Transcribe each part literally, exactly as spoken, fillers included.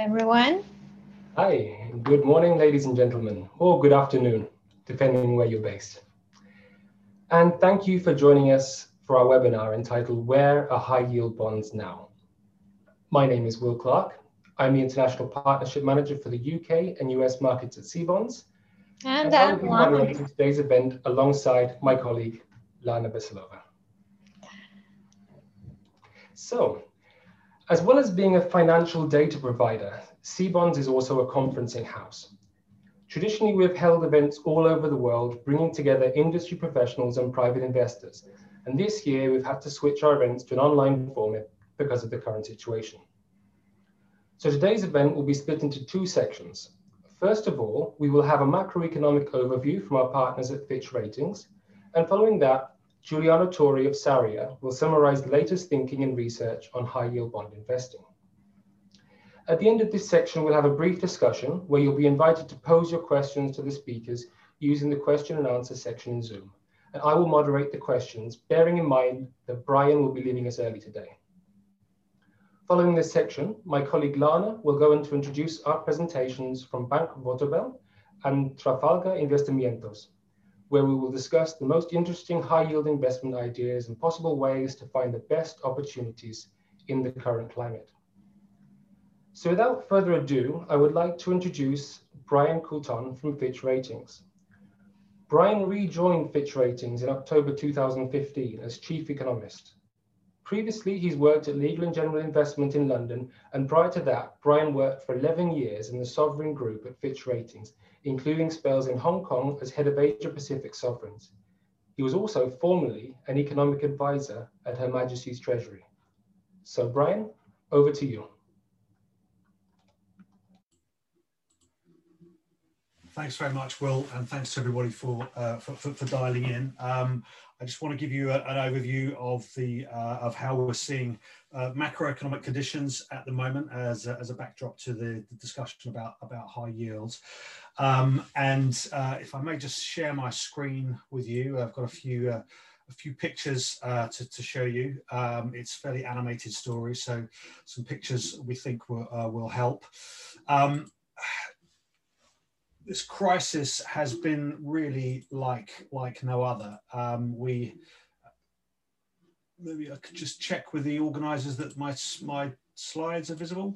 everyone. Hi, good morning, ladies and gentlemen, or good afternoon, depending where you're based. And thank you for joining us for our webinar entitled Where Are High Yield Bonds Now? My name is Will Clark. I'm the International Partnership Manager for the U K and U S markets at CBonds. And, And I will I'm be Lana. moderating today's event alongside my colleague, Lana Veselova. So, as well as being a financial data provider, CBonds is also a conferencing house. Traditionally, we've held events all over the world, bringing together industry professionals and private investors. And this year, we've had to switch our events to an online format because of the current situation. So today's event will be split into two sections. First of all, we will have a macroeconomic overview from our partners at Fitch Ratings. And following that, Giuliano Tori of Saria will summarize the latest thinking and research on high yield bond investing. At the end of this section, we'll have a brief discussion where you'll be invited to pose your questions to the speakers using the question and answer section in Zoom. And I will moderate the questions, bearing in mind that Brian will be leaving us early today. Following this section, my colleague Lana will go on to introduce our presentations from Bank Vontobel and Trafalgar Investimentos, where we will discuss the most interesting high-yield investment ideas and possible ways to find the best opportunities in the current climate. So without further ado, I would like to introduce Brian Coulton from Fitch Ratings. Brian rejoined Fitch Ratings in October two thousand fifteen as chief economist. Previously, he's worked at Legal and General Investment in London, and prior to that, Brian worked for eleven years in the Sovereign Group at Fitch Ratings, including spells in Hong Kong as head of Asia Pacific Sovereigns. He was also formerly an economic advisor at Her Majesty's Treasury. So Brian, over to you. Thanks very much, Will, and thanks to everybody for uh, for, for, for dialing in. Um, I just want to give you a, an overview of the uh, of how we're seeing uh, macroeconomic conditions at the moment as a, as a backdrop to the, the discussion about about high yields. Um, and uh, if I may just share my screen with you, I've got a few uh, a few pictures uh, to, to show you. Um, it's a fairly animated story, so some pictures we think will uh, will help. Um, This crisis has been really like like no other. Um, we maybe I could just check with the organisers that my my slides are visible.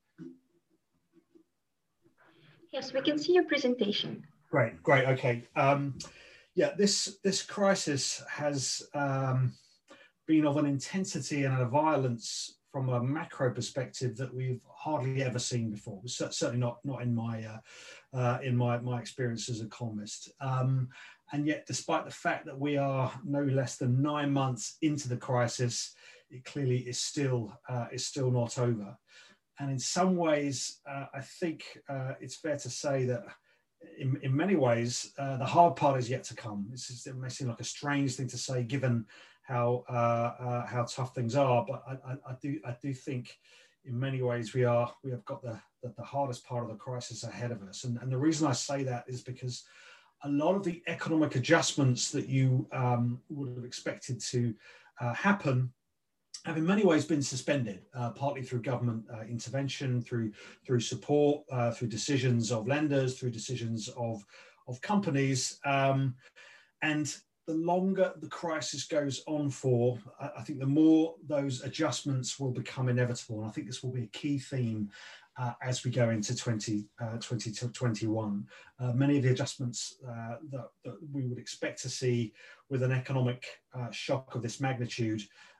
Yes, we can see your presentation. Great, great, okay. Um, yeah, this this crisis has um, been of an intensity and a violence from a macro perspective that we've hardly ever seen before. Certainly not not in my uh, uh, in my my experience as an economist. Um, and yet, despite the fact that we are no less than nine months into the crisis, it clearly is still uh, is still not over. And in some ways, uh, I think uh, it's fair to say that in, in many ways, uh, the hard part is yet to come. It's just, it may seem like a strange thing to say, given how uh, uh, how tough things are, but I, I, I do I do think in many ways we are we have got the, the the hardest part of the crisis ahead of us, and and the reason I say that is because a lot of the economic adjustments that you um, would have expected to uh, happen have in many ways been suspended, uh, partly through government uh, intervention, through through support, uh, through decisions of lenders, through decisions of of companies, um, and the longer the crisis goes on for, I think the more those adjustments will become inevitable. And I think this will be a key theme uh, as we go into twenty twenty-one. Uh, many of the adjustments uh, that, that we would expect to see with an economic uh, shock of this magnitude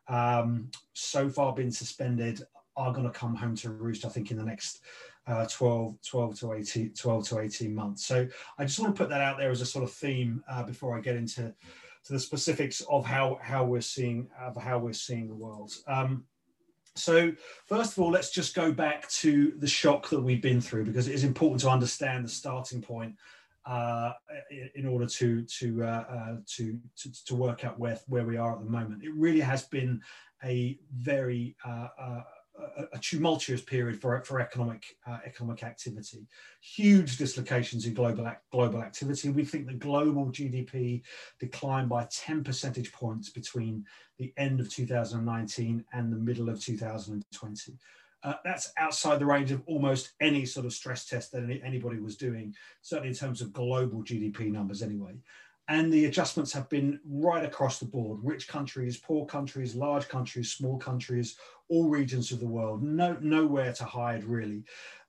um, so far been suspended are going to come home to roost, I think, in the next uh, twelve, twelve to eighteen, twelve to eighteen months. So I just want to put that out there as a sort of theme uh, before I get into to the specifics of how how we're seeing of how we're seeing the world. Um, so first of all, let's just go back to the shock that we've been through, because it is important to understand the starting point uh, in order to to, uh, uh, to to to work out where where we are at the moment. It really has been a very uh, uh, A, a tumultuous period for, for economic uh, economic activity. Huge dislocations in global global activity. We think the global G D P declined by ten percentage points between the end of two thousand nineteen and the middle of two thousand twenty. Uh, that's outside the range of almost any sort of stress test that any, anybody was doing, certainly in terms of global G D P numbers anyway. And the adjustments have been right across the board: rich countries, poor countries, large countries, small countries, all regions of the world, no, nowhere to hide really.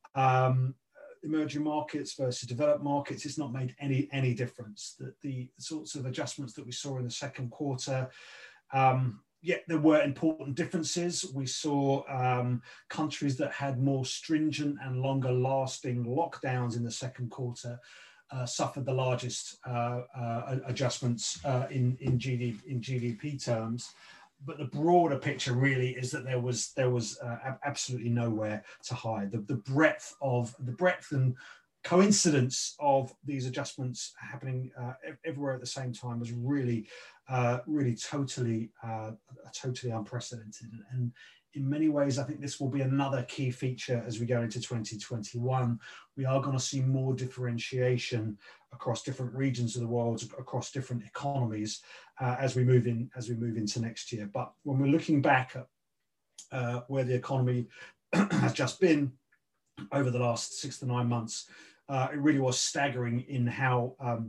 Um, emerging markets versus developed markets, it's not made any, any difference. The, the sorts of adjustments that we saw in the second quarter, um, yeah, there were important differences. We saw um, countries that had more stringent and longer lasting lockdowns in the second quarter uh, suffered the largest uh, uh, adjustments uh, in, in, G D, in G D P terms. But the broader picture really is that there was there was uh, absolutely nowhere to hide. The, the breadth of the breadth and coincidence of these adjustments happening uh, everywhere at the same time was really, uh, really totally, uh, totally unprecedented. And in many ways, I think this will be another key feature as we go into twenty twenty-one. We are going to see more differentiation across different regions of the world, across different economies, uh, as we move in, as we move into next year. But when we're looking back at uh, where the economy has just been over the last six to nine months, uh, it really was staggering in how um,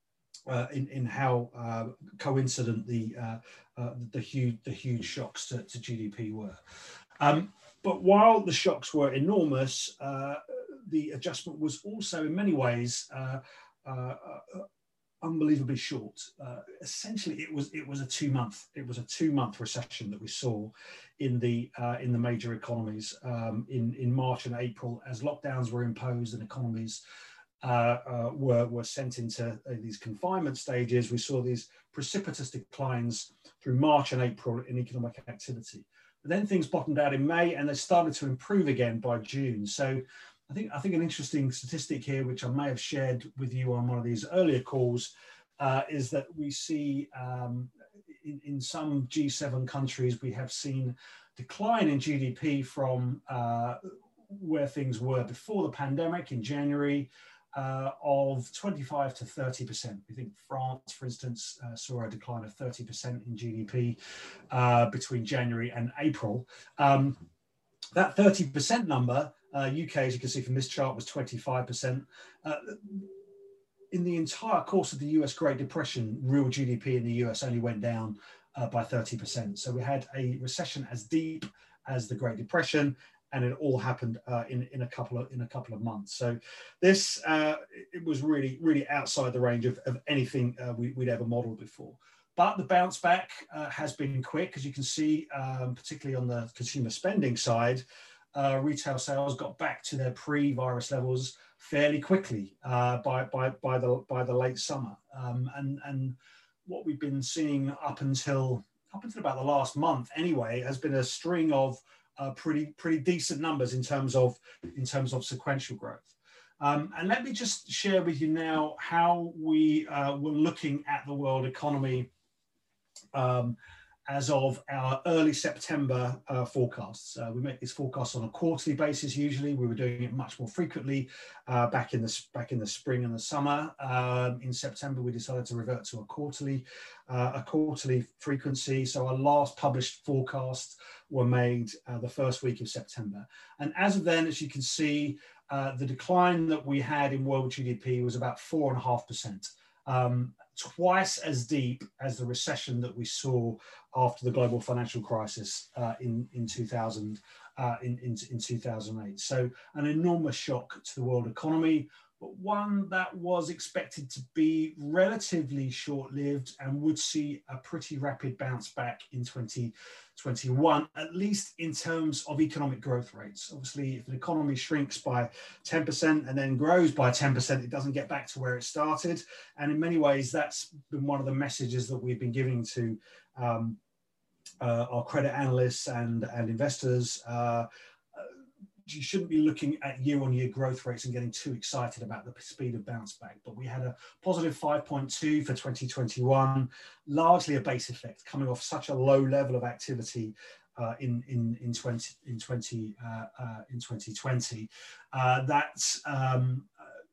uh, in in how uh, coincident the uh, uh, the huge the huge shocks to, to G D P were. Um, but while the shocks were enormous, uh, the adjustment was also in many ways uh, uh, uh, unbelievably short. Uh, essentially, it was it was a two month it was a two month recession that we saw in the uh, in the major economies um, in in March and April as lockdowns were imposed and economies uh, uh, were were sent into uh, these confinement stages. We saw these precipitous declines through March and April in economic activity. But then things bottomed out in May and they started to improve again by June. So I think, I think an interesting statistic here, which I may have shared with you on one of these earlier calls, uh, is that we see um, in, in some G seven countries, we have seen decline in G D P from uh, where things were before the pandemic in January uh, of twenty-five to thirty percent. We think France, for instance, uh, saw a decline of thirty percent in G D P uh, between January and April. Um, that thirty percent number, Uh, U K, as you can see from this chart, was twenty-five percent. Uh, in the entire course of the U S Great Depression, real G D P in the U S only went down uh, by thirty percent. So we had a recession as deep as the Great Depression, and it all happened uh, in, in, a couple of, in a couple of months. So this, uh, it was really, really outside the range of, of anything uh, we, we'd ever modeled before. But the bounce back uh, has been quick, as you can see, um, particularly on the consumer spending side. Uh, retail sales got back to their pre-virus levels fairly quickly uh, by, by, by, the, by the late summer. Um, and, and what we've been seeing up until, up until about the last month anyway, has been a string of uh, pretty, pretty decent numbers in terms of, in terms of sequential growth. Um, and let me just share with you now how we uh, were looking at the world economy um, as of our early September uh, forecasts. Uh, we make these forecasts on a quarterly basis usually. We were doing it much more frequently uh, back in the back in the spring and the summer. Um, in September, we decided to revert to a quarterly uh, a quarterly frequency. So our last published forecasts were made uh, the first week of September. And as of then, as you can see, uh, the decline that we had in world G D P was about four and a half percent. Um, twice as deep as the recession that we saw after the global financial crisis uh, in, in, two thousand, uh, in, in, in two thousand eight. So an enormous shock to the world economy, but one that was expected to be relatively short-lived and would see a pretty rapid bounce back in twenty twenty-one, at least in terms of economic growth rates. Obviously, if an economy shrinks by ten percent and then grows by ten percent, it doesn't get back to where it started. And in many ways, that's been one of the messages that we've been giving to um, uh, our credit analysts and, and investors. Uh, You shouldn't be looking at year-on-year growth rates and getting too excited about the speed of bounce back. But we had a positive five point two for twenty twenty-one, largely a base effect coming off such a low level of activity uh, in, in, in, twenty, in, twenty, uh, uh, in twenty twenty. Uh, that um,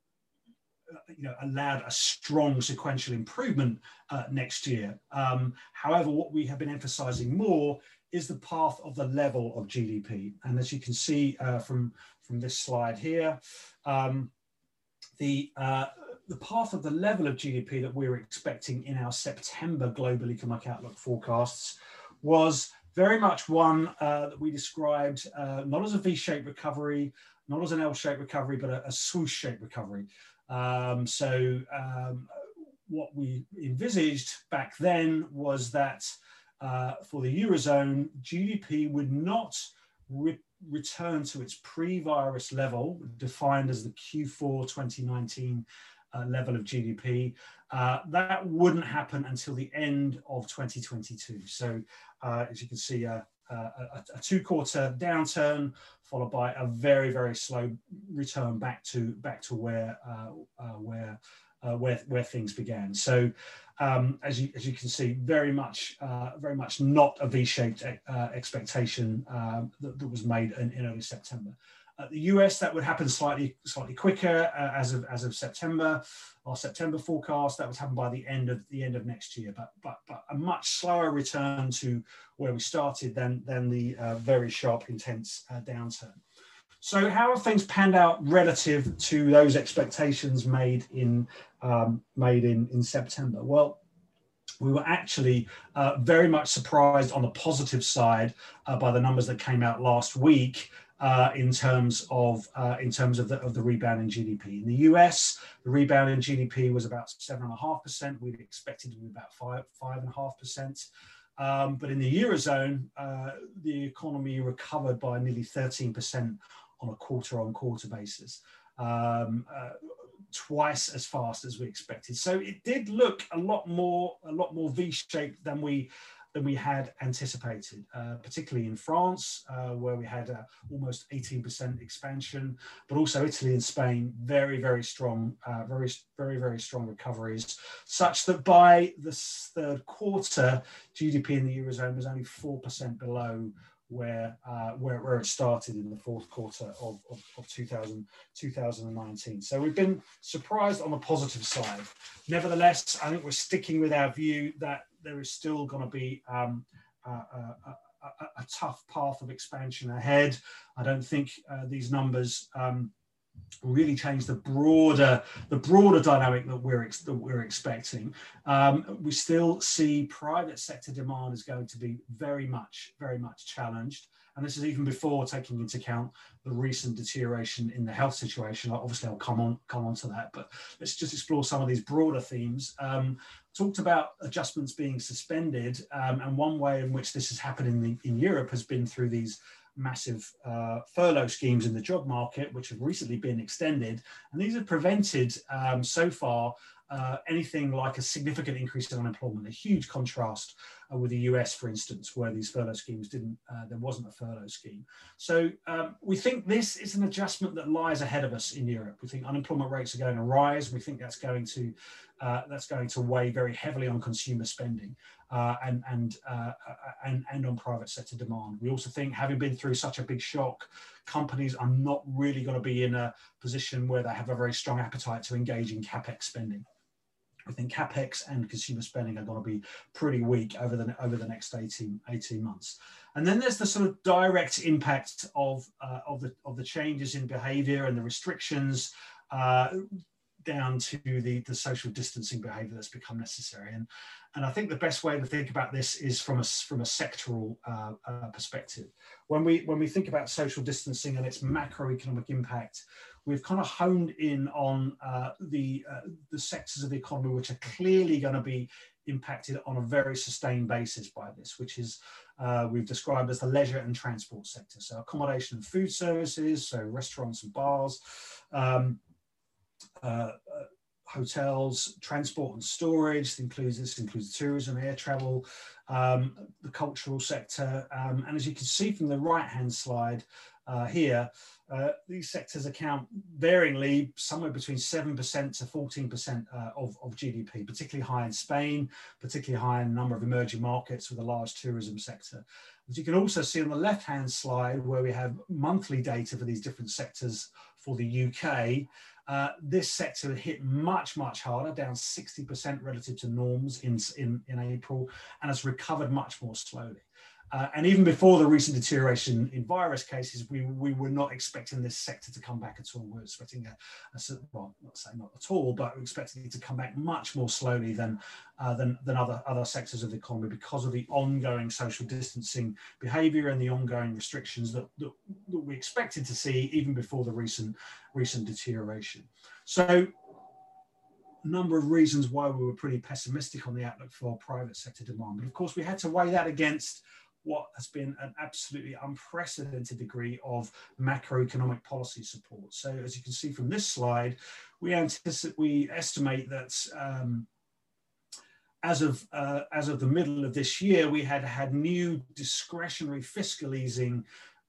uh, you know, allowed a strong sequential improvement uh, next year. Um, however, what we have been emphasizing more is the path of the level of G D P. And as you can see uh, from, from this slide here, um, the, uh, the path of the level of G D P that we were expecting in our September Global Economic Outlook forecasts was very much one uh, that we described uh, not as a V-shaped recovery, not as an L-shaped recovery, but a, a swoosh-shaped recovery. Um, so um, what we envisaged back then was that uh, for the Eurozone, G D P would not re return to its pre-virus level, defined as the Q four twenty nineteen uh, level of G D P. Uh, that wouldn't happen until the end of twenty twenty-two. So uh, as you can see, uh, uh, a, a two-quarter downturn followed by a very, very slow return back to back to where uh, uh, where uh, where where things began. So um, as you as you can see, very much uh, very much not a V-shaped uh, expectation uh, that, that was made in, in early September. Uh, the U S, that would happen slightly slightly quicker uh, as of as of September. Our September forecast, that would happen by the end of the end of next year, but but but a much slower return to where we started than than the uh, very sharp, intense uh, downturn. So how have things panned out relative to those expectations made in um, made in in September? Well, we were actually uh, very much surprised on the positive side uh, by the numbers that came out last week. Uh, in terms of uh, in terms of the of the rebound in G D P. In the U S, the rebound in G D P was about seven and a half percent. We'd expected to be about five five and a half percent. Um, but in the Eurozone, uh, the economy recovered by nearly thirteen percent on a quarter-on-quarter basis, um, uh, twice as fast as we expected. So it did look a lot more a lot more V-shaped than we. than we had anticipated, uh, particularly in France, uh, where we had uh, almost eighteen percent expansion, but also Italy and Spain, very, very strong, uh, very, very, very strong recoveries, such that by the third quarter, G D P in the Eurozone was only four percent below where, uh, where, where it started in the fourth quarter of, of, of two thousand, two thousand nineteen. So we've been surprised on the positive side. Nevertheless, I think we're sticking with our view that there is still going to be um, a, a, a, a tough path of expansion ahead. I don't think uh, these numbers um, really change the broader the broader dynamic that we're ex that we're expecting. Um, we still see private sector demand is going to be very much very much challenged. And this is even before taking into account the recent deterioration in the health situation. Obviously, I'll come on come on to that, but let's just explore some of these broader themes. Um, talked about adjustments being suspended, um, and one way in which this has happened in, the, in Europe has been through these massive uh, furlough schemes in the job market, which have recently been extended. And these have prevented um, so far uh, anything like a significant increase in unemployment, a huge contrast uh, with the U S, for instance, where these furlough schemes didn't, uh, there wasn't a furlough scheme. So um, we think this is an adjustment that lies ahead of us in Europe. We think unemployment rates are going to rise. We think that's going to, uh, that's going to weigh very heavily on consumer spending. Uh, and, and, uh, and, and on private sector demand. We also think, having been through such a big shock, companies are not really going to be in a position where they have a very strong appetite to engage in capex spending. I think capex and consumer spending are going to be pretty weak over the, over the next eighteen, eighteen months. And then there's the sort of direct impact of, uh, of, the, of the changes in behavior and the restrictions uh, down to the, the social distancing behavior that's become necessary. And, and I think the best way to think about this is from a, from a sectoral uh, uh, perspective. When we, when we think about social distancing and its macroeconomic impact, we've kind of honed in on uh, the, uh, the sectors of the economy which are clearly going to be impacted on a very sustained basis by this, which is uh, we've described as the leisure and transport sector. So accommodation and food services, so restaurants and bars, um, Uh, uh, hotels, transport and storage. This includes, this includes tourism, air travel, um, the cultural sector. Um, and as you can see from the right-hand slide uh, here, uh, these sectors account varyingly somewhere between seven percent to fourteen percent uh, of, of G D P, particularly high in Spain, particularly high in a number of emerging markets with a large tourism sector. As you can also see on the left-hand slide, where we have monthly data for these different sectors for the U K, Uh, this sector hit much, much harder, down sixty percent relative to norms in, in, in April, and has recovered much more slowly. Uh, and even before the recent deterioration in virus cases, we, we were not expecting this sector to come back at all. We were expecting a, a well, not saying not at all, but we're expecting it to come back much more slowly than uh, than, than other, other sectors of the economy because of the ongoing social distancing behaviour and the ongoing restrictions that, that, that we expected to see even before the recent recent deterioration. So, a number of reasons why we were pretty pessimistic on the outlook for private sector demand. But of course, we had to weigh that against what has been an absolutely unprecedented degree of macroeconomic policy support. So as you can see from this slide, we anticipate, we estimate that um, as of uh, as of the middle of this year, we had had new discretionary fiscal easing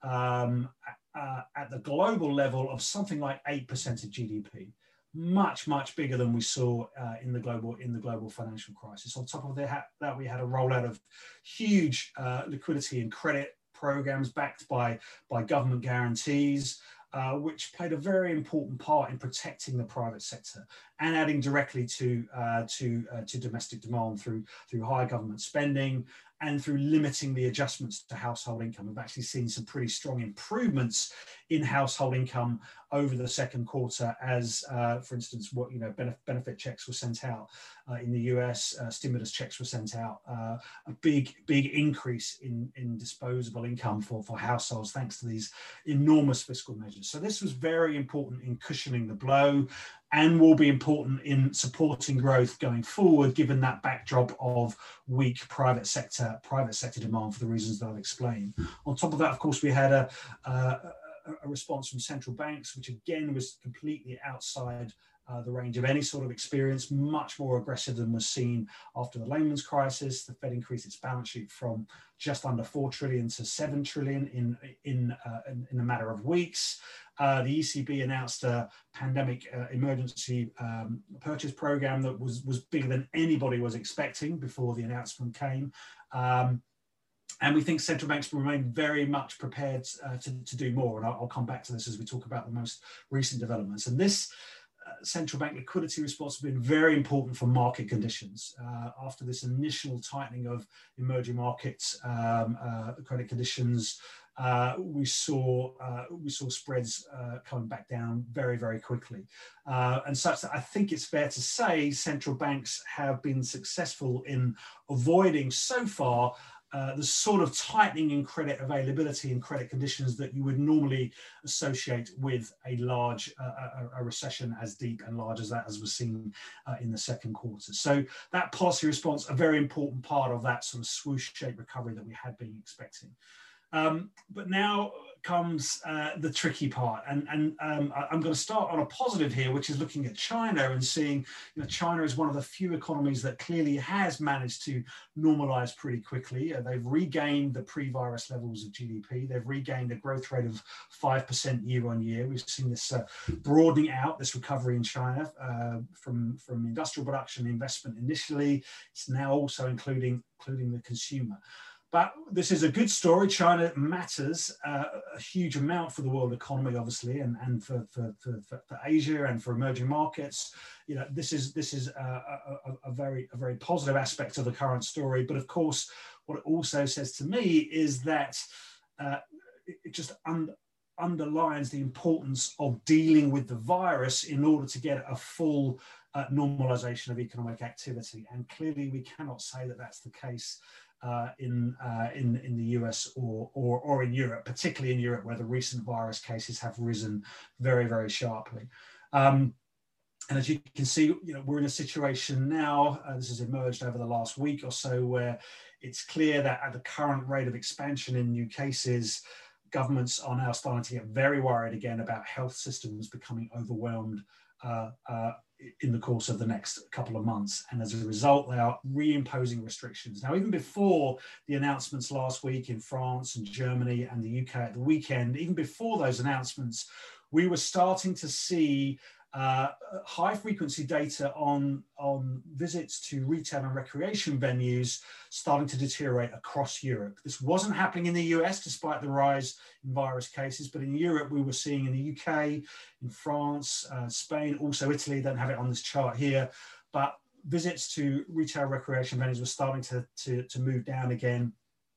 um, uh, at the global level of something like eight percent of G D P. Much, much bigger than we saw uh, in the global in the global financial crisis. On top of that, that we had a rollout of huge uh, liquidity and credit programs backed by, by government guarantees, uh, which played a very important part in protecting the private sector and adding directly to uh, to uh, to domestic demand through through higher government spending and through limiting the adjustments to household income. We've actually seen some pretty strong improvements in household income over the second quarter as, uh, for instance, what you know benefit, benefit checks were sent out uh, in the U S, uh, stimulus checks were sent out, uh, a big, big increase in, in disposable income for, for households thanks to these enormous fiscal measures. So this was very important in cushioning the blow and will be important in supporting growth going forward, given that backdrop of weak private sector private sector demand for the reasons that I've explained. On top of that, of course, we had a, a, a response from central banks, which again was completely outside uh, the range of any sort of experience, much more aggressive than was seen after the Lehman's crisis. The Fed increased its balance sheet from just under four trillion to seven trillion in, in, uh, in, in a matter of weeks. Uh, the E C B announced a pandemic uh, emergency um, purchase program that was, was bigger than anybody was expecting before the announcement came. Um, and we think central banks will remain very much prepared uh, to, to do more. And I'll, I'll come back to this as we talk about the most recent developments. And this uh, central bank liquidity response has been very important for market conditions. Uh, after this initial tightening of emerging markets um, uh, credit conditions, Uh, we saw uh, we saw spreads uh, coming back down very, very quickly, uh, and such that I think it's fair to say central banks have been successful in avoiding so far uh, the sort of tightening in credit availability and credit conditions that you would normally associate with a large uh, a, a recession as deep and large as that as was seen uh, in the second quarter. So that policy response, a very important part of that sort of swoosh-shaped recovery that we had been expecting. Um, but now comes uh, the tricky part, and, and um, I'm going to start on a positive here, which is looking at China and seeing, you know, China is one of the few economies that clearly has managed to normalize pretty quickly. Uh, they've regained the pre-virus levels of G D P. They've regained a growth rate of five percent year on year. We've seen this uh, broadening out, this recovery in China uh, from, from industrial production investment initially. It's now also including, including the consumer. But this is a good story. China matters uh, a huge amount for the world economy, obviously, and, and for, for, for, for Asia and for emerging markets. You know, this is this is a, a, a very a very positive aspect of the current story. But of course, what it also says to me is that uh, it, it just un underlines the importance of dealing with the virus in order to get a full uh, normalization of economic activity. And clearly, we cannot say that that's the case Uh, in, uh, in, in the U S or, or, or in Europe, particularly in Europe, where the recent virus cases have risen very, very sharply. Um, and as you can see, you know, we're in a situation now, uh, this has emerged over the last week or so, where it's clear that at the current rate of expansion in new cases, governments are now starting to get very worried again about health systems becoming overwhelmed uh, uh, in the course of the next couple of months. And as a result, they are reimposing restrictions. Now, even before the announcements last week in France and Germany and the U K at the weekend, even before those announcements, we were starting to see uh, high frequency data on, on visits to retail and recreation venues starting to deteriorate across Europe. This wasn't happening in the U S despite the rise in virus cases, but in Europe we were seeing in the U K, in France, uh, Spain, also Italy, don't have it on this chart here, but visits to retail recreation venues were starting to, to, to move down again.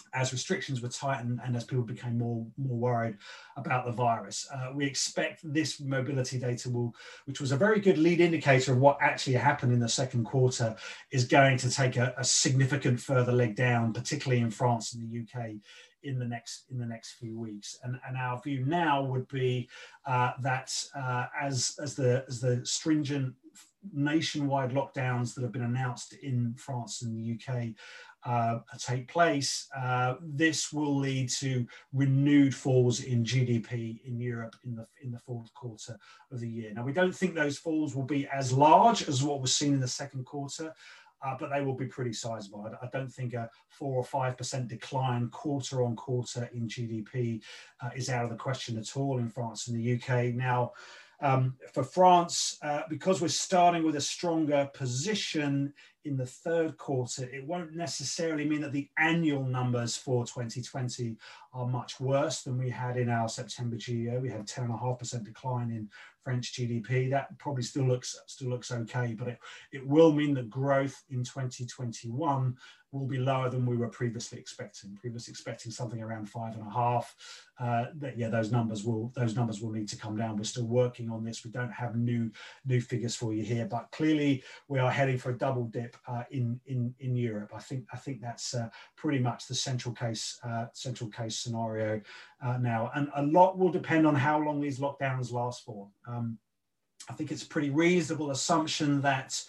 as restrictions were tightened and as people became more more worried about the virus. Uh, we expect this mobility data will, which was a very good lead indicator of what actually happened in the second quarter, is going to take a, a significant further leg down, particularly in France and the U K in the next in the next few weeks. And, and our view now would be uh, that uh, as as the as the stringent nationwide lockdowns that have been announced in France and the U K uh, take place, uh, this will lead to renewed falls in G D P in Europe in the in the fourth quarter of the year. Now, we don't think those falls will be as large as what was seen in the second quarter, uh, but they will be pretty sizable. I, I don't think a four or five percent decline quarter on quarter in G D P uh, is out of the question at all in France and the U K. Now, Um, for France, uh, because we're starting with a stronger position in the third quarter, it won't necessarily mean that the annual numbers for twenty twenty are much worse than we had in our September G E O. We had a ten point five percent decline in French G D P. That probably still looks still looks okay, but it, it will mean that growth in twenty twenty-one will be lower than we were previously expecting. Previously expecting something around five and a half. Uh, that, yeah, those numbers will those numbers will need to come down. We're still working on this. We don't have new new figures for you here, but clearly we are heading for a double dip uh, in in in Europe. I think I think that's uh, pretty much the central case uh, central case scenario uh, now, and a lot will depend on how long these lockdowns last for. Um, I think it's a pretty reasonable assumption that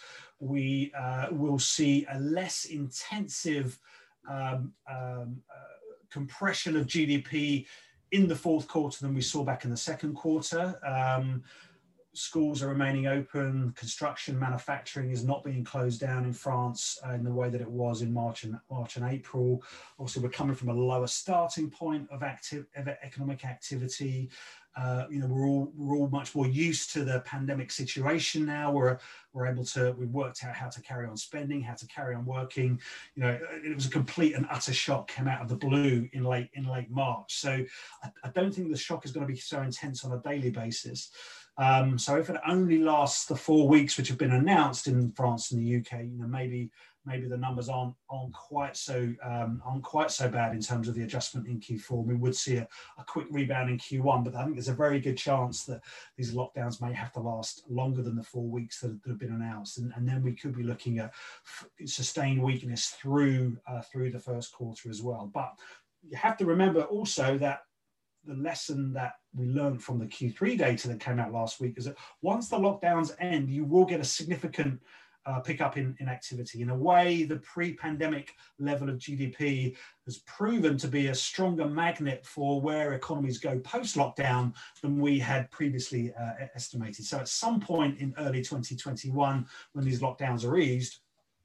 we uh, will see a less intensive um, um, uh, compression of G D P in the fourth quarter than we saw back in the second quarter. Um, schools are remaining open, construction, manufacturing is not being closed down in France uh, in the way that it was in March and March and April. Also, we're coming from a lower starting point of active of economic activity. Uh, you know, we're all we're all much more used to the pandemic situation now. We're we're able to we've worked out how to carry on spending, how to carry on working. You know, it was a complete and utter shock came out of the blue in late in late March. So I, I don't think the shock is going to be so intense on a daily basis. Um, so if it only lasts the four weeks which have been announced in France and the U K, you know, maybe maybe the numbers aren't aren't quite so um, aren't quite so bad in terms of the adjustment in Q four. We would see a, a quick rebound in Q one, but I think there's a very good chance that these lockdowns may have to last longer than the four weeks that, that have been announced, and, and then we could be looking at sustained weakness through uh, through the first quarter as well. But you have to remember also that the lesson that we learned from the Q three data that came out last week is that once the lockdowns end, you will get a significant uh, pickup in, in activity. In a way, the pre-pandemic level of G D P has proven to be a stronger magnet for where economies go post-lockdown than we had previously uh, estimated. So at some point in early twenty twenty-one, when these lockdowns are eased,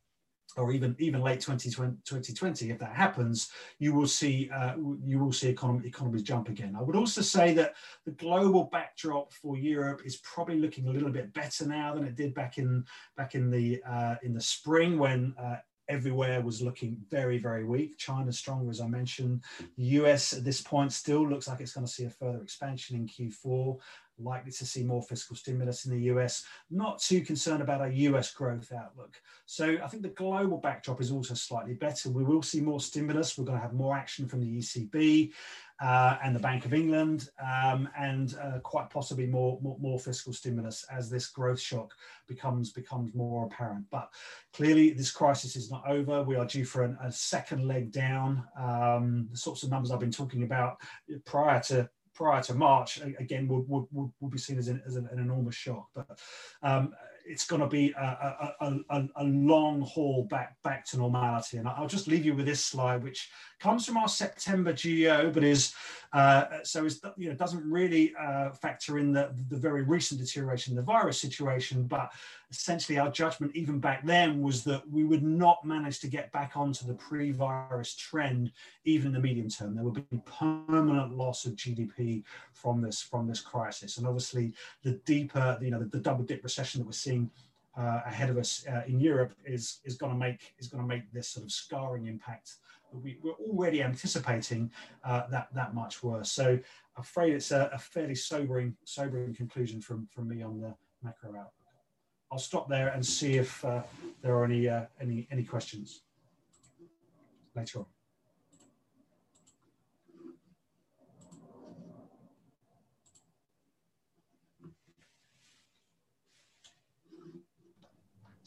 or even even late twenty twenty, if that happens, you will see uh, you will see economy, economies jump again. I would also say that the global backdrop for Europe is probably looking a little bit better now than it did back in back in the uh, in the spring when uh, everywhere was looking very very weak. China's stronger, as I mentioned. The U S at this point still looks like it's going to see a further expansion in Q four. Likely to see more fiscal stimulus in the U S, not too concerned about our U S growth outlook. So I think the global backdrop is also slightly better. We will see more stimulus. We're going to have more action from the E C B uh, and the Bank of England, um, and uh, quite possibly more, more, more fiscal stimulus as this growth shock becomes, becomes more apparent. But clearly this crisis is not over. We are due for an, a second leg down. Um, the sorts of numbers I've been talking about prior to prior to March, again, would, would, would be seen as an, as an, an enormous shock. But um, it's going to be a, a, a, a long haul back, back to normality. And I'll just leave you with this slide, which comes from our September G E O, but is, uh, so is, you know, doesn't really uh, factor in the, the very recent deterioration in the virus situation, but essentially our judgment even back then was that we would not manage to get back onto the pre-virus trend, even in the medium term. There would be permanent loss of G D P from this, from this crisis. And obviously the deeper, you know, the, the double dip recession that we're seeing uh, ahead of us uh, in Europe is, is going to make, is going to make this sort of scarring impact that we, we're already anticipating uh, that, that much worse. So I'm afraid it's a, a fairly sobering, sobering conclusion from, from me on the macro outlook. I'll stop there and see if uh, there are any, uh, any, any questions later on.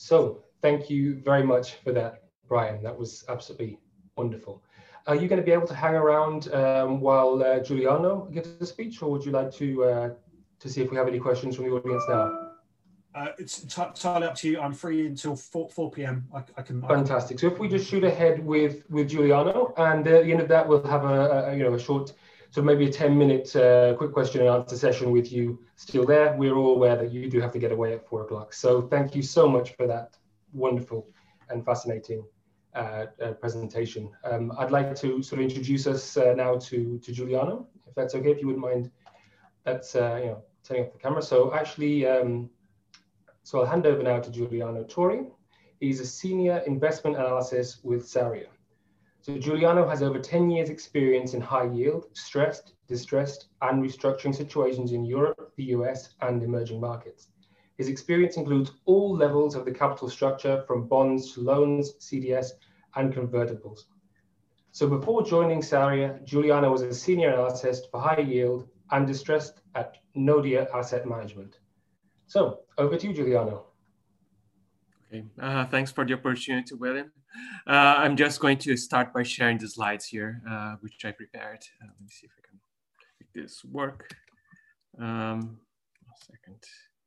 So thank you very much for that, Brian. That was absolutely wonderful. Are you going to be able to hang around um, while uh, Giuliano gives the speech, or would you like to uh, to see if we have any questions from the audience now? Uh, it's entirely up to you. I'm free until four p m I, I can. Fantastic. So if we just shoot ahead with with Giuliano, and at the end of that, we'll have a, a you know a short, so maybe a ten minute uh, quick question and answer session with you still there. We're all aware that you do have to get away at four o'clock. So thank you so much for that wonderful and fascinating uh, uh, presentation. Um, I'd like to sort of introduce us uh, now to to Giuliano, if that's okay. If you wouldn't mind, that's uh, you know turning off the camera. So actually. Um, So I'll hand over now to Giuliano Tori. He's a senior investment analyst with Saria. So Giuliano has over ten years experience in high yield, stressed, distressed, and restructuring situations in Europe, the U S, and emerging markets. His experience includes all levels of the capital structure, from bonds to loans, C D S, and convertibles. So before joining Saria, Giuliano was a senior analyst for high yield and distressed at Nordea Asset Management. So over to you, Giuliano. Okay, uh, thanks for the opportunity, William. Uh, I'm just going to start by sharing the slides here, uh, which I prepared. Uh, let me see if I can make this work. Um, a second.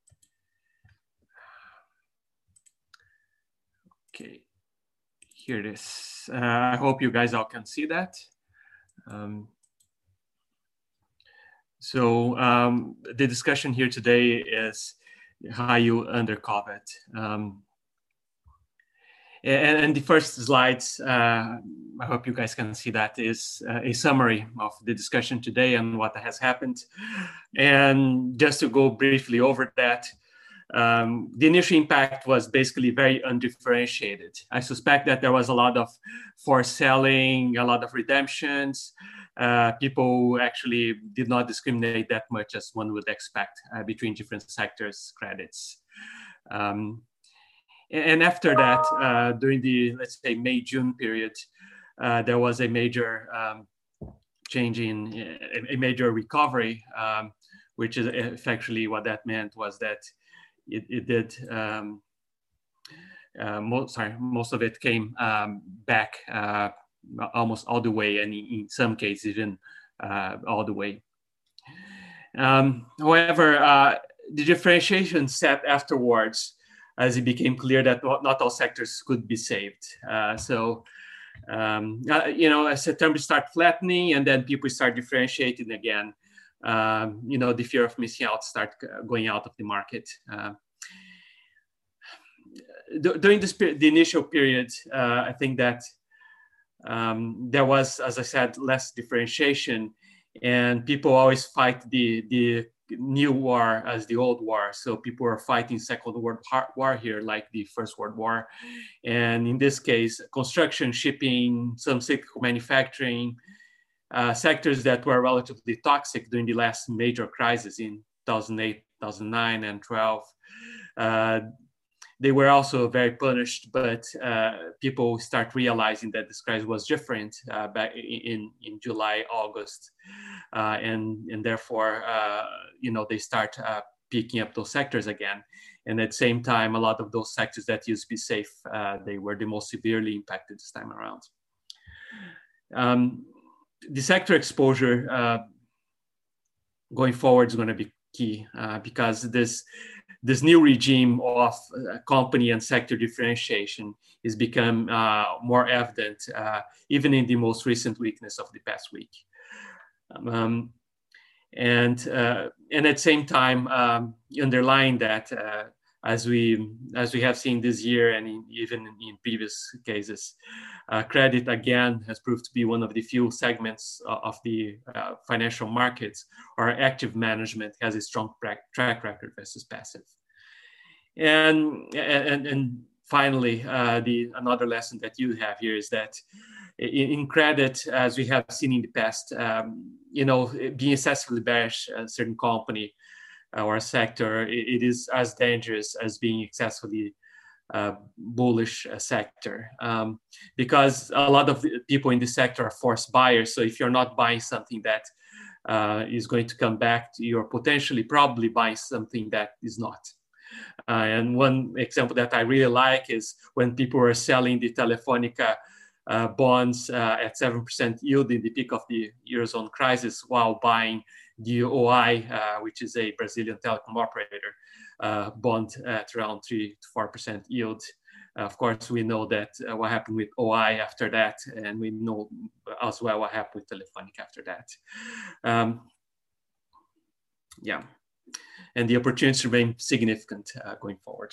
Okay, here it is. Uh, I hope you guys all can see that. Um, so um, the discussion here today is high yield under COVID. Um, and, and the first slides, uh, I hope you guys can see that, is uh, a summary of the discussion today and what has happened. And just to go briefly over that, um, the initial impact was basically very undifferentiated. I suspect that there was a lot of forced selling, a lot of redemptions. Uh, people actually did not discriminate that much as one would expect uh, between different sectors, credits. Um, and after that, uh, during the, let's say, May, June period, uh, there was a major um, change in, a, a major recovery, um, which is effectively what that meant was that it, it did, um, uh, most, sorry, most of it came um, back uh, almost all the way, and in some cases even uh, all the way. Um, however, uh, the differentiation set afterwards, as it became clear that not all sectors could be saved. Uh, so, um, uh, you know, as September start flattening, and then people start differentiating again. Um, you know, the fear of missing out start going out of the market. Uh, during this the initial period, uh, I think that Um, there was, as I said, less differentiation, and people always fight the, the new war as the old war. So people are fighting Second World War here, like the First World War. And in this case, construction, shipping, some cyclical manufacturing, uh, sectors that were relatively toxic during the last major crisis in two thousand eight, two thousand nine, and twelve. Uh, They were also very punished, but uh, people start realizing that this crisis was different uh, back in, in July, August. Uh, and, and therefore, uh, you know, they start uh, picking up those sectors again. And at the same time, a lot of those sectors that used to be safe, uh, they were the most severely impacted this time around. Um, the sector exposure uh, going forward is going to be key uh, because this This new regime of uh, company and sector differentiation has become uh, more evident, uh, even in the most recent weakness of the past week. Um, and, uh, and at the same time, um, underlying that, uh, as, we, as we have seen this year and in, even in, in previous cases, uh, credit again has proved to be one of the few segments of the uh, financial markets or active management has a strong track record versus passive. And, and, and finally, uh, the, another lesson that you have here is that in, in credit, as we have seen in the past, um, you know, being excessively bearish a certain company or a sector, it, it is as dangerous as being excessively uh, bullish uh, sector, um, because a lot of people in this sector are forced buyers. So if you're not buying something that uh, is going to come back, you're potentially probably buying something that is not. Uh, and one example that I really like is when people were selling the Telefonica uh, bonds uh, at seven percent yield in the peak of the Eurozone crisis while buying the O I, uh, which is a Brazilian telecom operator, uh, bond at around three to four percent yield. Uh, of course, we know that uh, what happened with O I after that, and we know as well what happened with Telefonica after that. Um, yeah. And the opportunities remain significant uh, going forward.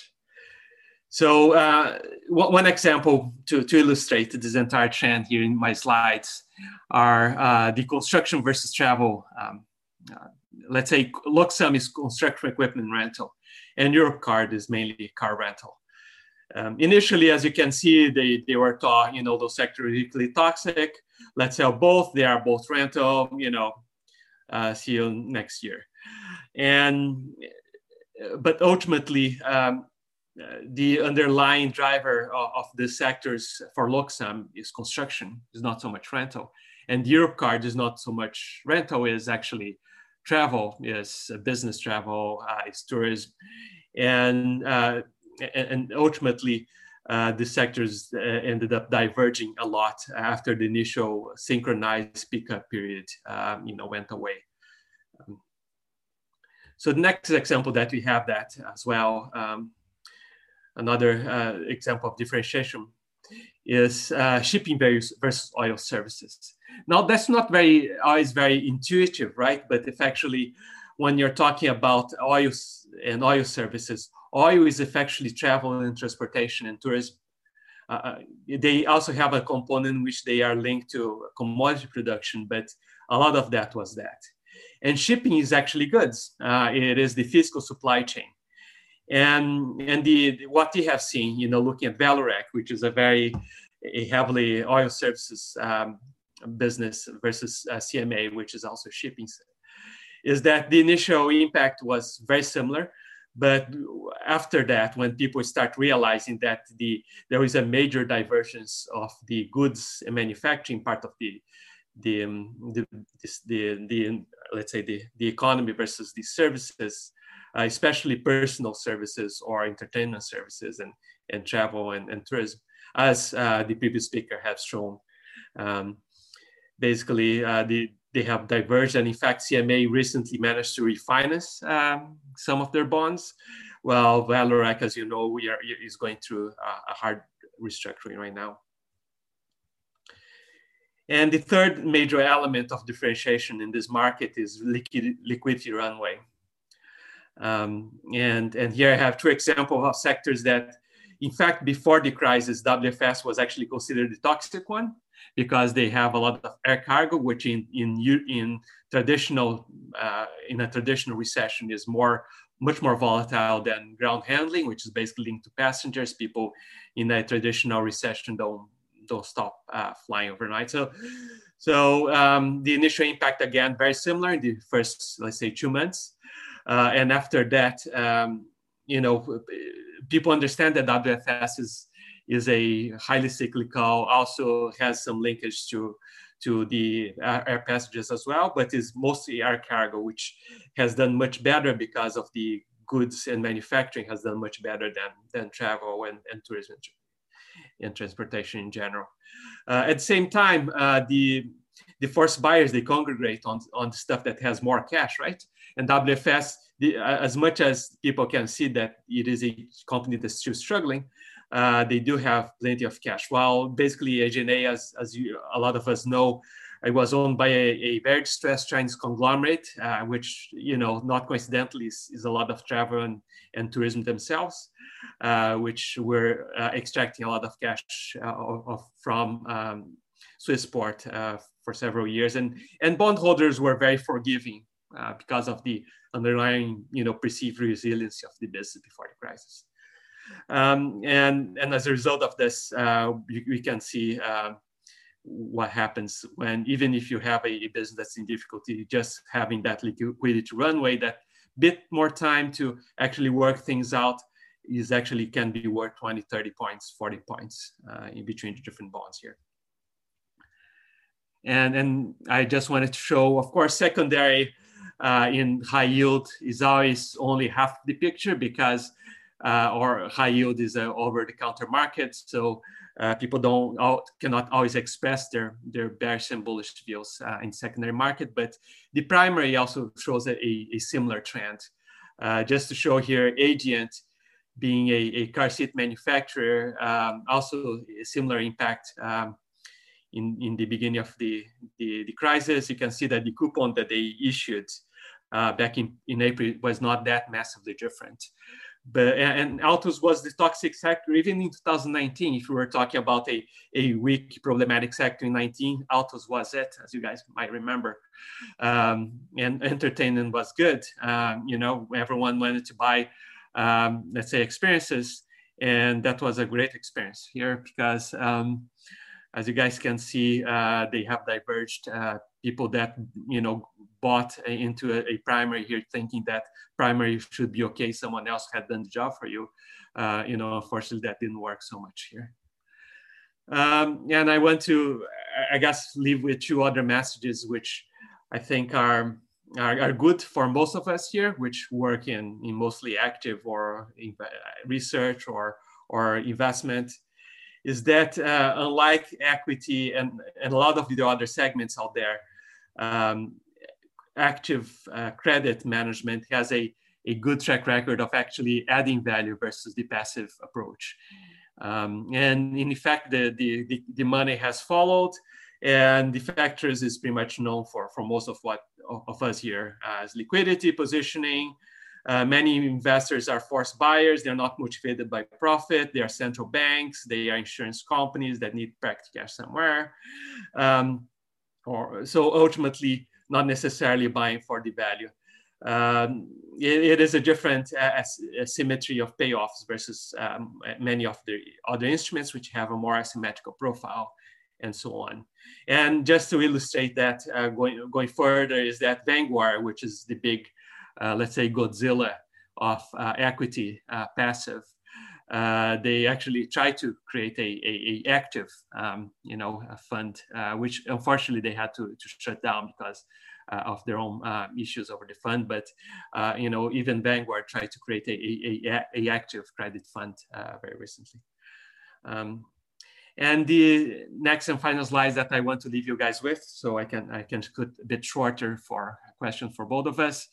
So uh, one example to, to illustrate this entire trend here in my slides are uh, the construction versus travel. Um, uh, let's say Luxam is construction equipment rental, and Europcar is mainly car rental. Um, initially, as you can see, they, they were taught, you know, those sectors are equally toxic. Let's sell both. They are both rental, you know, uh, see you next year. And, but ultimately, um, the underlying driver of, of the sectors for Luxam is construction, is not so much rental. And Europcar is not so much rental, is actually travel, is business travel, uh, is tourism. And, uh, and ultimately, uh, the sectors uh, ended up diverging a lot after the initial synchronized pickup period, um, you know, went away. Um, So the next example that we have that as well, um, another uh, example of differentiation is uh, shipping versus oil services. Now that's not very always very intuitive, right? But if actually, when you're talking about oil and oil services, oil is effectively travel and transportation and tourism. Uh, they also have a component in which they are linked to commodity production, but a lot of that was that. And shipping is actually goods. Uh, it is the physical supply chain. And, and the, what we have seen, you know, looking at Vallourec, which is a very a heavily oil services um, business versus uh, C M A, which is also shipping, is that the initial impact was very similar. But after that, when people start realizing that the, there is a major divergence of the goods and manufacturing part of the The, um, the, this, the, the, let's say the, the economy versus the services, uh, especially personal services or entertainment services and, and travel and, and tourism, as uh, the previous speaker has shown. Um, basically, uh, the, they have diverged, and in fact, C M A recently managed to refinance um, some of their bonds, while Vallourec, as you know, we are, is going through a, a hard restructuring right now. And the third major element of differentiation in this market is liquid, liquidity runway. Um, and, and here I have two examples of sectors that, in fact, before the crisis, W F S was actually considered the toxic one because they have a lot of air cargo, which in, in, in, traditional, uh, in a traditional recession is more, much more volatile than ground handling, which is basically linked to passengers. People in a traditional recession don't don't stop uh, flying overnight. So, so um, the initial impact, again, very similar in the first, let's say, two months. Uh, and after that, um, you know, people understand that W F S is, is a highly cyclical, also has some linkage to, to the air passengers as well, but is mostly air cargo, which has done much better because of the goods and manufacturing has done much better than, than travel and, and tourism and transportation in general. Uh, at the same time, uh, the, the forced buyers, they congregate on, on stuff that has more cash, right? And W F S, the, uh, as much as people can see that it is a company that's still struggling, uh, they do have plenty of cash. While basically A G N A, as, as you, a lot of us know, it was owned by a, a very distressed Chinese conglomerate, uh, which, you know, not coincidentally is, is a lot of travel and, and tourism themselves. Uh, which were uh, extracting a lot of cash uh, of, from um, Swissport uh, for several years. And, and bondholders were very forgiving uh, because of the underlying, you know, perceived resiliency of the business before the crisis. Um, and, and as a result of this, uh, we, we can see uh, what happens when, even if you have a, a business that's in difficulty, just having that liquidity runway, that bit more time to actually work things out is actually can be worth twenty, thirty points, forty points uh, in between the different bonds here. And, and I just wanted to show, of course, secondary uh, in high yield is always only half the picture because uh, or high yield is an over-the-counter market, so uh, people don't cannot always express their their bearish and bullish views uh, in secondary market. But the primary also shows a, a similar trend. Uh, just to show here, Adient, being a, a car seat manufacturer, um, also a similar impact um, in, in the beginning of the, the, the crisis. You can see that the coupon that they issued uh, back in, in April was not that massively different. But, and autos was the toxic sector, even in two thousand nineteen, if we were talking about a, a weak problematic sector in nineteen, autos was it, as you guys might remember. Um, and entertainment was good. Um, you know, everyone wanted to buy, um, let's say, experiences. And that was a great experience here because, um, as you guys can see, uh, they have diverged. Uh, people that, you know, bought into a, a primary here thinking that primary should be okay, someone else had done the job for you. Uh, you know, unfortunately, that didn't work so much here. Um, and I want to, I guess, leave with two other messages, which I think are, are, are good for most of us here, which work in, in mostly active or in research or, or investment, is that uh, unlike equity and, and a lot of the other segments out there, um, active uh, credit management has a, a good track record of actually adding value versus the passive approach. Um, and in fact, the, the, the, the money has followed, and the factors is pretty much known for, for most of what of us here as liquidity, positioning. Uh, many investors are forced buyers. They're not motivated by profit. They are central banks. They are insurance companies that need practical cash somewhere. Um, or, so ultimately, not necessarily buying for the value. Um, it, it is a different uh, asymmetry of payoffs versus um, many of the other instruments which have a more asymmetrical profile and so on. And just to illustrate that, uh, going, going further is that Vanguard, which is the big, uh, let's say, Godzilla of uh, equity uh, passive, uh, they actually try to create a, a, a active, um, you know, a fund, uh, which unfortunately they had to, to shut down because uh, of their own uh, issues over the fund. But, uh, you know, even Vanguard tried to create a, a, a, a active credit fund uh, very recently. Um, and the next and final slides that I want to leave you guys with, so I can, I can cut a bit shorter for questions for both of us,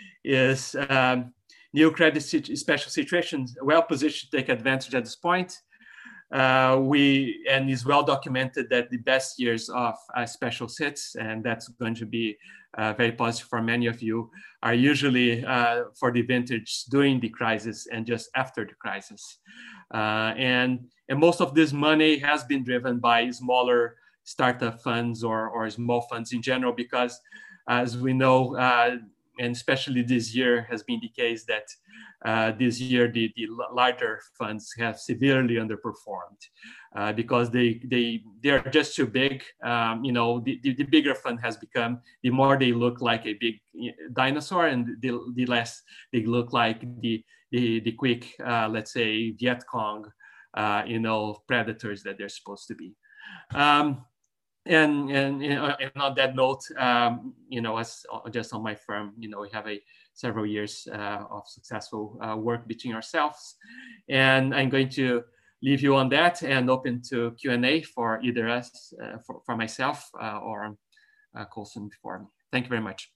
is um, new credit special situations, well positioned to take advantage at this point. Uh, we, and it's well documented that the best years of uh, special sits, and that's going to be uh, very positive for many of you, are usually uh, for the vintage during the crisis and just after the crisis. Uh, and, and most of this money has been driven by smaller startup funds or, or small funds in general, because as we know, uh, and especially this year has been the case that uh, this year the, the larger funds have severely underperformed uh, because they they they are just too big. Um, you know, the, the, the bigger fund has become, the more they look like a big dinosaur, and the, the less they look like the the, the quick, uh, let's say, Viet Cong, uh, you know, predators that they're supposed to be. Um, And, and, and on that note, um, you know, as just on my firm, you know, we have a several years uh, of successful uh, work between ourselves. And I'm going to leave you on that and open to Q and A for either us, uh, for, for myself uh, or uh, Colson before me. Thank you very much.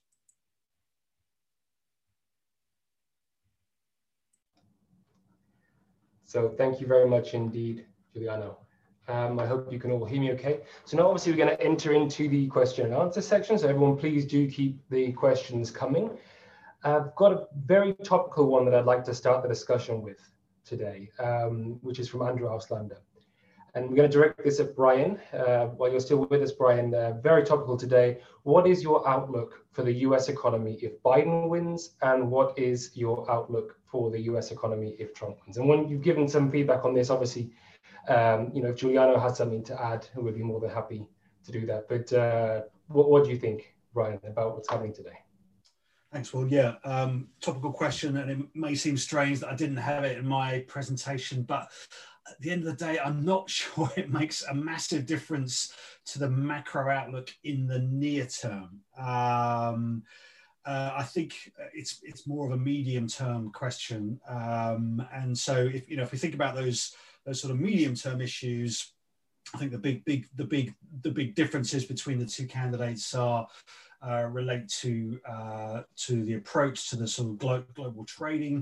So thank you very much indeed, Giuliano. Um, I hope you can all hear me okay. So now obviously we're going to enter into the question and answer section. So everyone, please do keep the questions coming. I've got a very topical one that I'd like to start the discussion with today, um, which is from Andrew Auslander. And we're going to direct this at Brian. Uh, while you're still with us, Brian, uh, very topical today. What is your outlook for the U S economy if Biden wins? And what is your outlook for the U S economy if Trump wins? And when you've given some feedback on this, obviously, Um, you know, if Giuliano has something to add, we'd be more than happy to do that. But uh, what, what do you think, Brian, about what's happening today? Thanks, Will. Yeah, um, topical question, and it may seem strange that I didn't have it in my presentation, but at the end of the day, I'm not sure it makes a massive difference to the macro outlook in the near term. Um, uh, I think it's it's more of a medium term question. Um, and so if you know if we think about those those sort of medium term issues, I think the big big the big the big differences between the two candidates are uh, relate to uh, to the approach to the sort of glo global trading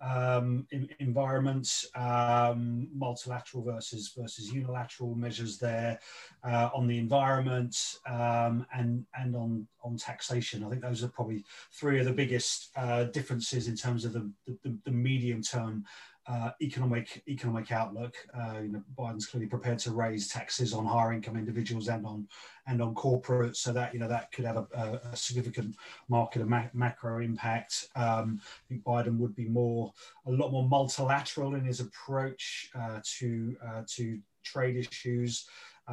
um, in, environment, um, multilateral versus versus unilateral measures there, uh, on the environment, um, and and on on taxation. I think those are probably three of the biggest uh, differences in terms of the the, the medium term uh, economic economic outlook. Uh, you know, Biden's clearly prepared to raise taxes on higher income individuals and on and on corporates, so that you know that could have a, a, a significant market and ma macro impact. Um, I think Biden would be more a lot more multilateral in his approach uh, to uh, to trade issues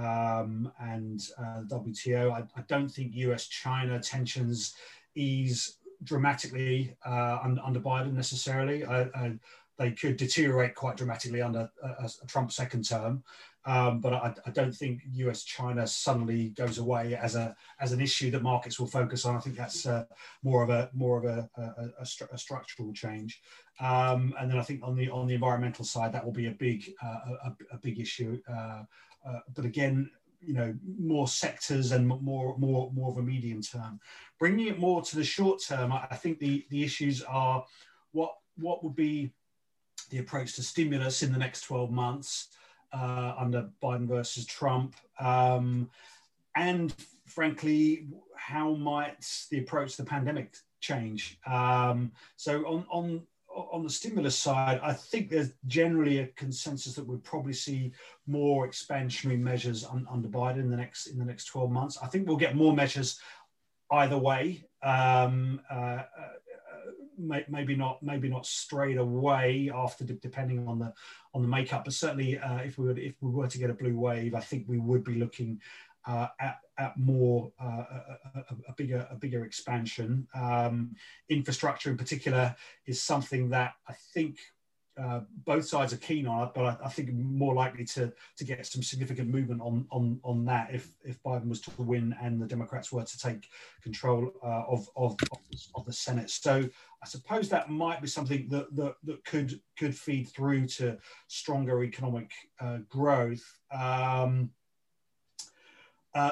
um, and uh, W T O. I, I don't think U S China tensions ease dramatically uh, under, under Biden necessarily. I, I, they could deteriorate quite dramatically under a, a Trump second term. Um, but I, I don't think U S China suddenly goes away as a as an issue that markets will focus on. I think that's uh, more of a more of a, a, a, stru a structural change. Um, and then I think on the on the environmental side, that will be a big uh, a, a big issue. Uh, uh, but again, you know, more sectors and more more more of a medium term. Bringing it more to the short term, I, I think the the issues are what what would be the approach to stimulus in the next twelve months. Uh, under Biden versus Trump, um, and frankly, how might the approach to the pandemic change? Um, so on, on, on the stimulus side, I think there's generally a consensus that we'll probably see more expansionary measures un, under Biden in the next in the next twelve months. I think we'll get more measures either way. Um, uh, uh, maybe not maybe not straight away after, depending on the on the makeup, but certainly uh, if we were if we were to get a blue wave, I think we would be looking uh, at, at more uh, a, a, a bigger a bigger expansion. Um, infrastructure in particular is something that I think uh, both sides are keen on, but I, I think more likely to to get some significant movement on on on that if if Biden was to win and the Democrats were to take control uh, of, of of the Senate. So I suppose that might be something that that, that could could feed through to stronger economic uh, growth. Um, uh,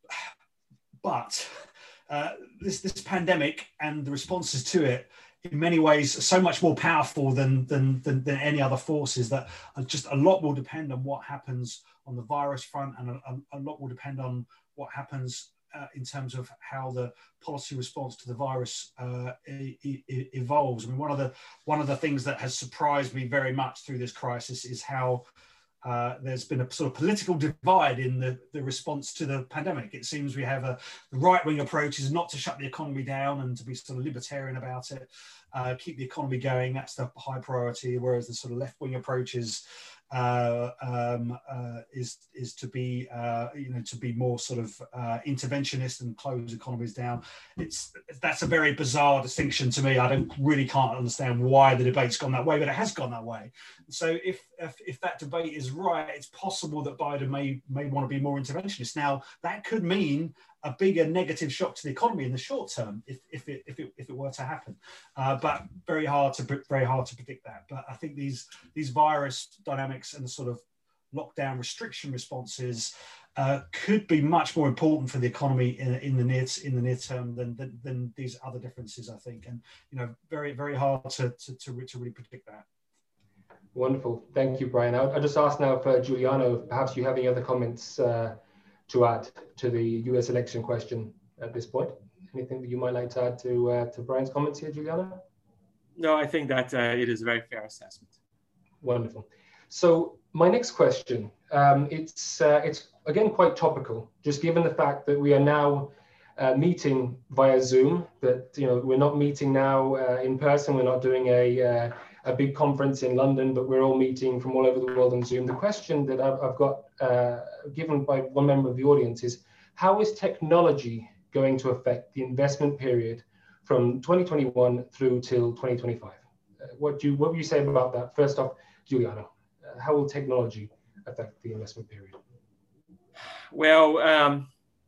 but uh, this this pandemic and the responses to it, in many ways, are so much more powerful than, than than than any other forces, that just a lot will depend on what happens on the virus front, and a, a lot will depend on what happens Uh, in terms of how the policy response to the virus uh, e e evolves. I mean, one of the one of the things that has surprised me very much through this crisis is how uh, there's been a sort of political divide in the, the response to the pandemic. It seems we have a the right-wing approach is not to shut the economy down and to be sort of libertarian about it, uh, keep the economy going. That's the high priority. Whereas the sort of left-wing approach is Uh, um, uh, is is to be uh, you know to be more sort of uh, interventionist and close economies down. It's that's a very bizarre distinction to me. I don't really can't understand why the debate's gone that way, but it has gone that way. So if if, if that debate is right, it's possible that Biden may may want to be more interventionist. Now that could mean a bigger negative shock to the economy in the short term if if it if it, if it were to happen, uh, but very hard to very hard to predict that. But I think these these virus dynamics and the sort of lockdown restriction responses uh, could be much more important for the economy in, in the near in the near term than, than than these other differences, I think. And you know, very very hard to to to, to really predict that. Wonderful, thank you, Brian. I'll, I'll just ask now for Giuliano, perhaps you have any other comments uh, to add to the U S election question at this point? Anything that you might like to add to uh, to Brian's comments here, Giuliano? No, I think that uh, it is a very fair assessment. Wonderful. So my next question, um, it's uh, it's again quite topical, just given the fact that we are now uh, meeting via Zoom. That you know we're not meeting now uh, in person. We're not doing a uh, a big conference in London, but we're all meeting from all over the world on Zoom. The question that I've, I've got uh, given by one member of the audience is, how is technology going to affect the investment period from twenty twenty-one through till twenty twenty-five? Uh, what do you, what will you say about that? First off, Giuliano, uh, how will technology affect the investment period? Well, um,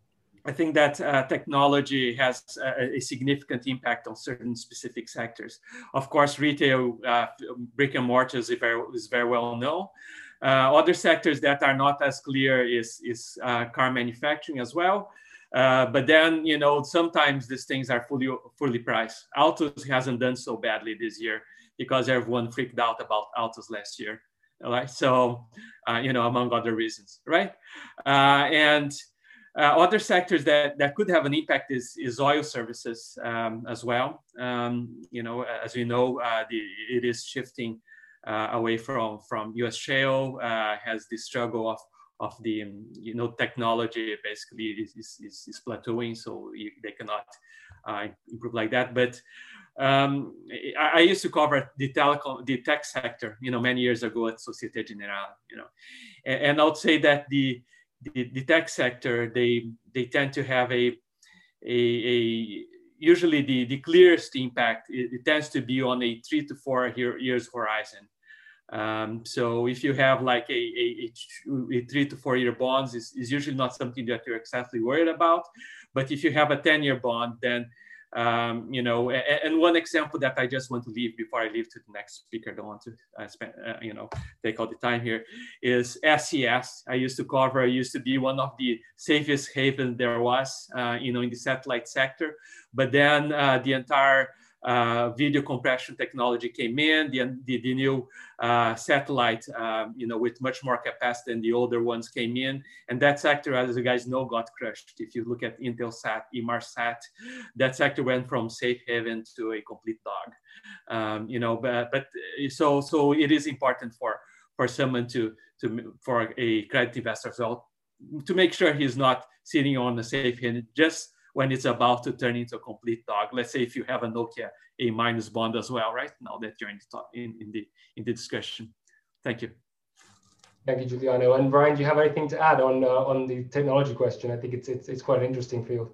I think that uh, technology has a, a significant impact on certain specific sectors. Of course, retail, uh, brick and mortar is very, is very well known. Uh, other sectors that are not as clear is, is uh, car manufacturing as well. Uh, but then, you know, sometimes these things are fully, fully priced. Autos hasn't done so badly this year because everyone freaked out about autos last year, right? So, uh, you know, among other reasons, right? Uh, and Uh, other sectors that, that could have an impact is, is oil services um, as well. Um, you know, as we know, uh, the, it is shifting uh, away from, from U S shale, uh, has the struggle of, of the, um, you know, technology basically is, is, is plateauing, so you, they cannot uh, improve like that. But um, I, I used to cover the telecom, the tech sector, you know, many years ago at Societe Generale, you know, and, and I would say that the, The, the tech sector, they they tend to have a a, a usually the, the clearest impact. It, it tends to be on a three to four year, years horizon. Um, so if you have like a, a, a, a three to four year bonds, is is usually not something that you're exactly worried about. But if you have a ten year bond, then Um, you know, and, and one example that I just want to leave before I leave to the next speaker, I don't want to uh, spend, uh, you know, take all the time here, is S E S. I used to cover, I used to be one of the safest haven there was, uh, you know, in the satellite sector. But then uh, the entire uh, video compression technology came in, the, the, the new uh, satellite, um, you know, with much more capacity than the older ones came in. And that sector, as you guys know, got crushed. If you look at Intelsat, Inmarsat, that sector went from safe haven to a complete dog. Um, you know, but, but so, so it is important for, for someone to, to, for a credit investor as well, to make sure he's not sitting on a safe haven just when it's about to turn into a complete dog. Let's say if you have a Nokia A minus bond as well, right? Now that you're in the, talk, in, in the in the discussion. Thank you. Thank you, Juliano. And Brian, do you have anything to add on uh, on the technology question? I think it's it's it's quite an interesting field.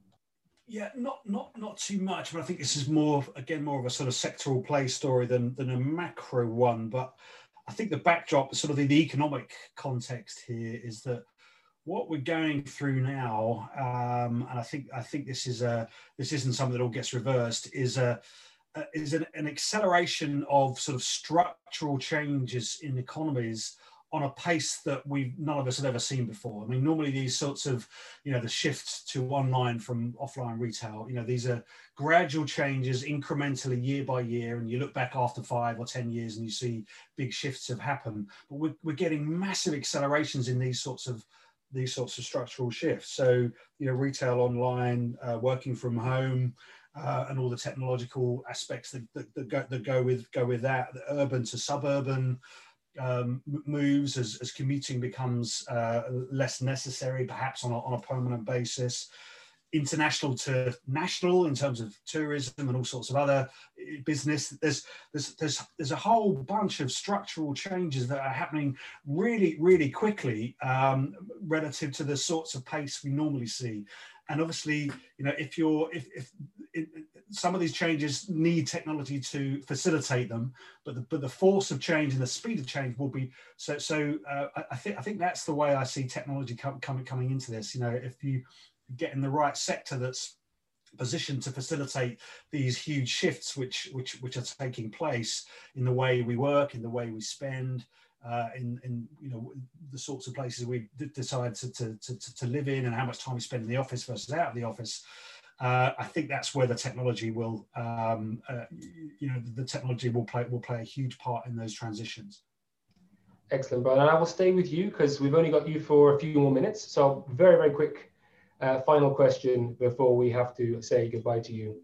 Yeah, not not not too much, but I think this is more again more of a sort of sectoral play story than than a macro one. But I think the backdrop, sort of the, the economic context here, is that what we're going through now, um, and I think I think this is a this isn't something that all gets reversed, is a uh, is an, an acceleration of sort of structural changes in economies on a pace that we none of us have ever seen before. I mean, normally these sorts of, you know, the shifts to online from offline retail, you know, these are gradual changes incrementally year by year. And you look back after five or ten years and you see big shifts have happened. But we're, we're getting massive accelerations in these sorts of these sorts of structural shifts. So, you know, retail online, uh, working from home, uh, and all the technological aspects that, that, that, go, that go with go with that, the urban to suburban um, moves as, as commuting becomes uh, less necessary, perhaps on a, on a permanent basis. International to national in terms of tourism and all sorts of other business. There's there's there's there's a whole bunch of structural changes that are happening really really quickly um, relative to the sorts of pace we normally see. And obviously, you know, if you're if if it, some of these changes need technology to facilitate them, but the but the force of change and the speed of change will be so so. Uh, I, I think I think that's the way I see technology coming com coming into this. You know, if you get in the right sector that's positioned to facilitate these huge shifts which which which are taking place in the way we work, in the way we spend, uh, in in you know the sorts of places we decide to, to to to live in, and how much time we spend in the office versus out of the office. Uh, I think that's where the technology will um, uh, you know the technology will play will play a huge part in those transitions. Excellent, Brian. And I will stay with you because we've only got you for a few more minutes. So very very quick. Uh, final question before we have to say goodbye to you.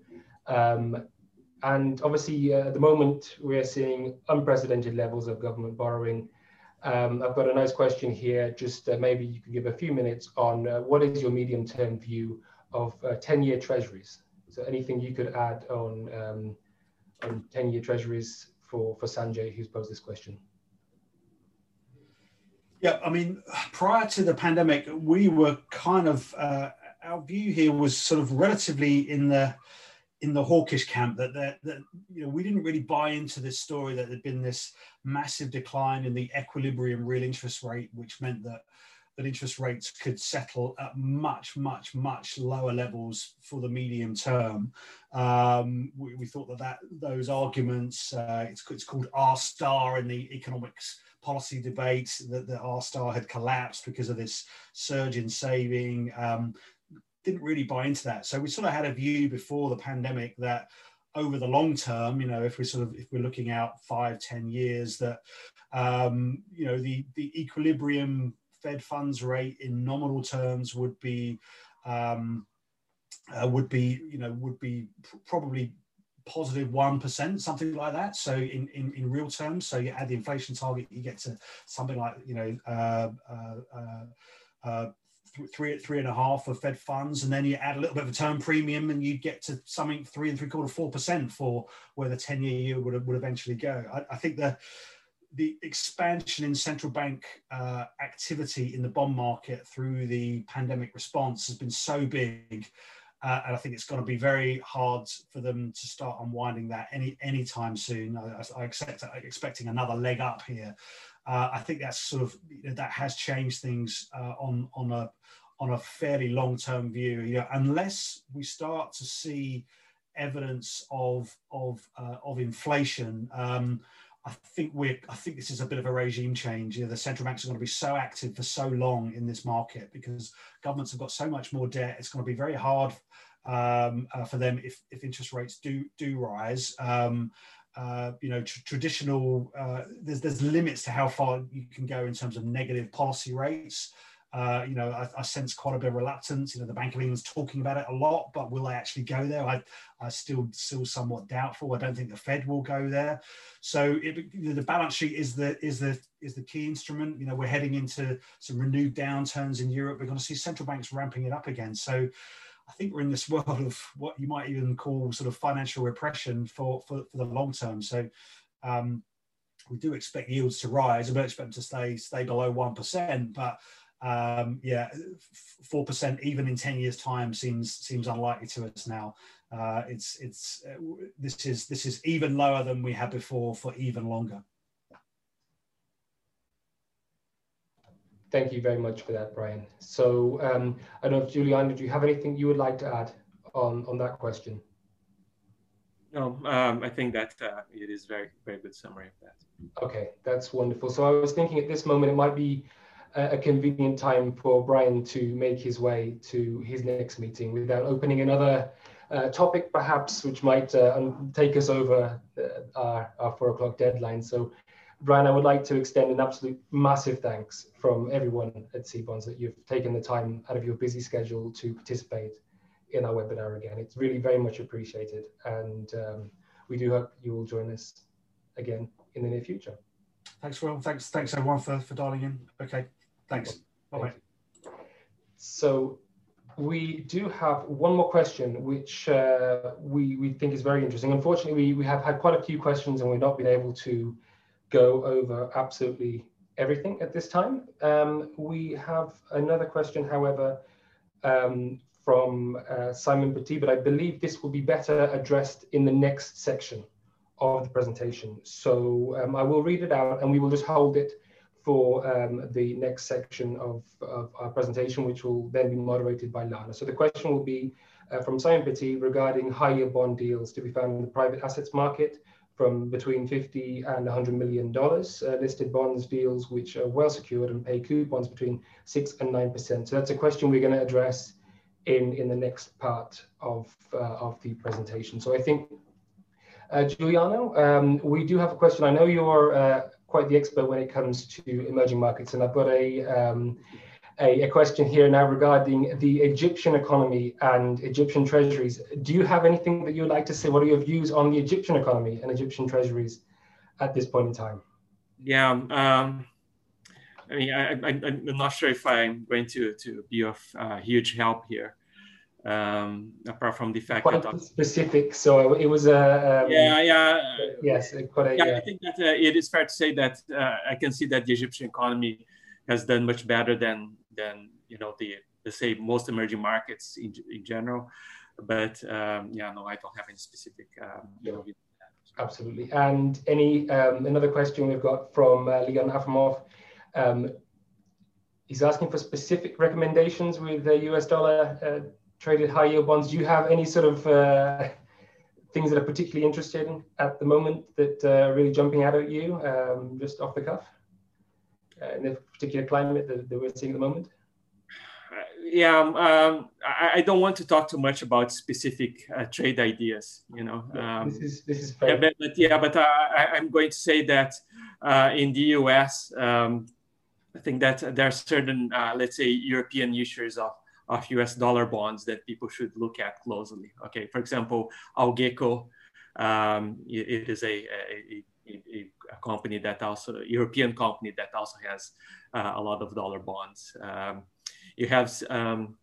Um, and obviously, uh, at the moment, we're seeing unprecedented levels of government borrowing. Um, I've got a nice question here. Just uh, maybe you could give a few minutes on uh, what is your medium-term view of ten-year uh, treasuries? So anything you could add on um, on ten-year treasuries for, for Sanjay, who's posed this question? Yeah, I mean, prior to the pandemic, we were kind of, uh, our view here was sort of relatively in the in the hawkish camp, that, that, that, you know, we didn't really buy into this story that there'd been this massive decline in the equilibrium real interest rate, which meant that that interest rates could settle at much, much, much lower levels for the medium term. Um, we, we thought that, that those arguments, uh, it's, it's called R star in the economics policy debate, that the R star had collapsed because of this surge in saving. Um, didn't really buy into that. So we sort of had a view before the pandemic that over the long term, you know, if we're sort of, if we're looking out five, ten years, that, um, you know, the, the equilibrium Fed funds rate in nominal terms would be, um, uh, would be, you know, would be probably positive one percent, something like that. So in, in, in real terms, so you add the inflation target, you get to something like, you know, uh, uh, uh, uh, three, three and a half of Fed funds, and then you add a little bit of a term premium and you get to something three and three quarter, four percent for where the ten year yield would, would eventually go. I, I think the, the expansion in central bank uh, activity in the bond market through the pandemic response has been so big. Uh, and I think it's going to be very hard for them to start unwinding that any anytime soon. I, I expect I'm expecting another leg up here. Uh, I think that's sort of, you know, that has changed things uh, on on a on a fairly long term view. You know, unless we start to see evidence of of uh, of inflation. Um, I think we're. I think this is a bit of a regime change. You know, the central banks are going to be so active for so long in this market because governments have got so much more debt. It's going to be very hard um, uh, for them if, if interest rates do do rise. Um, uh, you know, tr traditional. Uh, there's there's limits to how far you can go in terms of negative policy rates. Uh, you know, I, I sense quite a bit of reluctance. You know, the Bank of England's talking about it a lot, but will they actually go there? I, I still, still somewhat doubtful. I don't think the Fed will go there. So it, the balance sheet is the is the is the key instrument. You know, we're heading into some renewed downturns in Europe. We're going to see central banks ramping it up again. So I think we're in this world of what you might even call sort of financial repression for for, for the long term. So. Um, we do expect yields to rise. I don't expect them to stay stay below one percent, but Um, yeah, four percent even in ten years' time seems seems unlikely to us now. Uh, it's it's uh, this is this is even lower than we had before for even longer. Thank you very much for that, Brian. So um, I don't know if Juliana, do you have anything you would like to add on on that question? No, um, I think that uh, it is very very good summary of that. Okay, that's wonderful. So I was thinking at this moment it might be a convenient time for Brian to make his way to his next meeting without opening another uh, topic, perhaps, which might uh, take us over uh, our, our four o'clock deadline. So, Brian, I would like to extend an absolute massive thanks from everyone at C BONS that you've taken the time out of your busy schedule to participate in our webinar again. It's really very much appreciated. And um, we do hope you will join us again in the near future. Thanks, Will. Thanks, thanks everyone for, for dialing in. Okay. Thanks. Bye-bye. So we do have one more question, which uh, we, we think is very interesting. Unfortunately, we, we have had quite a few questions and we've not been able to go over absolutely everything at this time. Um, we have another question, however, um, from uh, Simon Petit, but I believe this will be better addressed in the next section of the presentation. So um, I will read it out and we will just hold it for um, the next section of, of our presentation, which will then be moderated by Lana. So the question will be uh, from Simon Petit regarding higher bond deals to be found in the private assets market from between fifty and one hundred million dollars, uh, listed bonds deals which are well secured and pay coupons between six and nine percent. So that's a question we're going to address in, in the next part of, uh, of the presentation. So I think, uh, Giuliano, um, we do have a question. I know you're uh, quite the expert when it comes to emerging markets, and I've got a, um, a, a question here now regarding the Egyptian economy and Egyptian treasuries. Do you have anything that you'd like to say? What are your views on the Egyptian economy and Egyptian treasuries at this point in time? Yeah, um, I mean, I, I, I'm not sure if I'm going to, to be of uh, huge help here, um, apart from the fact quite that... specific, so it was a... Um, yeah, yeah. Yes, quite a... Yeah, uh, I think that uh, it is fair to say that uh, I can see that the Egyptian economy has done much better than, than you know, the, let's say, most emerging markets in, in general. But um, yeah, no, I don't have any specific... Um, yeah. you know, Absolutely. And any um, another question we've got from uh, Leon Afamov. Um, he's asking for specific recommendations with the U S dollar uh, traded high yield bonds. Do you have any sort of uh, things that are particularly interesting at the moment that are uh, really jumping out at you, um, just off the cuff, uh, in the particular climate that, that we're seeing at the moment? Yeah, um, um, I, I don't want to talk too much about specific uh, trade ideas. You know, um, this is this is fair. Yeah, but, but yeah, but uh, I, I'm going to say that uh, in the U S, um, I think that there are certain, uh, let's say, European issuers of of U S dollar bonds that people should look at closely. Okay, for example, Algeco, um, it, it is a, a, a, a company that also, a European company that also has uh, a lot of dollar bonds. Um, you have, um,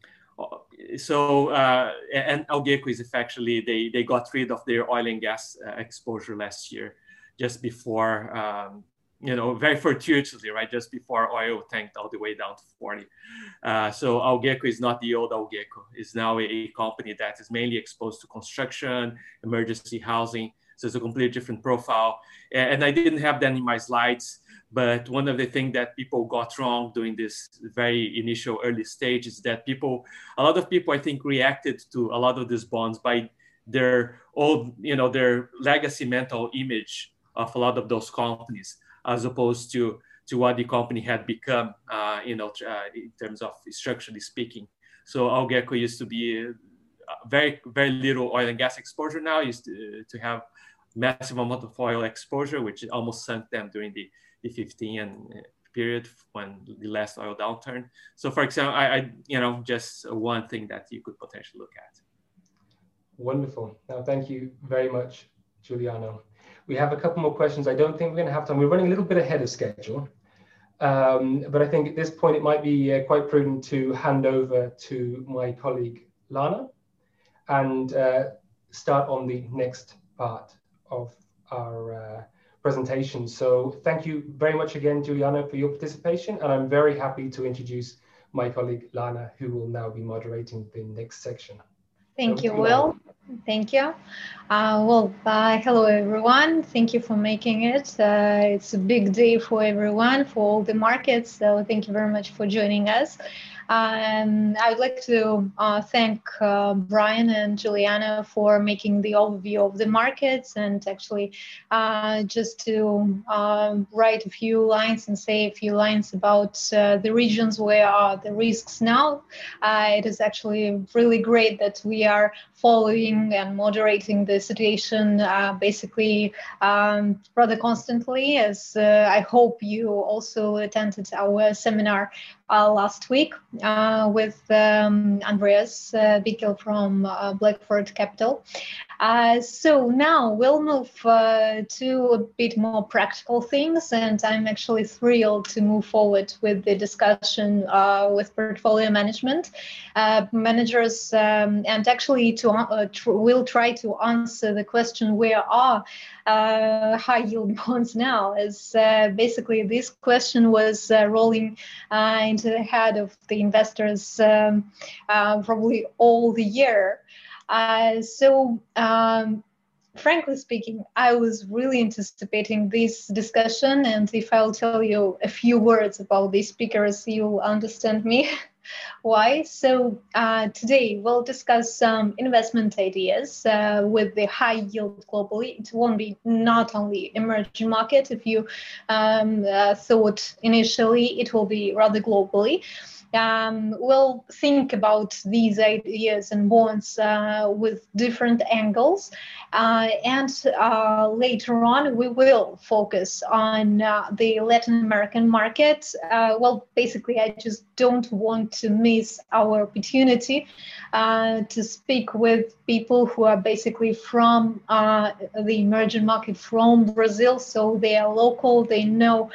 so, uh, and Algeco is effectively, they, they got rid of their oil and gas uh, exposure last year, just before, um, you know, very fortuitously, right? Just before oil tanked all the way down to forty. Uh, so Algeco is not the old Algeco. It's now a, a company that is mainly exposed to construction, emergency housing. So it's a completely different profile. And, and I didn't have that in my slides, but one of the things that people got wrong during this very initial early stage is that people, a lot of people, I think, reacted to a lot of these bonds by their old, you know, their legacy mental image of a lot of those companies, as opposed to, to what the company had become, uh, you know, uh, in terms of structurally speaking. So Algeco used to be uh, very, very little oil and gas exposure now, used to, to have massive amount of oil exposure, which almost sunk them during the, the fifteen period when the last oil downturn. So for example, I, I, you know, just one thing that you could potentially look at. Wonderful. Now, thank you very much, Giuliano. We have a couple more questions. I don't think we're going to have time. We're running a little bit ahead of schedule. Um, but I think at this point, it might be uh, quite prudent to hand over to my colleague, Lana, and uh, start on the next part of our uh, presentation. So thank you very much again, Giuliano, for your participation. And I'm very happy to introduce my colleague, Lana, who will now be moderating the next section. Thank so, you, Will. Thank you. Uh, well, uh, hello, everyone. Thank you for making it. Uh, it's a big day for everyone, for all the markets. So thank you very much for joining us. Um, I would like to uh, thank uh, Brian and Giuliano for making the overview of the markets, and actually uh, just to uh, write a few lines and say a few lines about uh, the regions where are the risks now. Uh, it is actually really great that we are following and moderating the situation uh, basically um, rather constantly, as uh, I hope you also attended our seminar uh, last week uh, with um, Andreas uh, Bickel from uh, Blackford Capital. Uh, so now we'll move uh, to a bit more practical things, and I'm actually thrilled to move forward with the discussion uh, with portfolio management uh, managers, um, and actually to uh, tr we'll try to answer the question, where are uh, high yield bonds now? As uh, basically this question was uh, rolling uh, into the head of the investors um, uh, probably all the year. Uh, so, um, frankly speaking, I was really anticipating this discussion, and if I'll tell you a few words about these speakers, you'll understand me. Why? So uh, today we'll discuss some investment ideas uh, with the high yield globally. It won't be not only emerging market. If you um, uh, thought initially, it will be rather globally. Um, we'll think about these ideas and bonds uh, with different angles, uh, and uh, later on we will focus on uh, the Latin American market. Uh, well, basically, I just don't want to miss our opportunity uh, to speak with people who are basically from uh, the emerging market, from Brazil, so they are local, they know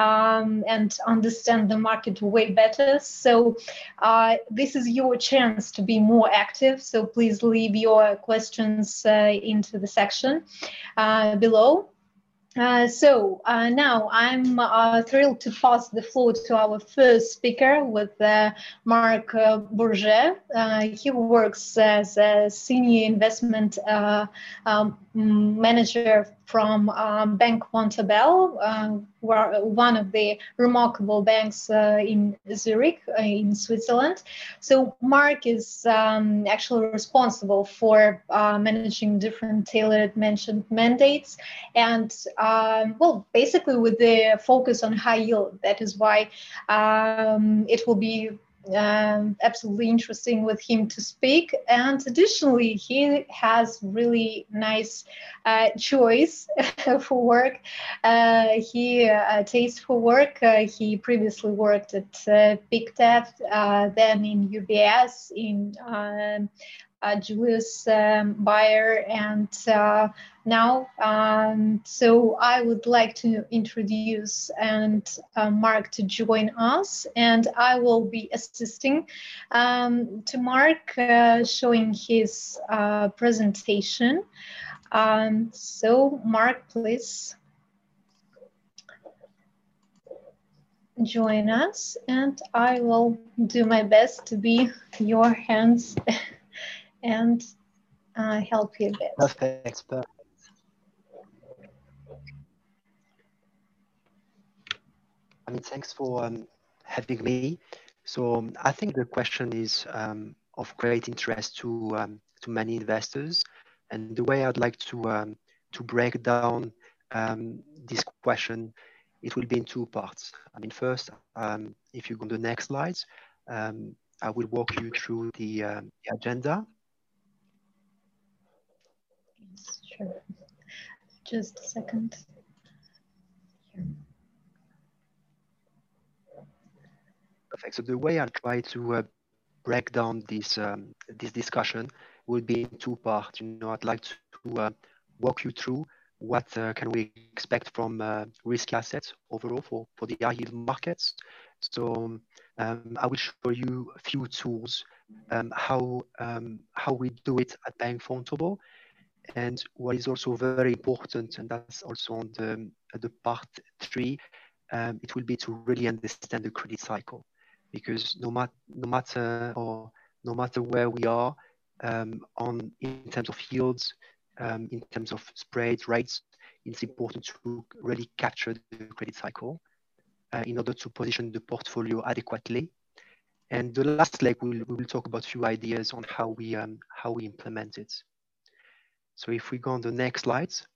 um, and understand the market way better. So uh, this is your chance to be more active. So please leave your questions uh, into the section uh, below. Uh, so uh, now I'm uh, thrilled to pass the floor to our first speaker with uh, Marc uh, Bourget. Uh, he works as a senior investment uh, um, manager from um, Bank Vontobel, uh, one of the remarkable banks uh, in Zurich, uh, in Switzerland. So Mark is um, actually responsible for uh, managing different tailored mentioned mandates, and um, well, basically with the focus on high yield. That is why um, it will be Um, absolutely interesting with him to speak. And additionally, he has really nice uh, choice for work. Uh, he uh, taste for work. Uh, he previously worked at uh, Pictet, uh, then in U B S, in um, uh, Julius um, Bayer, and uh, now. Um, so I would like to introduce and uh, Mark to join us, and I will be assisting um, to Mark, uh, showing his uh, presentation. Um, so Mark, please join us, and I will do my best to be your hands and uh, help you a bit. Perfect. Perfect. I mean, thanks for um, having me. So um, I think the question is um, of great interest to um, to many investors, and the way I'd like to um, to break down um, this question, it will be in two parts. I mean, first, um, if you go on the next slides, um, I will walk you through the, um, the agenda. Yes, sure. Just a second. Here. Perfect. So the way I'll try to uh, break down this um, this discussion will be in two parts. You know, I'd like to uh, walk you through what uh, can we expect from uh, risky assets overall for, for the high yield markets. So um, I will show you a few tools, um, how um, how we do it at Bank Vontobel, and what is also very important, and that's also on the the part three. Um, it will be to really understand the credit cycle, because no, mat no matter or no matter where we are um, on in terms of yields, um, in terms of spread rates, it's important to really capture the credit cycle uh, in order to position the portfolio adequately. And the last leg, we'll, we will talk about a few ideas on how we um, how we implement it. So if we go on the next slides.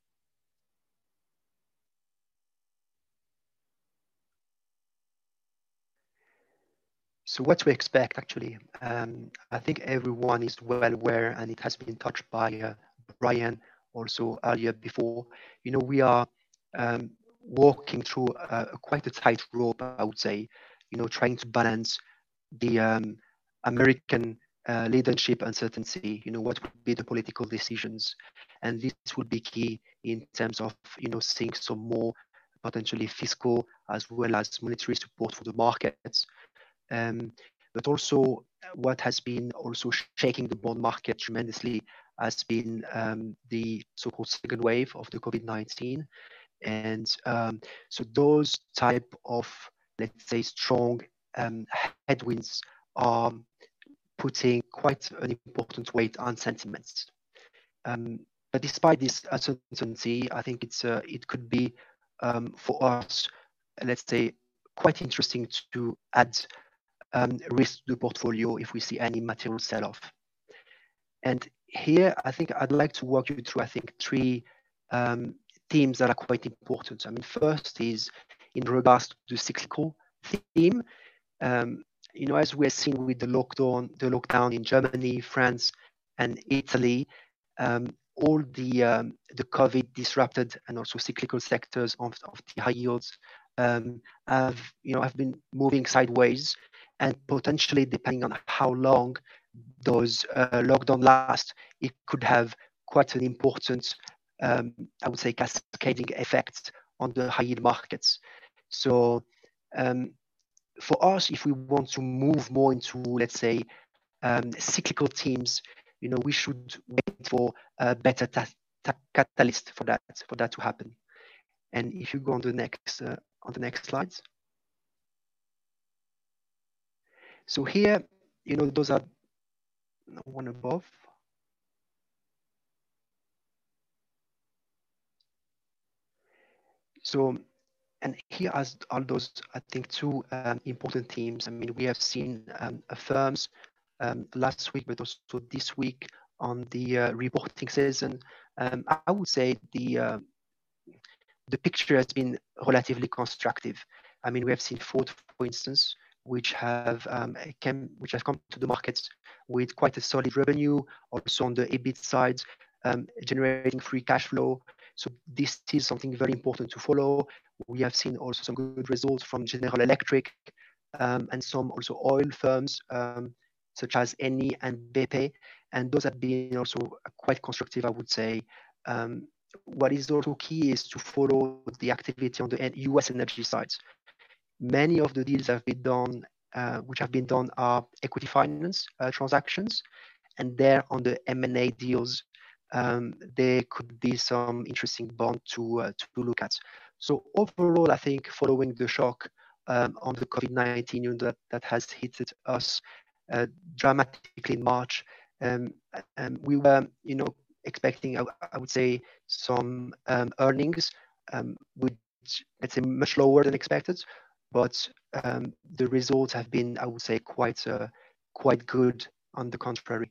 So what to expect, actually, um, I think everyone is well aware, and it has been touched by uh, Brian also earlier before. You know, we are um, walking through a, a quite a tight rope, I would say, you know, trying to balance the um, American uh, leadership uncertainty, you know, what would be the political decisions. And this would be key in terms of, you know, seeing some more potentially fiscal as well as monetary support for the markets. Um, but also what has been also shaking the bond market tremendously has been um, the so-called second wave of the COVID nineteen. And um, so those type of, let's say, strong um, headwinds are putting quite an important weight on sentiments. Um, but despite this uncertainty, I think it's uh, it could be um, for us, let's say, quite interesting to add um, risk to the portfolio if we see any material sell-off. And here, I think I'd like to walk you through, I think, three um, themes that are quite important. I mean, first is in regards to the cyclical theme. Um, you know, as we're seeing with the lockdown, the lockdown in Germany, France, and Italy, um, all the um, the COVID disrupted and also cyclical sectors of, of the high yields um, have you know have been moving sideways, and potentially, depending on how long those uh, lockdown last, it could have quite an important, um, I would say, cascading effect on the high yield markets. So. Um, For us, if we want to move more into, let's say, um, cyclical themes, you know, we should wait for a better catalyst for that for that to happen. And if you go on the next uh, on the next slides. So here, you know, those are one above. So, and here are those, I think, two um, important themes. I mean, we have seen um, firms um, last week, but also this week on the uh, reporting season. Um, I would say the uh, the picture has been relatively constructive. I mean, we have seen Ford, for instance, which have um, came, which have come to the markets with quite a solid revenue, also on the EBIT side, um, generating free cash flow. So this is something very important to follow. We have seen also some good results from General Electric um, and some also oil firms um, such as Eni and B P, and those have been also quite constructive, I would say. Um, what is also key is to follow the activity on the U S energy sides. Many of the deals have been done, uh, which have been done are equity finance uh, transactions, and there on the M and A deals, um, there could be some interesting bond to uh, to look at. So overall, I think following the shock um, on the COVID nineteen you know, that that has hit us uh, dramatically in March, um, and we were, you know, expecting, I, I would say, some um, earnings, um, which let's say much lower than expected, but um, the results have been, I would say, quite uh, quite good on the contrary.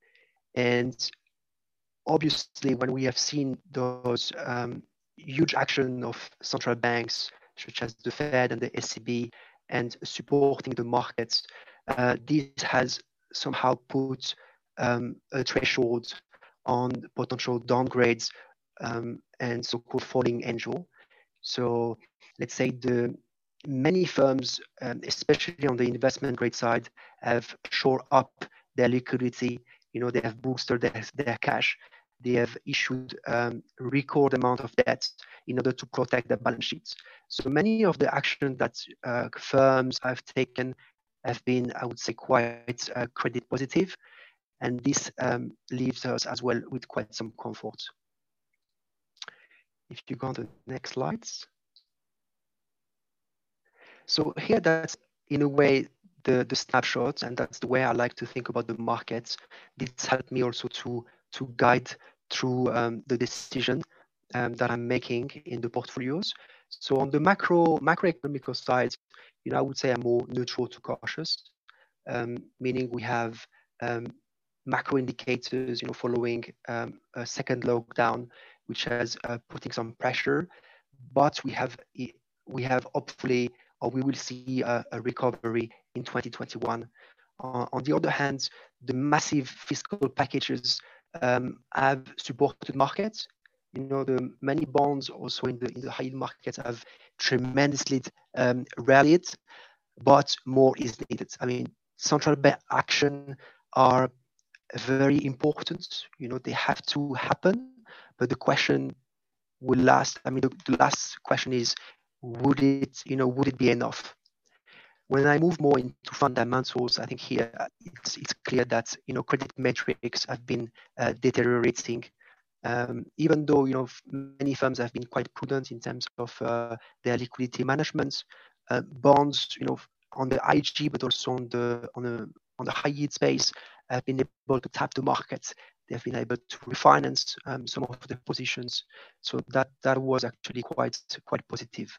And obviously, when we have seen those um, huge action of central banks, such as the Fed and the E C B, and supporting the markets, uh, this has somehow put um, a threshold on potential downgrades um, and so-called falling angel. So let's say the many firms, um, especially on the investment grade side, have shored up their liquidity. You know, they have boosted their, their cash. They have issued um, record amount of debt in order to protect their balance sheets. So many of the action that uh, firms have taken have been, I would say, quite uh, credit positive. And this um, leaves us as well with quite some comfort. If you go on to the next slides. So here, that's in a way the, the snapshot, and that's the way I like to think about the markets. This helped me also to, to guide through um, the decision um, that I'm making in the portfolios. So on the macro macroeconomic side, you know, I would say I'm more neutral to cautious, um, meaning we have um, macro indicators, you know, following um, a second lockdown, which has uh, putting some pressure, but we have we have hopefully, or we will see a, a recovery in twenty twenty-one. Uh, on the other hand, the massive fiscal packages um, have supported markets. You know, the many bonds also in the in the high yield markets have tremendously um, rallied, but more is needed. I mean, central bank action are very important. You know, they have to happen, but the question will last. I mean, the, the last question is, would it, you know, would it be enough? When I move more into fundamentals, I think here it's, it's clear that, you know, credit metrics have been uh, deteriorating. Um, even though, you know, many firms have been quite prudent in terms of uh, their liquidity management, uh, bonds, you know, on the I G, but also on the on the on the high yield space, have been able to tap the markets. They've been able to refinance um, some of the positions. So that that was actually quite quite positive.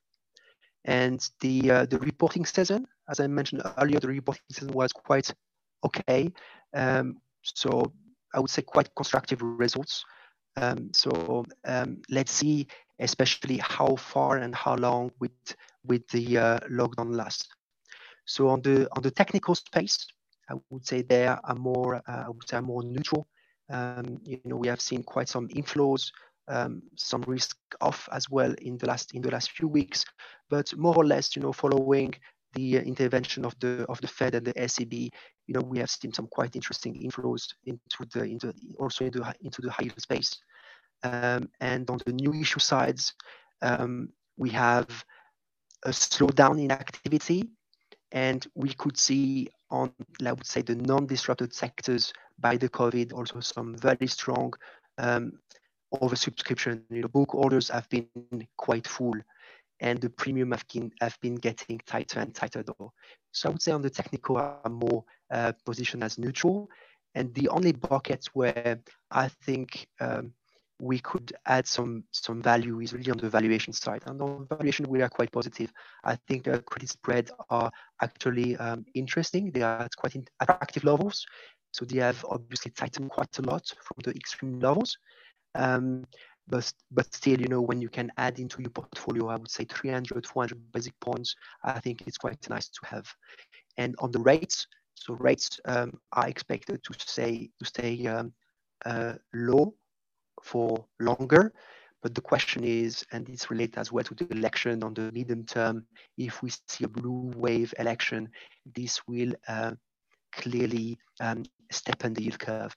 And the uh, the reporting season, as I mentioned earlier, the reporting season was quite okay. Um, so I would say quite constructive results. Um, so um, let's see, especially how far and how long with with the uh, lockdown lasts. So on the on the technical space, I would say they are more uh, I would say more neutral. Um, you know, we have seen quite some inflows, um, some risk off as well in the last in the last few weeks, but more or less, you know, following the intervention of the of the Fed and the E C B, you know, we have seen some quite interesting inflows into the into also into into the high yield space. Um, and on the new issue sides, um, we have a slowdown in activity, and we could see on, I would say, the non-disrupted sectors by the COVID also some very strong um, oversubscription. You know, book orders have been quite full, and the premium have been have been getting tighter and tighter though. So I would say on the technical, I'm more uh, positioned as neutral, and the only buckets where I think um, we could add some some value is really on the valuation side. And on valuation, we are quite positive. I think the credit spread are actually um, interesting. They are at quite attractive levels. So they have obviously tightened quite a lot from the extreme levels. Um, but, but still, you know, when you can add into your portfolio, I would say three hundred, four hundred basic points, I think it's quite nice to have. And on the rates, so rates um, are expected to stay, to stay um, uh, low for longer. But the question is, and it's related as well to the election on the medium term, if we see a blue wave election, this will uh, clearly um, step on the yield curve.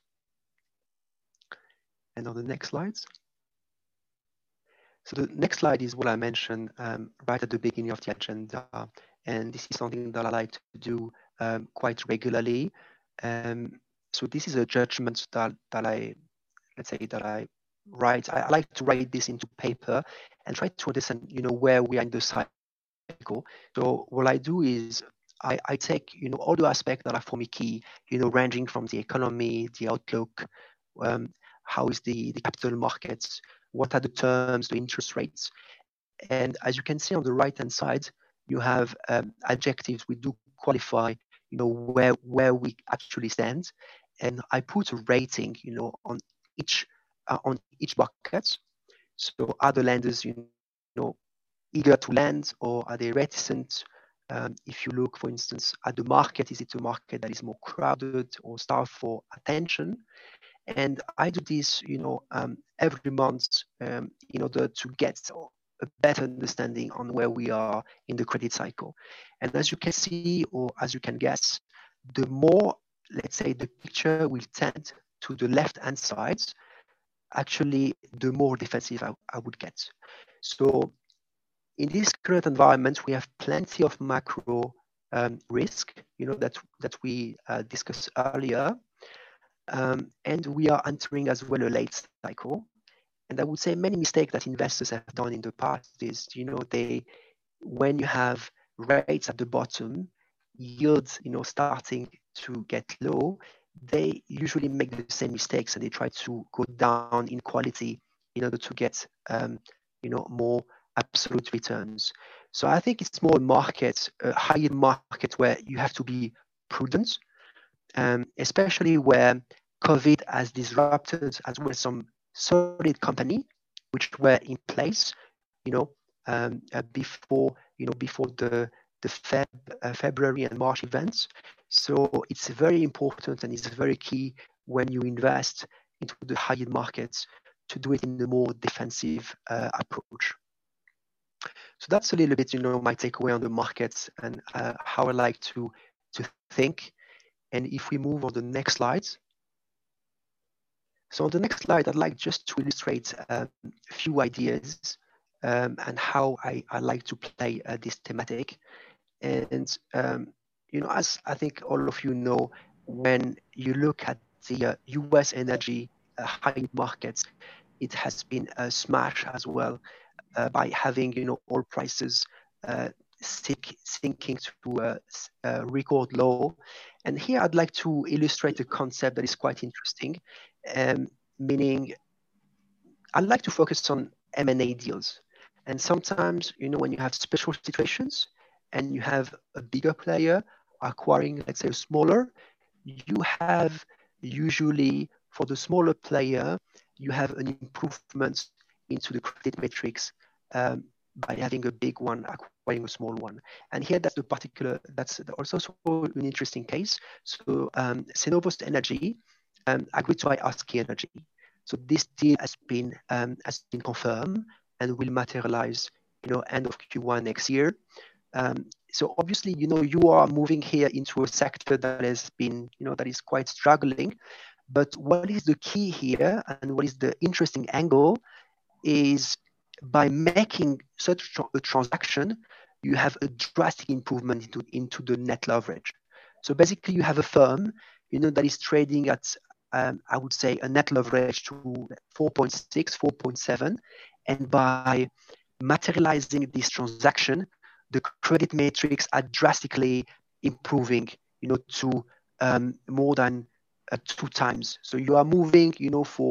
And on the next slides. So the next slide is what I mentioned um, right at the beginning of the agenda. And this is something that I like to do um, quite regularly. Um, so this is a judgment that, that I, let's say that I write. I, I like to write this into paper and try to understand, you know, where we are in the cycle. So what I do is I, I take, you know, all the aspects that are for me key, you know, ranging from the economy, the outlook, um, how is the, the capital markets, what are the terms, the interest rates. And as you can see on the right-hand side, you have um, adjectives. We do qualify, you know, where, where we actually stand. And I put a rating, you know, on each, uh, on each bucket. So are the lenders, you know, eager to lend, or are they reticent? Um, if you look, for instance, at the market, is it a market that is more crowded or starved for attention? And I do this, you know, um, every month um, in order to get a better understanding on where we are in the credit cycle. And as you can see, or as you can guess, the more, let's say, the picture will tend to the left-hand side, actually, the more defensive I, I would get. So in this current environment, we have plenty of macro um, risk, you know, that, that we uh, discussed earlier. Um, and we are entering as well a late cycle. And I would say many mistakes that investors have done in the past is, you know, they, when you have rates at the bottom, yields, you know, starting to get low, they usually make the same mistakes and they try to go down in quality in order to get, um, you know, more absolute returns. So I think it's more a market, a high market where you have to be prudent. Um, especially where COVID has disrupted as well some solid company which were in place, you know, um, uh, before, you know, before the the Feb, uh, February and March events. So it's very important and it's very key when you invest into the high-yield markets to do it in a more defensive uh, approach. So that's a little bit, you know, my takeaway on the markets and uh, how I like to to think. And if we move on the next slides. So on the next slide, I'd like just to illustrate um, a few ideas um, and how I, I like to play uh, this thematic. And, um, you know, as I think all of you know, when you look at the uh, U S energy uh, high markets, it has been a smash as well uh, by having, you know, oil prices uh, Sink, sinking to a, a record low. And here I'd like to illustrate a concept that is quite interesting, um, meaning I'd like to focus on M and A deals. And sometimes, you know, when you have special situations and you have a bigger player acquiring, let's say, a smaller, you have usually, for the smaller player, you have an improvement into the credit metrics um, by having a big one acquiring a small one. And here that's the particular, that's also an interesting case. So um, Cenovus Energy um, agreed to buy Husky Energy. So this deal has been, um, has been confirmed and will materialize, you know, end of Q one next year. Um, so obviously, you know, you are moving here into a sector that has been, you know, that is quite struggling. But what is the key here and what is the interesting angle is by making such a transaction, you have a drastic improvement into, into the net leverage. So basically you have a firm, you know, that is trading at, um, I would say, a net leverage to four point six, four point seven. And by materializing this transaction, the credit metrics are drastically improving, you know, to um, more than uh, two times. So you are moving, you know, for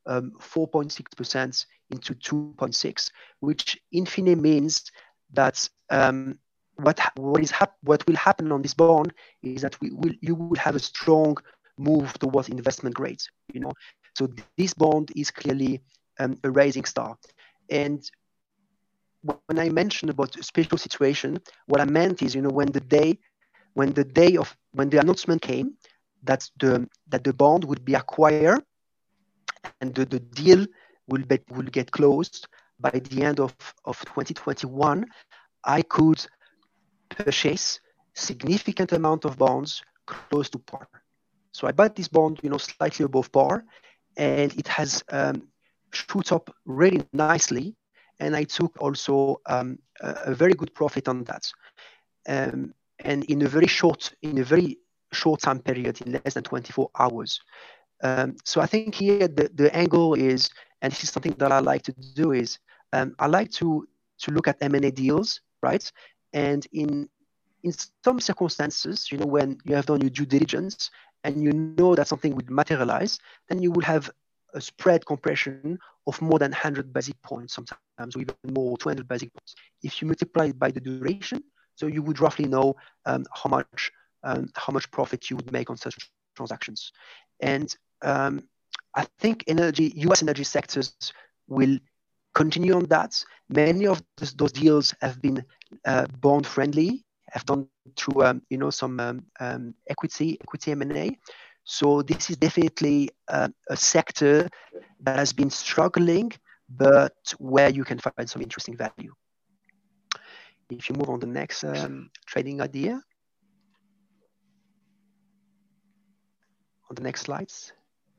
um, four point six percent into two point six, which in fine means that um, what what is hap- what will happen on this bond is that we will you will have a strong move towards investment grades. You know, so this bond is clearly um, a rising star. And when I mentioned about a special situation, what I meant is, you know, when the day, when the day of when the announcement came that the that the bond would be acquired and the, the deal will be, will get closed by the end of, of twenty twenty-one, I could purchase significant amount of bonds close to par. So I bought this bond, you know, slightly above par, and it has um, shoot up really nicely. And I took also um, a, a very good profit on that. Um, and in a very short, in a very short time period, in less than twenty-four hours. Um, so I think here the, the angle is, and this is something that I like to do, is um, I like to to look at M and A deals, right? And in in some circumstances, you know, when you have done your due diligence and you know that something will materialize, then you will have a spread compression of more than one hundred basis points sometimes, or even more, two hundred basis points. If you multiply it by the duration, so you would roughly know um, how much um, how much profit you would make on such transactions. And um, I think energy, U S energy sectors will continue on that. Many of those, those deals have been uh, bond friendly, have done through um, you know some um, um, equity equity M and A. So this is definitely uh, a sector that has been struggling, but where you can find some interesting value. If you move on the next um, trading idea, on the next slides.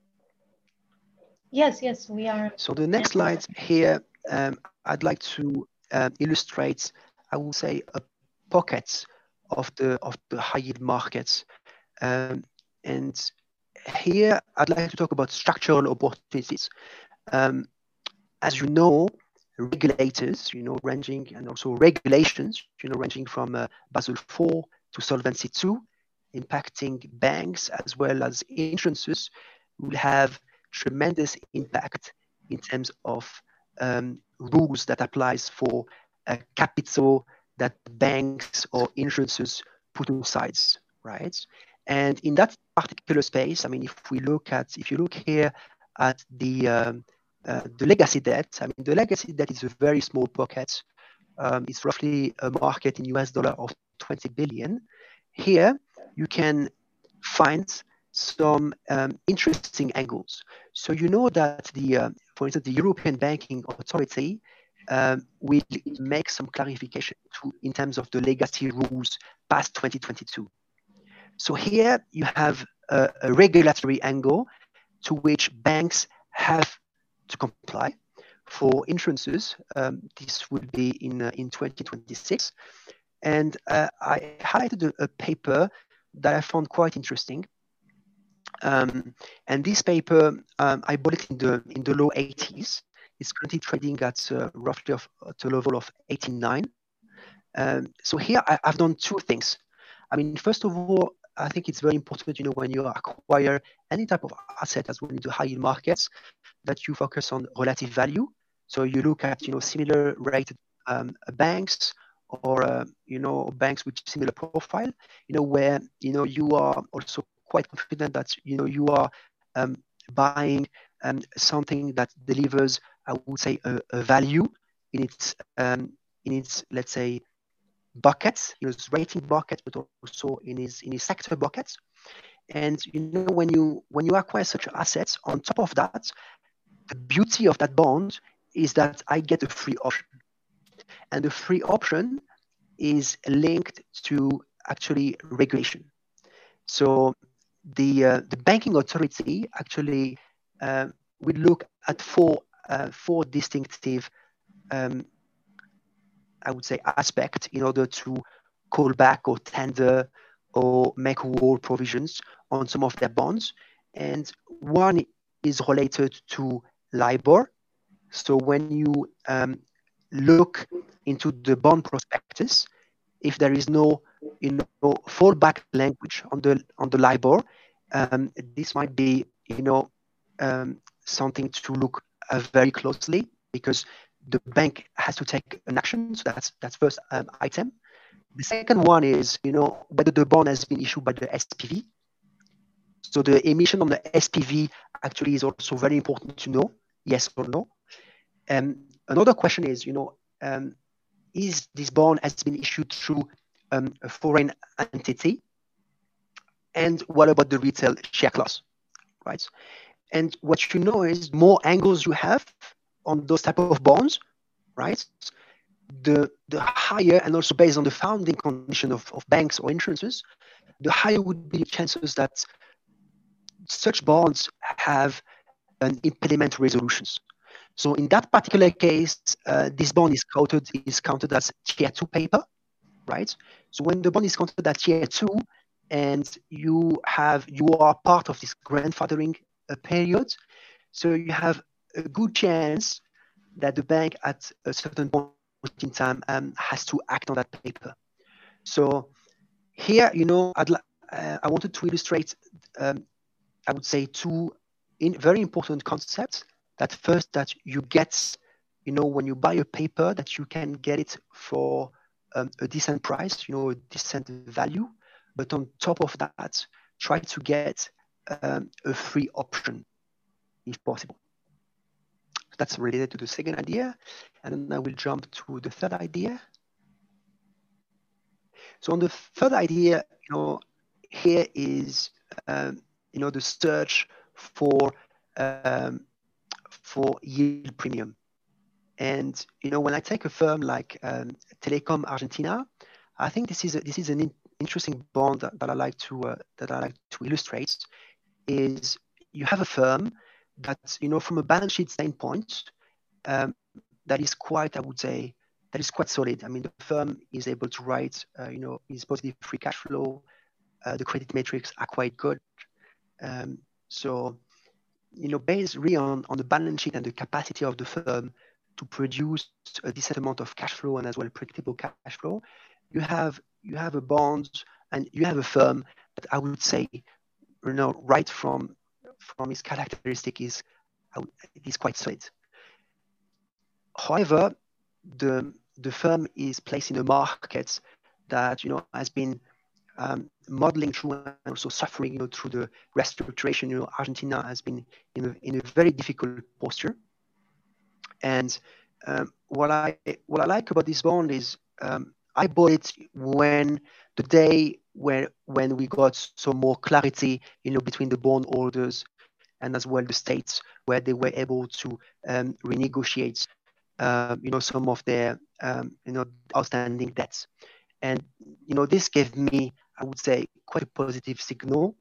Yes, yes, we are. So the next slide here, um, I'd like to uh, illustrate, I would say, a pocket of the of the high yield markets. Um, and here, I'd like to talk about structural opportunities. Um, as you know, regulators, you know, ranging, and also regulations, you know, ranging from uh, Basel four to Solvency two, impacting banks as well as insurances, will have tremendous impact in terms of um, rules that applies for uh, capital that banks or insurances put aside, right? And in that particular space, I mean, if we look at, if you look here at the um, uh, the legacy debt, I mean, the legacy debt is a very small pocket. Um, it's roughly a market in U S dollar of twenty billion. Here, you can find some um, interesting angles. So you know that the, uh, for instance, the European Banking Authority um, will make some clarification to, in terms of the legacy rules past twenty twenty-two. So here you have a, a regulatory angle to which banks have to comply. For insurances, um, this will be in uh, in twenty twenty-six. And uh, I highlighted a, a paper that I found quite interesting. Um, and this paper, um, I bought it in the in the low eighties. It's currently trading at uh, roughly of, at a level of eighty-nine. Um, so here I, I've done two things. I mean, first of all, I think it's very important, you know, when you acquire any type of asset as well into high yield markets, that you focus on relative value. So you look at, you know, similar rated um, banks, or uh, you know, banks with similar profile, you know, where you know you are also quite confident that you know you are um, buying um, something that delivers, I would say, a, a value in its um, in its let's say buckets, you know, its rating bucket, but also in its in its sector buckets. And you know, when you when you acquire such assets, on top of that, the beauty of that bond is that I get a free option. And the free option is linked to actually regulation. So the uh, the banking authority actually uh, will look at four uh, four distinctive, um, I would say, aspects in order to call back or tender or make wall provisions on some of their bonds. And one is related to LIBOR. So when you um, look into the bond prospectus, if there is no, you know, fallback language on the on the LIBOR, um, this might be, you know, um, something to look uh, very closely, because the bank has to take an action. So that's that's first um, item. The second one is, you know, whether the bond has been issued by the S P V. So the emission on the S P V actually is also very important to know, yes or no. And um, another question is, you know, um, is this bond has been issued through um, a foreign entity? And what about the retail share class, right? And what you know is more angles you have on those type of bonds, right? The, the higher, and also based on the founding condition of, of banks or insurances, the higher would be the chances that such bonds have an impediment resolutions. So in that particular case, uh, this bond is counted is counted as tier two paper, right? So when the bond is counted as tier two, and you have you are part of this grandfathering uh, period, so you have a good chance that the bank at a certain point in time um, has to act on that paper. So here, you know, I'd uh, I wanted to illustrate, um, I would say, two in very important concepts. That first, that you get, you know, when you buy a paper, that you can get it for um, a decent price, you know, a decent value. But on top of that, try to get um, a free option if possible. That's related to the second idea. And then I will jump to the third idea. So on the third idea, you know, here is, um, you know, the search for um, for yield premium. And, you know, when I take a firm like um, Telecom Argentina, I think this is a, this is an in interesting bond that, that I like to uh, that I like to illustrate. Is you have a firm that, you know, from a balance sheet standpoint, um, that is quite, I would say, that is quite solid. I mean, the firm is able to write, uh, you know, is positive free cash flow. Uh, the credit metrics are quite good. Um, so, you know, based really on, on the balance sheet and the capacity of the firm to produce a decent amount of cash flow and as well predictable cash flow, you have you have a bond and you have a firm that I would say, you know, right from from its characteristic is it is quite solid. However, the the firm is placed in a market that, you know, has been um, modeling through and also suffering, you know, through the restructuration. You know, Argentina has been in a in a very difficult posture. And um, what I what I like about this bond is um, I bought it when the day where when we got some more clarity, you know, between the bond holders and as well the states, where they were able to um, renegotiate, uh, you know, some of their um, you know outstanding debts. And, you know, this gave me, I would say, quite a positive signal.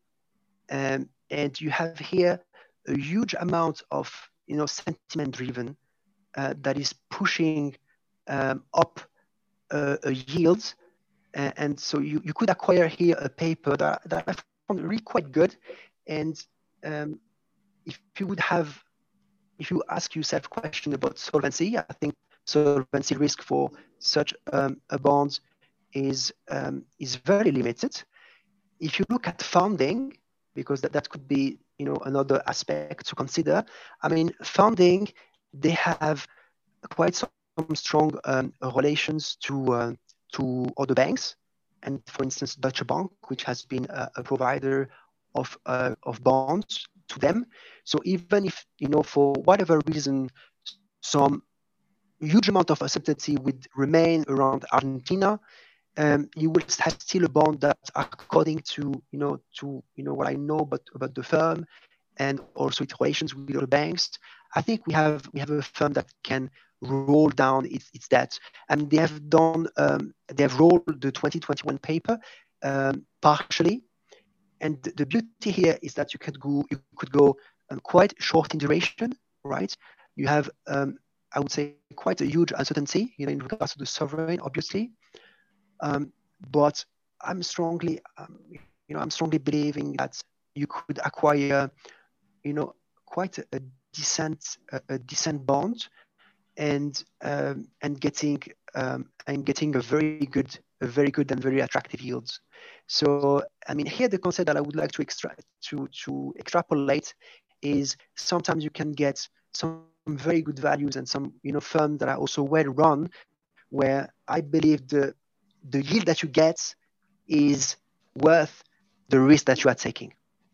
Um, and you have here a huge amount of, you know, sentiment driven uh, that is pushing um, up uh, a yield. Uh, and so you, you could acquire here a paper that, that I found really quite good. And um, if you would have, if you ask yourself a question about solvency, I think solvency risk for such um, a bond is um, is very limited. If you look at funding, because that, that could be, you know, another aspect to consider. I mean, funding, they have quite some strong um, relations to uh, to other banks, and for instance, Deutsche Bank, which has been a, a provider of uh, of bonds to them. So even if, you know, for whatever reason, some huge amount of uncertainty would remain around Argentina, Um, you will have still a bond that, according to, you know, to, you know, what I know about, about the firm and also its relations with other banks, I think we have we have a firm that can roll down its, its debt. And they have done, um, they have rolled the twenty twenty-one paper um, partially. And the beauty here is that you could go, you could go um, quite short in duration, right? You have, um, I would say, quite a huge uncertainty, you know, in regards to the sovereign, obviously. Um, but I'm strongly, um, you know, I'm strongly believing that you could acquire, you know, quite a, a decent, a, a decent bond, and um, and getting um, and getting a very good, a very good and very attractive yields. So, I mean, here the concept that I would like to extract, to to extrapolate is sometimes you can get some very good values and some, you know, firms that are also well run, where I believe the the yield that you get is worth the risk that you are taking.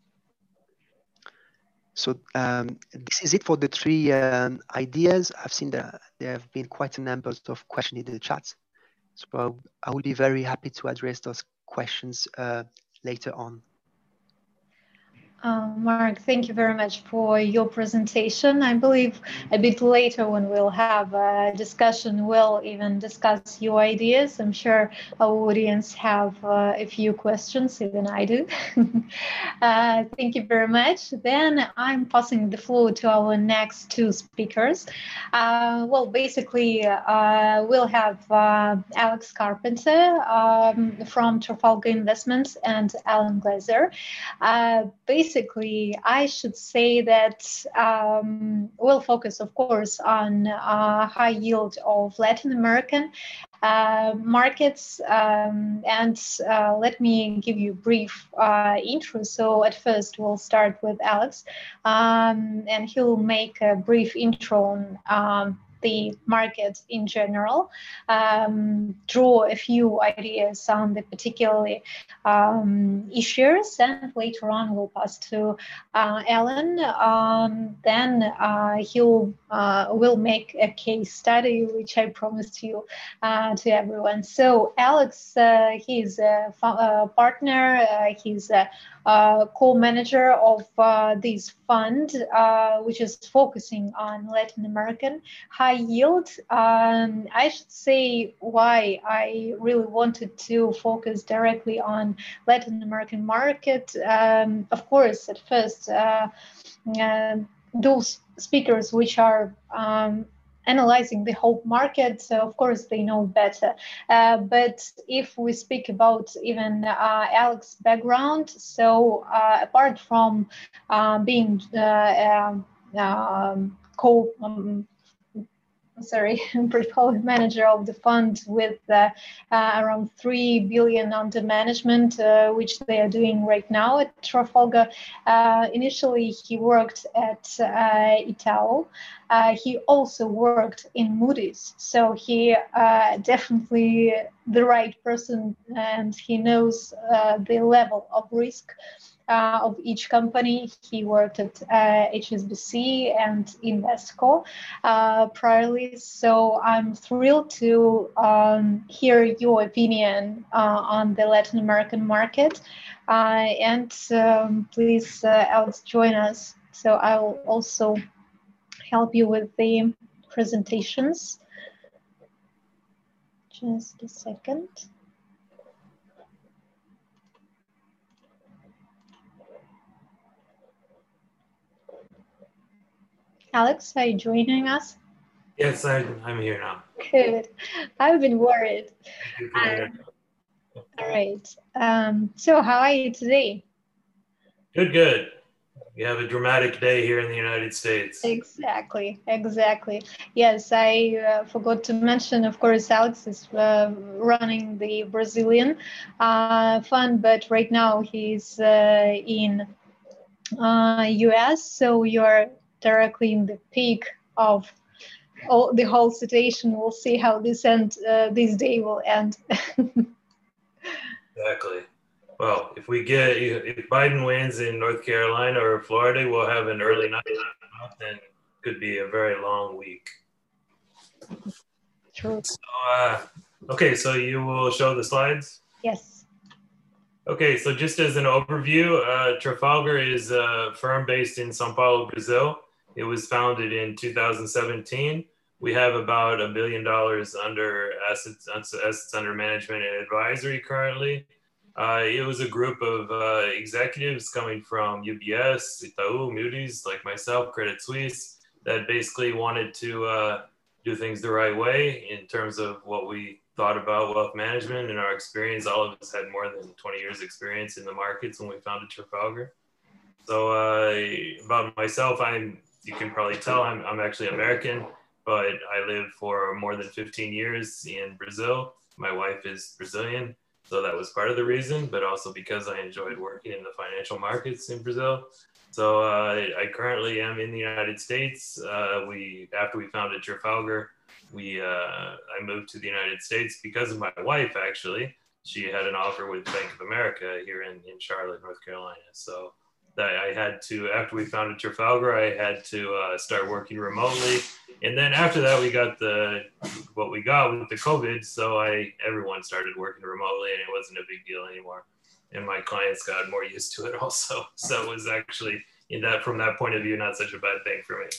So um, this is it for the three um, ideas. I've seen that there have been quite a number of questions in the chat. So I will be very happy to address those questions uh, later on. Uh, Mark, thank you very much for your presentation. I believe a bit later when we'll have a discussion, we'll even discuss your ideas. I'm sure our audience have uh, a few questions, even I do. uh, thank you very much. Then I'm passing the floor to our next two speakers. Uh, well, basically, uh, we'll have uh, Alex Carpenter um, from Trafalgar Investments and Alan Glazer. Uh, basically, Basically, I should say that um, we'll focus, of course, on uh, high yield of Latin American uh, markets. Um, and uh, let me give you a brief uh, intro. So at first, we'll start with Alex, um, and he'll make a brief intro on um, the market in general, um, draw a few ideas on the particularly um, issues, and later on we'll pass to uh, Alan. Um, then uh, he'll uh, will make a case study, which I promised you uh, to everyone. So Alex, uh, he's a, a partner. Uh, he's a Uh, co-manager of uh, this fund, uh, which is focusing on Latin American high yield. Um, I should say why I really wanted to focus directly on Latin American market. Um, of course, at first, uh, uh, those speakers which are um, analyzing the whole market, so of course they know better. Uh, but if we speak about even uh, Alex's background, so uh, apart from uh, being uh, um, um, co um, sorry, portfolio manager of the fund with uh, uh, around three billion under management, uh, which they are doing right now at Trafalgar. Uh, initially, he worked at uh, Itaú. Uh, he also worked in Moody's, so he uh, definitely the right person, and he knows uh, the level of risk Uh, of each company. He worked at uh, H S B C and Invesco uh, priorly. So I'm thrilled to um, hear your opinion uh, on the Latin American market. Uh, and um, please, uh, Alex, join us. So I will also help you with the presentations. Just a second. Alex, are you joining us? Yes, I, I'm here now. Good. I've been worried. Um, all right. Um, so how are you today? Good, good. We have a dramatic day here in the United States. Exactly, exactly. Yes, I uh, forgot to mention, of course, Alex is uh, running the Brazilian uh, fund, but right now he's uh, in uh, U S, so you're directly in the peak of all, the whole situation. We'll see how this end, uh, this day will end. Exactly. Well, if we get, if Biden wins in North Carolina or Florida, we'll have an early night, and it could be a very long week. True. So, uh, okay, so you will show the slides? Yes. Okay, so just as an overview, uh, Trafalgar is a firm based in São Paulo, Brazil. It was founded in two thousand seventeen. We have about a billion dollars under assets, assets under management and advisory currently. Uh, it was a group of uh, executives coming from U B S, Itaú, Moody's, like myself, Credit Suisse, that basically wanted to uh, do things the right way in terms of what we thought about wealth management and our experience. All of us had more than twenty years experience in the markets when we founded Trafalgar. So uh, about myself, I'm, you can probably tell I'm, I'm actually American, but I lived for more than fifteen years in Brazil. My wife is Brazilian, so that was part of the reason, but also because I enjoyed working in the financial markets in Brazil. So uh, I currently am in the United States. Uh, we after we founded Trafalgar, we uh, I moved to the United States because of my wife. Actually, she had an offer with Bank of America here in, in Charlotte, North Carolina. So that I had to, after we founded Trafalgar, I had to uh, start working remotely. And then after that, we got the what we got with the COVID. So I everyone started working remotely, and it wasn't a big deal anymore. And my clients got more used to it also. So it was actually, in that from that point of view, not such a bad thing for me.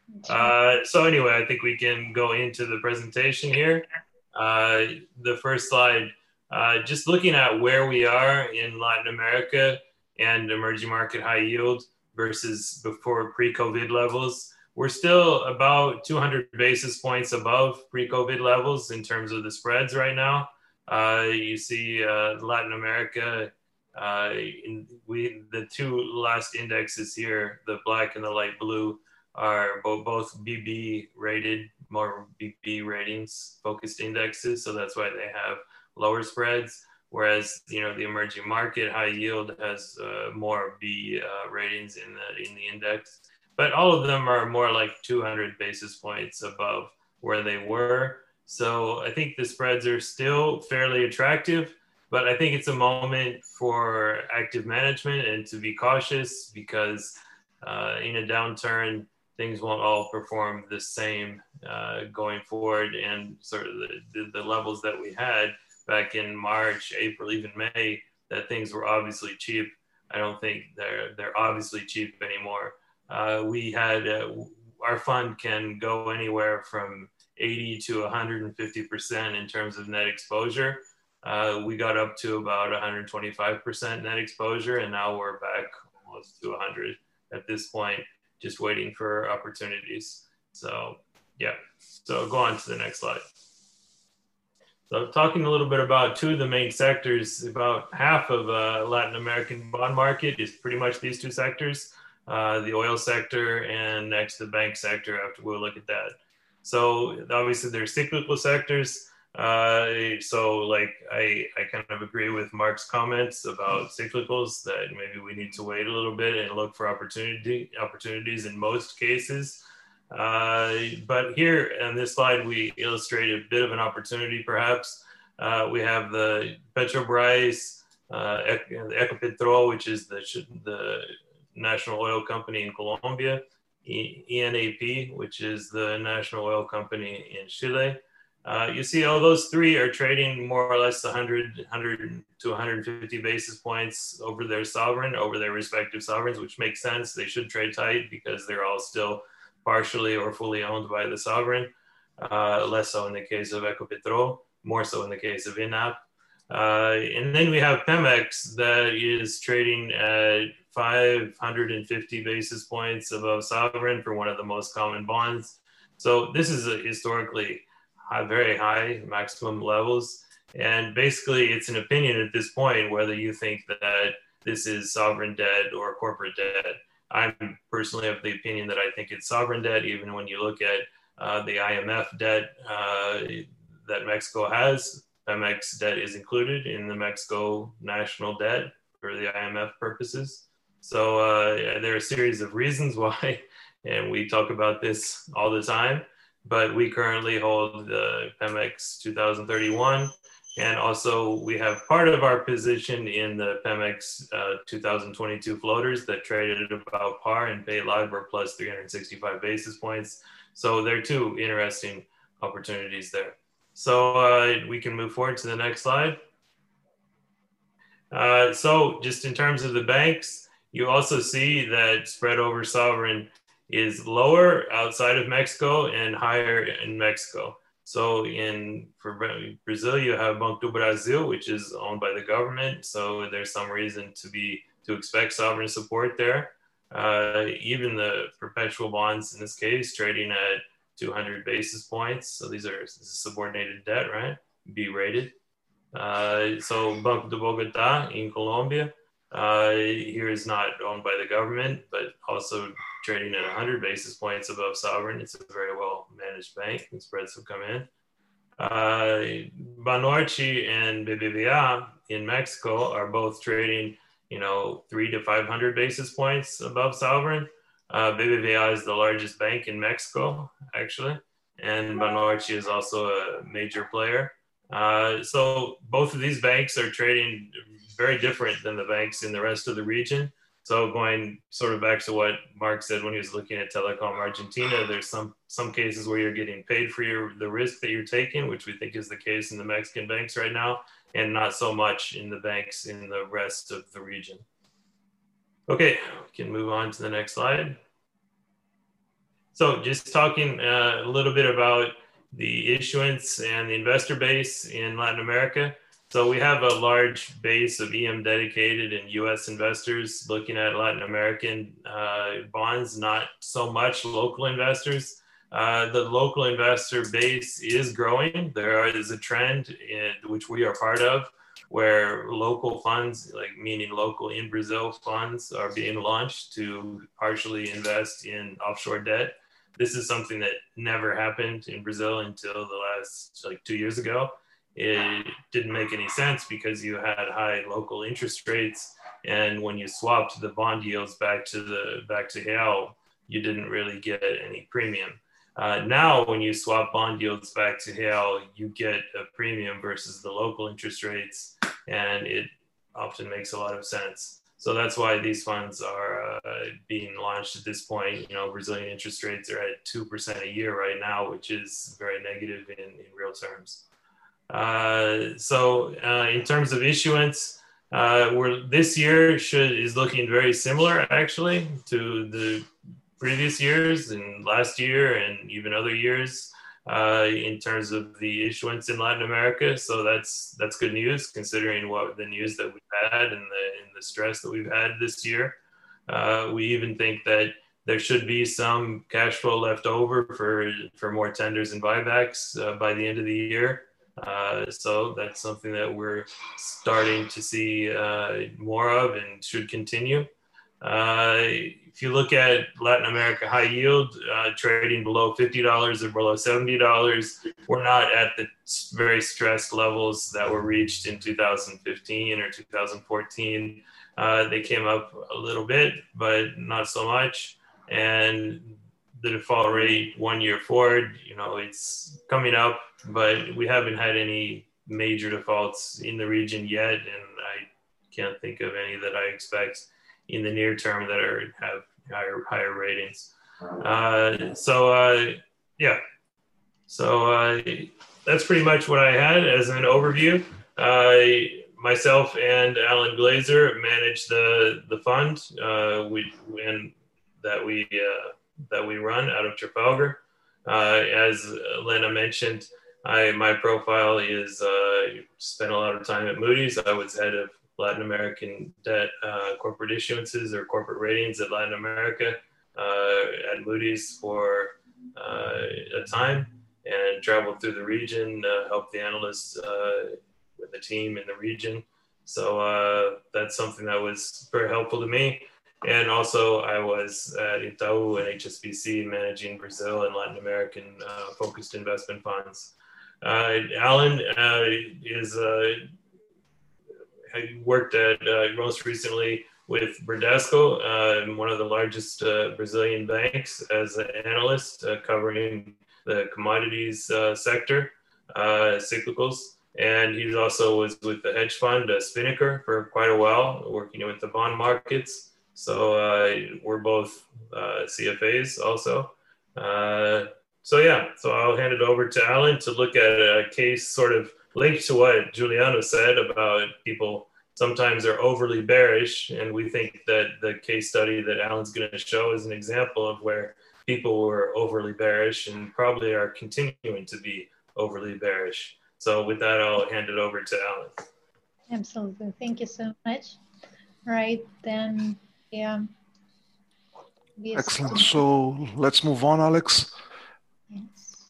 Uh, so anyway, I think we can go into the presentation here. Uh, the first slide, uh, just looking at where we are in Latin America and emerging market high yield versus before pre-COVID levels. We're still about two hundred basis points above pre-COVID levels in terms of the spreads right now. Uh, you see uh, Latin America, uh, in, we the two last indexes here, the black and the light blue, are both, both B B rated, more B B ratings focused indexes. So that's why they have lower spreads. Whereas, you know, the emerging market high yield has uh, more B uh, ratings in the, in the index. But all of them are more like two hundred basis points above where they were. So I think the spreads are still fairly attractive, but I think it's a moment for active management and to be cautious because uh, in a downturn, things won't all perform the same uh, going forward. And sort of the, the, the levels that we had back in March, April, even May, that things were obviously cheap. I don't think they're, they're obviously cheap anymore. Uh, we had, uh, our fund can go anywhere from eighty to one hundred fifty percent in terms of net exposure. Uh, we got up to about one hundred twenty-five percent net exposure, and now we're back almost to one hundred at this point, just waiting for opportunities. So yeah, so go on to the next slide. So talking a little bit about two of the main sectors, about half of uh, Latin American bond market is pretty much these two sectors, uh, the oil sector and next the bank sector, after we'll look at that. So obviously they're cyclical sectors. Uh, so like I, I kind of agree with Mark's comments about cyclicals, that maybe we need to wait a little bit and look for opportunity opportunities in most cases. Uh, but here on this slide, we illustrate a bit of an opportunity perhaps. Uh, we have the Petrobras, uh, the Ecopetrol, which is the, the national oil company in Colombia, E N A P, which is the national oil company in Chile. Uh, you see all those three are trading more or less one hundred, one hundred to one hundred fifty basis points over their sovereign, over their respective sovereigns, which makes sense. They should trade tight because they're all still partially or fully owned by the sovereign. Uh, less so in the case of Ecopetrol, more so in the case of I N A P. Uh, and then we have Pemex that is trading at five hundred fifty basis points above sovereign for one of the most common bonds. So this is a historically high, very high maximum levels. And basically it's an opinion at this point, whether you think that this is sovereign debt or corporate debt. I'm personally of the opinion that I think it's sovereign debt, even when you look at uh, the I M F debt uh, that Mexico has. Pemex debt is included in the Mexico national debt for the I M F purposes. So uh, there are a series of reasons why, and we talk about this all the time, but we currently hold the Pemex two thousand thirty-one. And also we have part of our position in the Pemex uh, two thousand twenty-two floaters that traded at about par and paid LIBOR plus three hundred sixty-five basis points. So there are two interesting opportunities there. So uh, we can move forward to the next slide. Uh, so just in terms of the banks, you also see that spread over sovereign is lower outside of Mexico and higher in Mexico. So in for Brazil, you have Banco do Brasil, which is owned by the government. So there's some reason to be to expect sovereign support there. Uh, even the perpetual bonds in this case trading at two hundred basis points. So these are this is subordinated debt, right? B rated. Uh, so Banco de Bogotá in Colombia, uh, here is not owned by the government, but also trading at one hundred basis points above sovereign. It's a very well managed bank and spreads have come in. Uh, Banorte and B B V A in Mexico are both trading you know, three to five hundred basis points above sovereign. Uh, B B V A is the largest bank in Mexico, actually, and Banorte is also a major player. Uh, so both of these banks are trading very different than the banks in the rest of the region. So going sort of back to what Mark said when he was looking at Telecom Argentina, there's some some cases where you're getting paid for your the risk that you're taking, which we think is the case in the Mexican banks right now, and not so much in the banks in the rest of the region. Okay, we can move on to the next slide. So just talking uh, a little bit about the issuance and the investor base in Latin America. So we have a large base of E M dedicated and U S investors looking at Latin American uh, bonds, not so much local investors. Uh, the local investor base is growing. There is a trend in, which we are part of, where local funds, like meaning local in Brazil funds, are being launched to partially invest in offshore debt. This is something that never happened in Brazil until the last like two years ago. It didn't make any sense because you had high local interest rates, and when you swapped the bond yields back to the back to real, you didn't really get any premium. Uh, now, when you swap bond yields back to real, you get a premium versus the local interest rates, and it often makes a lot of sense. So that's why these funds are uh, being launched at this point. You know, Brazilian interest rates are at two percent a year right now, which is very negative in, in real terms. Uh, so uh, in terms of issuance, uh, we're, this year should, is looking very similar actually to the previous years and last year and even other years uh, in terms of the issuance in Latin America. So that's that's good news considering what the news that we've had and the, and the stress that we've had this year. Uh, we even think that there should be some cash flow left over for, for more tenders and buybacks uh, by the end of the year. Uh, so that's something that we're starting to see uh, more of and should continue. Uh, if you look at Latin America high yield, uh, trading below fifty dollars or below seventy dollars, we're not at the very stressed levels that were reached in two thousand fifteen or two thousand fourteen. Uh, they came up a little bit, but not so much. And the default rate one year forward, you know, it's coming up, but we haven't had any major defaults in the region yet. And I can't think of any that I expect in the near term that are have higher higher ratings. Uh, so uh, yeah, so uh, that's pretty much what I had as an overview. Uh, myself and Alan Glazer manage the the fund uh, we and that we uh, that we run out of Trafalgar. Uh, as Lena mentioned, I my profile is uh, spent a lot of time at Moody's. I was head of Latin American debt uh, corporate issuances or corporate ratings at Latin America uh, at Moody's for uh, a time, and traveled through the region, uh, helped the analysts uh, with the team in the region. So uh, that's something that was very helpful to me. And also I was at Itaú and H S B C managing Brazil and Latin American uh, focused investment funds. Uh, Alan uh, is uh, I worked at uh, most recently with Bradesco, uh, one of the largest uh, Brazilian banks, as an analyst uh, covering the commodities uh, sector, uh, cyclicals. And he also was with the hedge fund, uh, Spinnaker, for quite a while, working with the bond markets. So uh, we're both uh, C F As also. Uh, so yeah, so I'll hand it over to Alan to look at a case sort of linked to what Giuliano said about people sometimes are overly bearish. And we think that the case study that Alan's going to show is an example of where people were overly bearish and probably are continuing to be overly bearish. So with that, I'll hand it over to Alan. Absolutely. Thank you so much. Right, then, yeah. Excellent. So let's move on, Alex. Yes.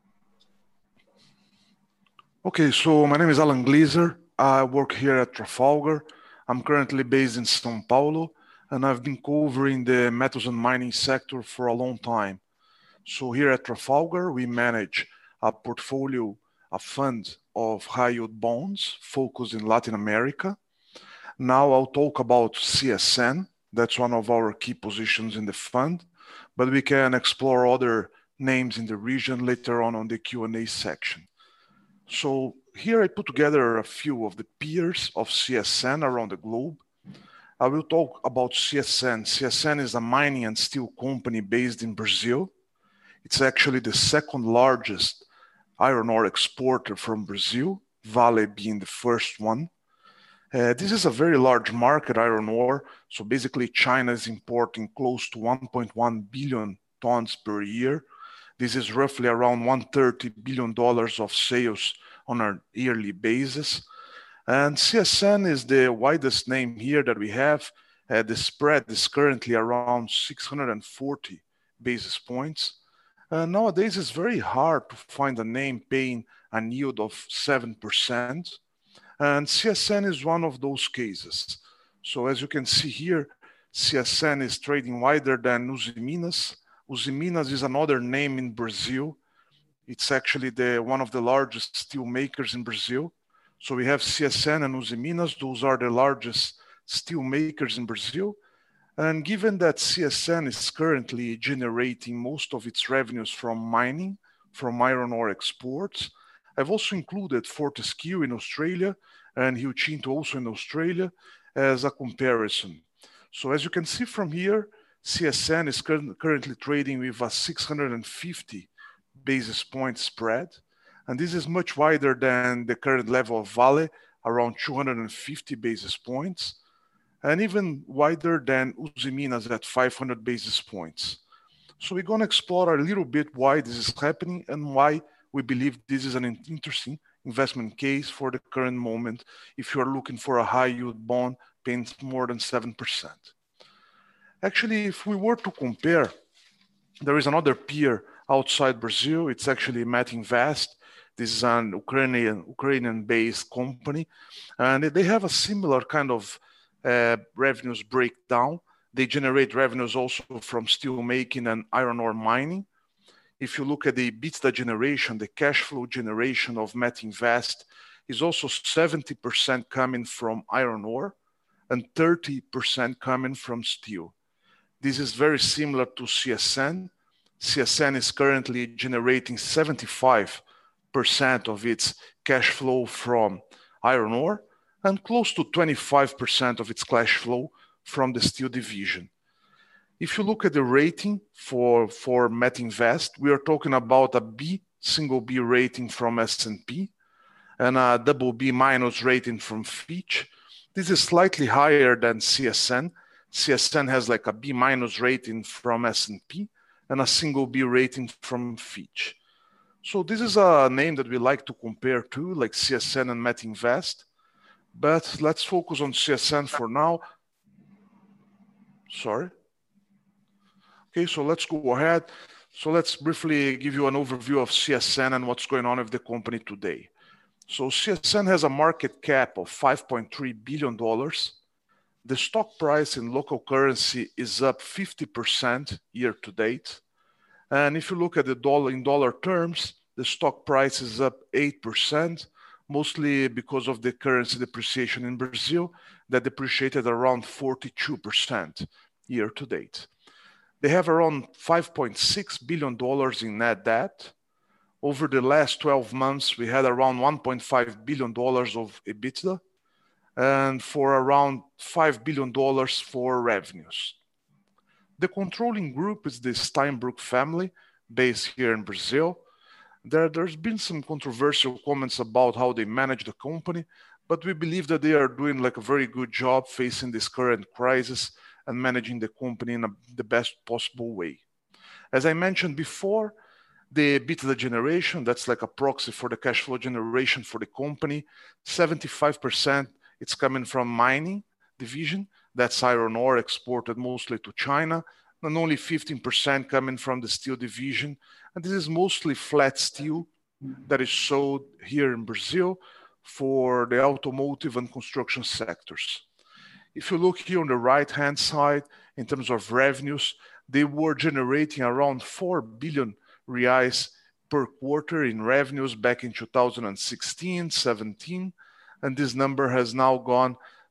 Okay, so my name is Alan Glazer. I work here at Trafalgar. I'm currently based in São Paulo, and I've been covering the metals and mining sector for a long time. So here at Trafalgar, we manage a portfolio, a fund of high yield bonds focused in Latin America. Now I'll talk about C S N. That's one of our key positions in the fund, but we can explore other names in the region later on on the Q and A section. So here I put together a few of the peers of C S N around the globe. I will talk about C S N. C S N is a mining and steel company based in Brazil. It's actually the second largest iron ore exporter from Brazil, Vale being the first one. Uh, this is a very large market, iron ore. So basically China is importing close to one point one billion tons per year. This is roughly around one hundred thirty billion dollars of sales on a yearly basis. And C S N is the widest name here that we have. Uh, the spread is currently around six hundred forty basis points. Uh, nowadays, it's very hard to find a name paying a yield of seven percent. And C S N is one of those cases. So as you can see here, C S N is trading wider than Usiminas. Usiminas is another name in Brazil. It's actually the one of the largest steel makers in Brazil. So we have C S N and Usiminas. Those are the largest steel makers in Brazil. And given that C S N is currently generating most of its revenues from mining, from iron ore exports, I've also included Fortescue in Australia and Rio Tinto also in Australia as a comparison. So as you can see from here, C S N is cur- currently trading with a six hundred fifty basis point spread. And this is much wider than the current level of Vale, around two hundred fifty basis points, and even wider than Usiminas at five hundred basis points. So we're going to explore a little bit why this is happening and why we believe this is an interesting investment case for the current moment if you're looking for a high yield bond paying more than seven percent. Actually, if we were to compare, there is another peer outside Brazil. It's actually Metinvest. This is an Ukrainian, Ukrainian-based company, and they have a similar kind of uh, revenues breakdown. They generate revenues also from steel making and iron ore mining. If you look at the EBITDA generation, the cash flow generation of Metinvest is also seventy percent coming from iron ore and thirty percent coming from steel. This is very similar to C S N. C S N is currently generating seventy-five percent of its cash flow from iron ore and close to twenty-five percent of its cash flow from the steel division. If you look at the rating for, for Metinvest, we are talking about a B, single B rating from S and P and a double B minus rating from Fitch. This is slightly higher than C S N. C S N has like a B minus rating from S and P and a single B rating from Fitch. So this is a name that we like to compare to, like C S N and Metinvest. But let's focus on C S N for now. Sorry. Okay, so let's go ahead. So let's briefly give you an overview of C S N and what's going on with the company today. So C S N has a market cap of five point three billion dollars. The stock price in local currency is up fifty percent year to date. And if you look at the dollar in dollar terms, the stock price is up eight percent, mostly because of the currency depreciation in Brazil that depreciated around forty-two percent year to date. They have around five point six billion dollars in net debt. Over the last twelve months, we had around one point five billion dollars of EBITDA and for around five billion dollars for revenues. The controlling group is the Steinbrück family based here in Brazil. There, there's been some controversial comments about how they manage the company, but we believe that they are doing like a very good job facing this current crisis and managing the company in a, the best possible way. As I mentioned before, the EBITDA generation, that's like a proxy for the cash flow generation for the company. seventy-five percent it's coming from mining division. That's iron ore exported mostly to China, and only fifteen percent coming from the steel division. And this is mostly flat steel that is sold here in Brazil for the automotive and construction sectors. If you look here on the right-hand side, in terms of revenues, they were generating around four billion reais per quarter in revenues back in two thousand sixteen, seventeen, and this number has now gone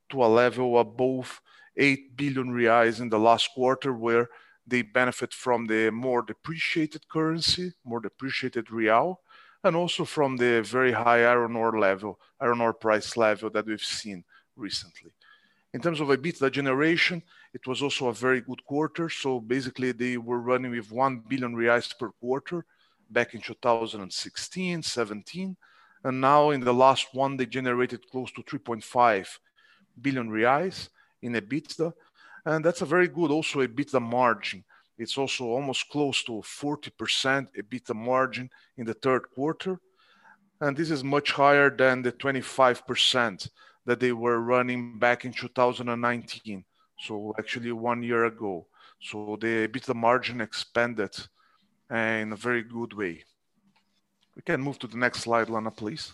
to a level above eight billion reais in the last quarter, where they benefit from the more depreciated currency, more depreciated real, and also from the very high iron ore level, iron ore price level that we've seen recently. In terms of EBITDA generation, it was also a very good quarter. So basically they were running with one billion reais per quarter back in two thousand sixteen, seventeen. And now in the last one, they generated close to three point five billion reais in EBITDA. And that's a very good also EBITDA margin. It's also almost close to forty percent EBITDA margin in the third quarter. And this is much higher than the twenty-five percent that they were running back in two thousand nineteen. So actually one year ago. So the EBITDA margin expanded in a very good way. We can move to the next slide, Lana, please.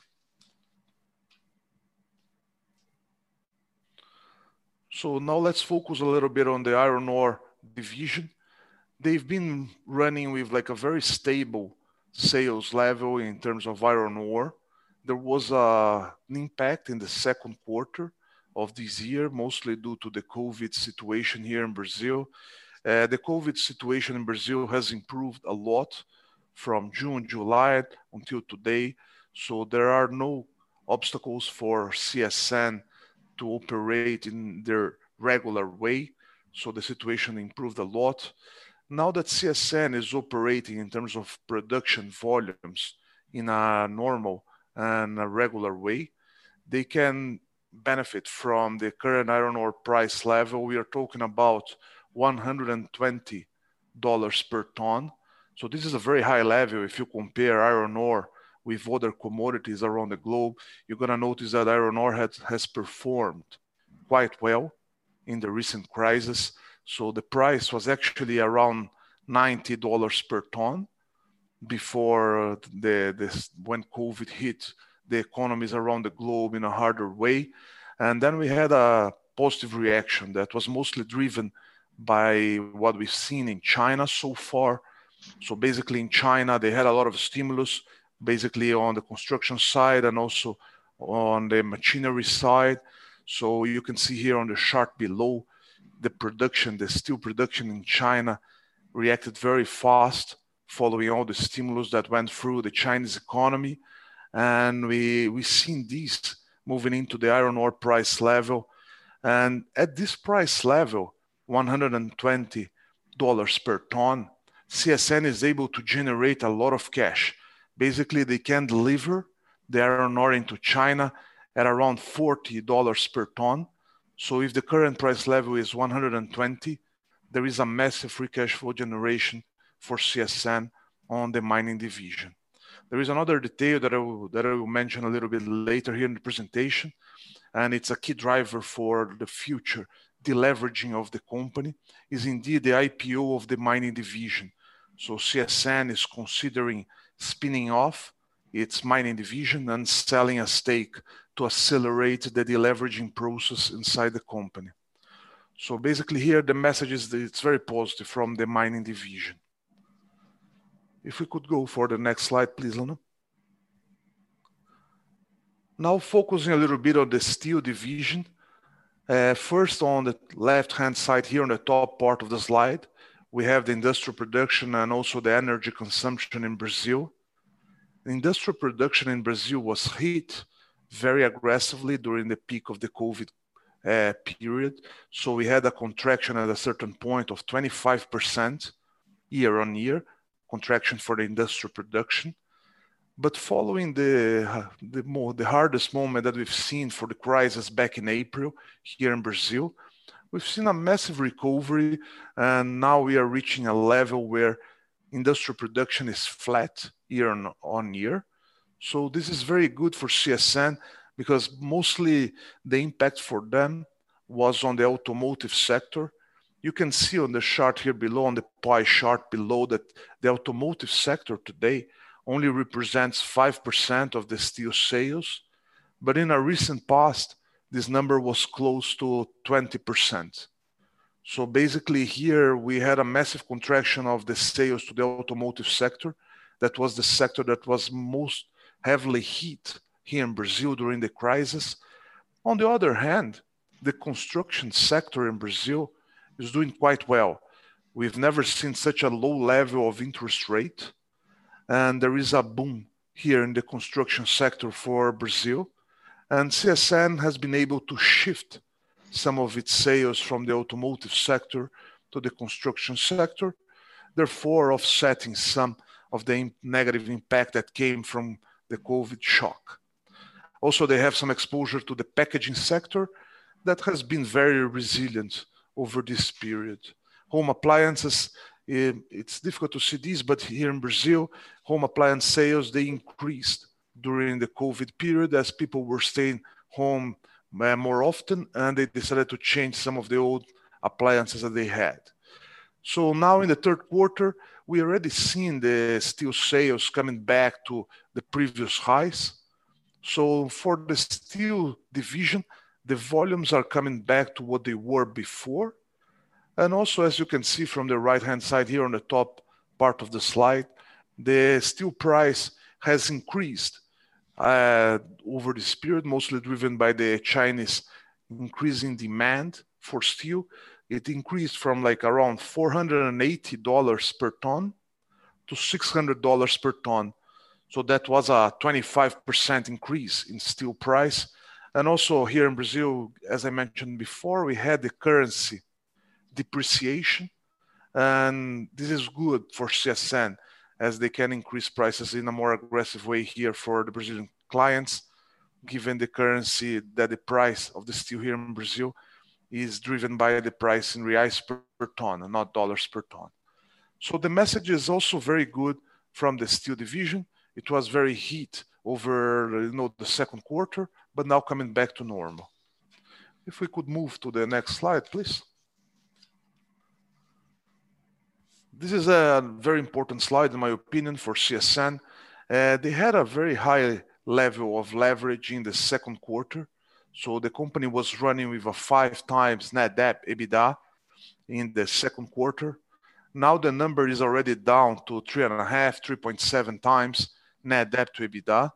So now let's focus a little bit on the iron ore division. They've been running with like a very stable sales level in terms of iron ore. There was a, an impact in the second quarter of this year, mostly due to the COVID situation here in Brazil. Uh, the COVID situation in Brazil has improved a lot from June, July until today. So there are no obstacles for C S N to operate in their regular way. So the situation improved a lot. Now that C S N is operating in terms of production volumes in a normal and a regular way, they can benefit from the current iron ore price level. We are talking about one hundred twenty dollars per ton. So this is a very high level. If you compare iron ore with other commodities around the globe, you're going to notice that iron ore has, has performed quite well in the recent crisis. So the price was actually around ninety dollars per ton before the this when COVID hit the economies around the globe in a harder way. And then we had a positive reaction that was mostly driven by what we've seen in China so far. So basically in China, they had a lot of stimulus, basically on the construction side and also on the machinery side. So you can see here on the chart below, the production, the steel production in China reacted very fast following all the stimulus that went through the Chinese economy. And we, we've seen these moving into the iron ore price level. And at this price level, one hundred twenty dollars per ton, C S N is able to generate a lot of cash. Basically, they can deliver the iron ore into China at around forty dollars per ton. So if the current price level is one hundred twenty, there is a massive free cash flow generation for C S N on the mining division. There is another detail that I will, that I will mention a little bit later here in the presentation, and it's a key driver for the future deleveraging of the company, is indeed the I P O of the mining division. So C S N is considering spinning off its mining division and selling a stake to accelerate the deleveraging process inside the company. So basically here the message is that it's very positive from the mining division. If we could go for the next slide, please, Lana. Now focusing a little bit on the steel division. Uh, first, on the left-hand side here on the top part of the slide, we have the industrial production and also the energy consumption in Brazil. The industrial production in Brazil was hit very aggressively during the peak of the COVID uh, period. So we had a contraction at a certain point of twenty-five percent year on year, contraction for the industrial production. But following the, the, more, the hardest moment that we've seen for the crisis back in April here in Brazil, we've seen a massive recovery, and now we are reaching a level where industrial production is flat year on, on year. So this is very good for C S N because mostly the impact for them was on the automotive sector. You can see on the chart here below, on the pie chart below, that the automotive sector today only represents five percent of the steel sales. But in a recent past, this number was close to twenty percent. So basically here we had a massive contraction of the sales to the automotive sector. That was the sector that was most heavily hit here in Brazil during the crisis. On the other hand, the construction sector in Brazil is doing quite well. We've never seen such a low level of interest rate, and there is a boom here in the construction sector for Brazil. And C S N has been able to shift some of its sales from the automotive sector to the construction sector, therefore offsetting some of the negative impact that came from the COVID shock. Also, they have some exposure to the packaging sector that has been very resilient over this period. Home appliances, it's difficult to see this, but here in Brazil, home appliance sales, they increased during the COVID period as people were staying home more often, and they decided to change some of the old appliances that they had. So now in the third quarter, we already seen the steel sales coming back to the previous highs. So for the steel division, the volumes are coming back to what they were before. And also, as you can see from the right-hand side here on the top part of the slide, the steel price has increased uh, over this period, mostly driven by the Chinese increasing demand for steel. It increased from like around four hundred eighty dollars per ton to six hundred dollars per ton. So that was a twenty-five percent increase in steel price. And also here in Brazil, as I mentioned before, we had the currency depreciation. And this is good for C S N as they can increase prices in a more aggressive way here for the Brazilian clients, given the currency that the price of the steel here in Brazil is driven by the price in reais per, per ton and not dollars per ton. So the message is also very good from the steel division. It was very heat over you know, the second quarter, but now coming back to normal. If we could move to the next slide, please. This is a very important slide, in my opinion, for C S N. Uh, they had a very high level of leverage in the second quarter. So the company was running with a five times net debt EBITDA in the second quarter. Now the number is already down to three and a half, three point seven times net debt to EBITDA.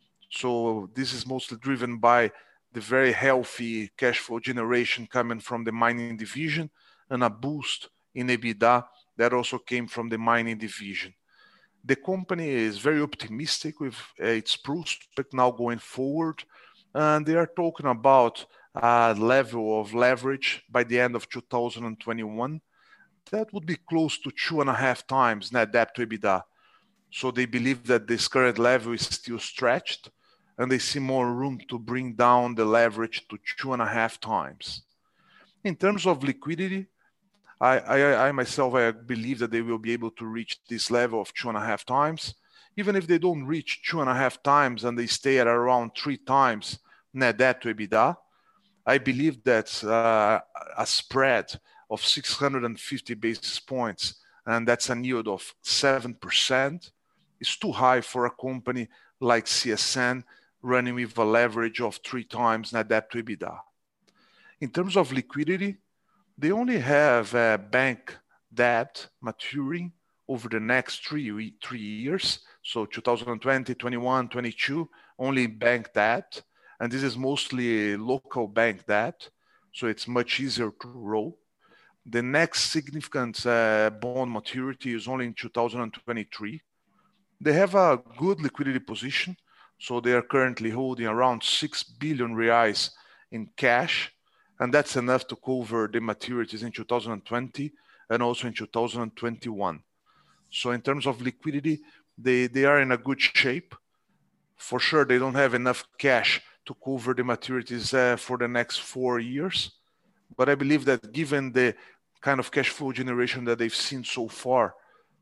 So this is mostly driven by the very healthy cash flow generation coming from the mining division and a boost in EBITDA that also came from the mining division. The company is very optimistic with its prospect now going forward, and they are talking about a level of leverage by the end of two thousand twenty-one that would be close to two and a half times net debt to EBITDA. So they believe that this current level is still stretched, and they see more room to bring down the leverage to two and a half times. In terms of liquidity, I, I, I myself, I believe that they will be able to reach this level of two and a half times. Even if they don't reach two and a half times and they stay at around three times net debt to EBITDA, I believe that uh, a spread of six hundred fifty basis points, and that's a yield of seven percent, is too high for a company like C S N running with a leverage of three times net debt to EBITDA. In terms of liquidity, they only have uh, bank debt maturing over the next three, three years. So two thousand twenty, twenty-one, twenty-two, only bank debt. And this is mostly local bank debt. So it's much easier to roll. The next significant uh, bond maturity is only in two thousand twenty-three. They have a good liquidity position. So they are currently holding around six billion reais in cash. And that's enough to cover the maturities in two thousand twenty and also in two thousand twenty-one. So in terms of liquidity, they, they are in a good shape. For sure, they don't have enough cash to cover the maturities uh, for the next four years. But I believe that given the kind of cash flow generation that they've seen so far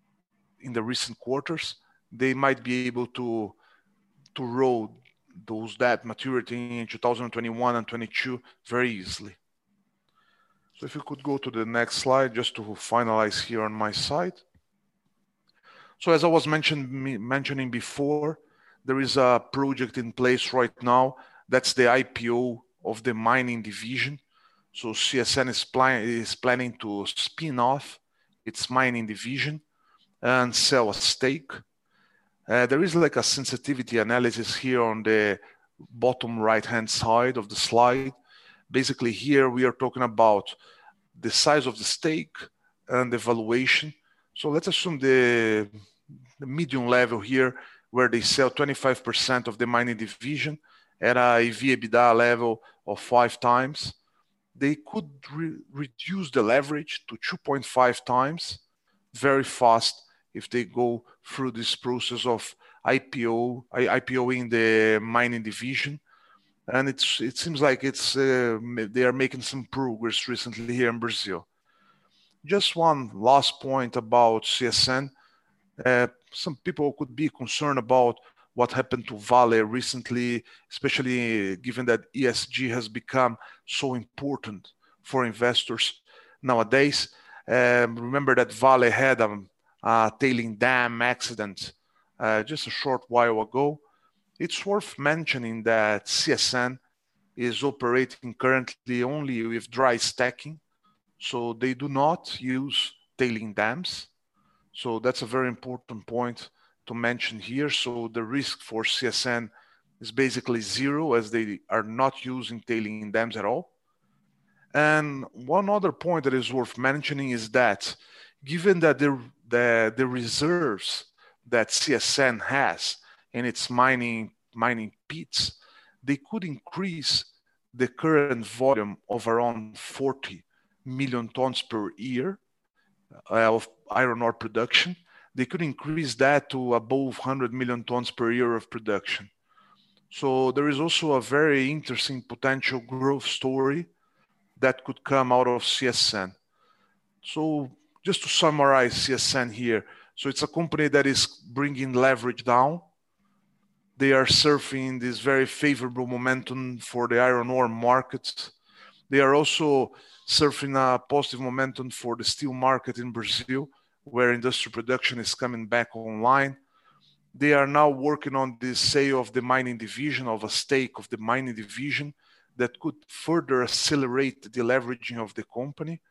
in the recent quarters, they might be able to, to roll those debt maturity in two thousand twenty-one and twenty-two very easily. So if you could go to the next slide just to finalize here on my side. So as I was mentioned, mentioning before, there is a project in place right now. That's the I P O of the mining division. So C S N is, plan is planning to spin off its mining division and sell a stake. Uh, there is like a sensitivity analysis here on the bottom right-hand side of the slide. Basically here we are talking about the size of the stake and the valuation. So let's assume the, the medium level here where they sell twenty-five percent of the mining division at a E V/EBITDA level of five times. They could re reduce the leverage to two point five times very fast if they go through this process of I P O, IPOing the mining division. And it's, it seems like it's, uh, they are making some progress recently here in Brazil. Just one last point about C S N. Uh, some people could be concerned about what happened to Vale recently, especially given that E S G has become so important for investors nowadays. Um, remember that Vale had a, a tailing dam accident uh, just a short while ago. It's worth mentioning that C S N is operating currently only with dry stacking, so they do not use tailing dams. So that's a very important point to mention here. So the risk for C S N is basically zero, as they are not using tailing dams at all. And one other point that is worth mentioning is that given that the, the, the reserves that C S N has in its mining, mining pits, they could increase the current volume of around forty million tons per year uh, of iron ore production. They could increase that to above one hundred million tons per year of production. So there is also a very interesting potential growth story that could come out of C S N. So just to summarize C S N here, so it's a company that is bringing leverage down. They are surfing this very favorable momentum for the iron ore market. They are also surfing a positive momentum for the steel market in Brazil, where industrial production is coming back online. They are now working on the sale of the mining division, of a stake of the mining division that could further accelerate the leveraging of the company.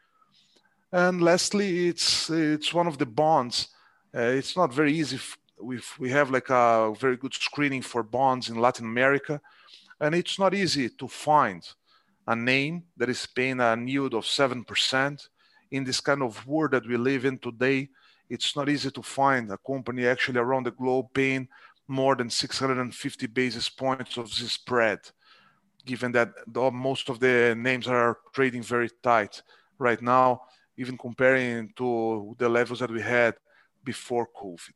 And lastly, it's, it's one of the bonds. Uh, it's not very easy. We've, we have like a very good screening for bonds in Latin America, and it's not easy to find a name that is paying a yield of seven percent. In this kind of world that we live in today, it's not easy to find a company actually around the globe paying more than six hundred fifty basis points of this spread, given that the, most of the names are trading very tight right now, even comparing to the levels that we had before COVID.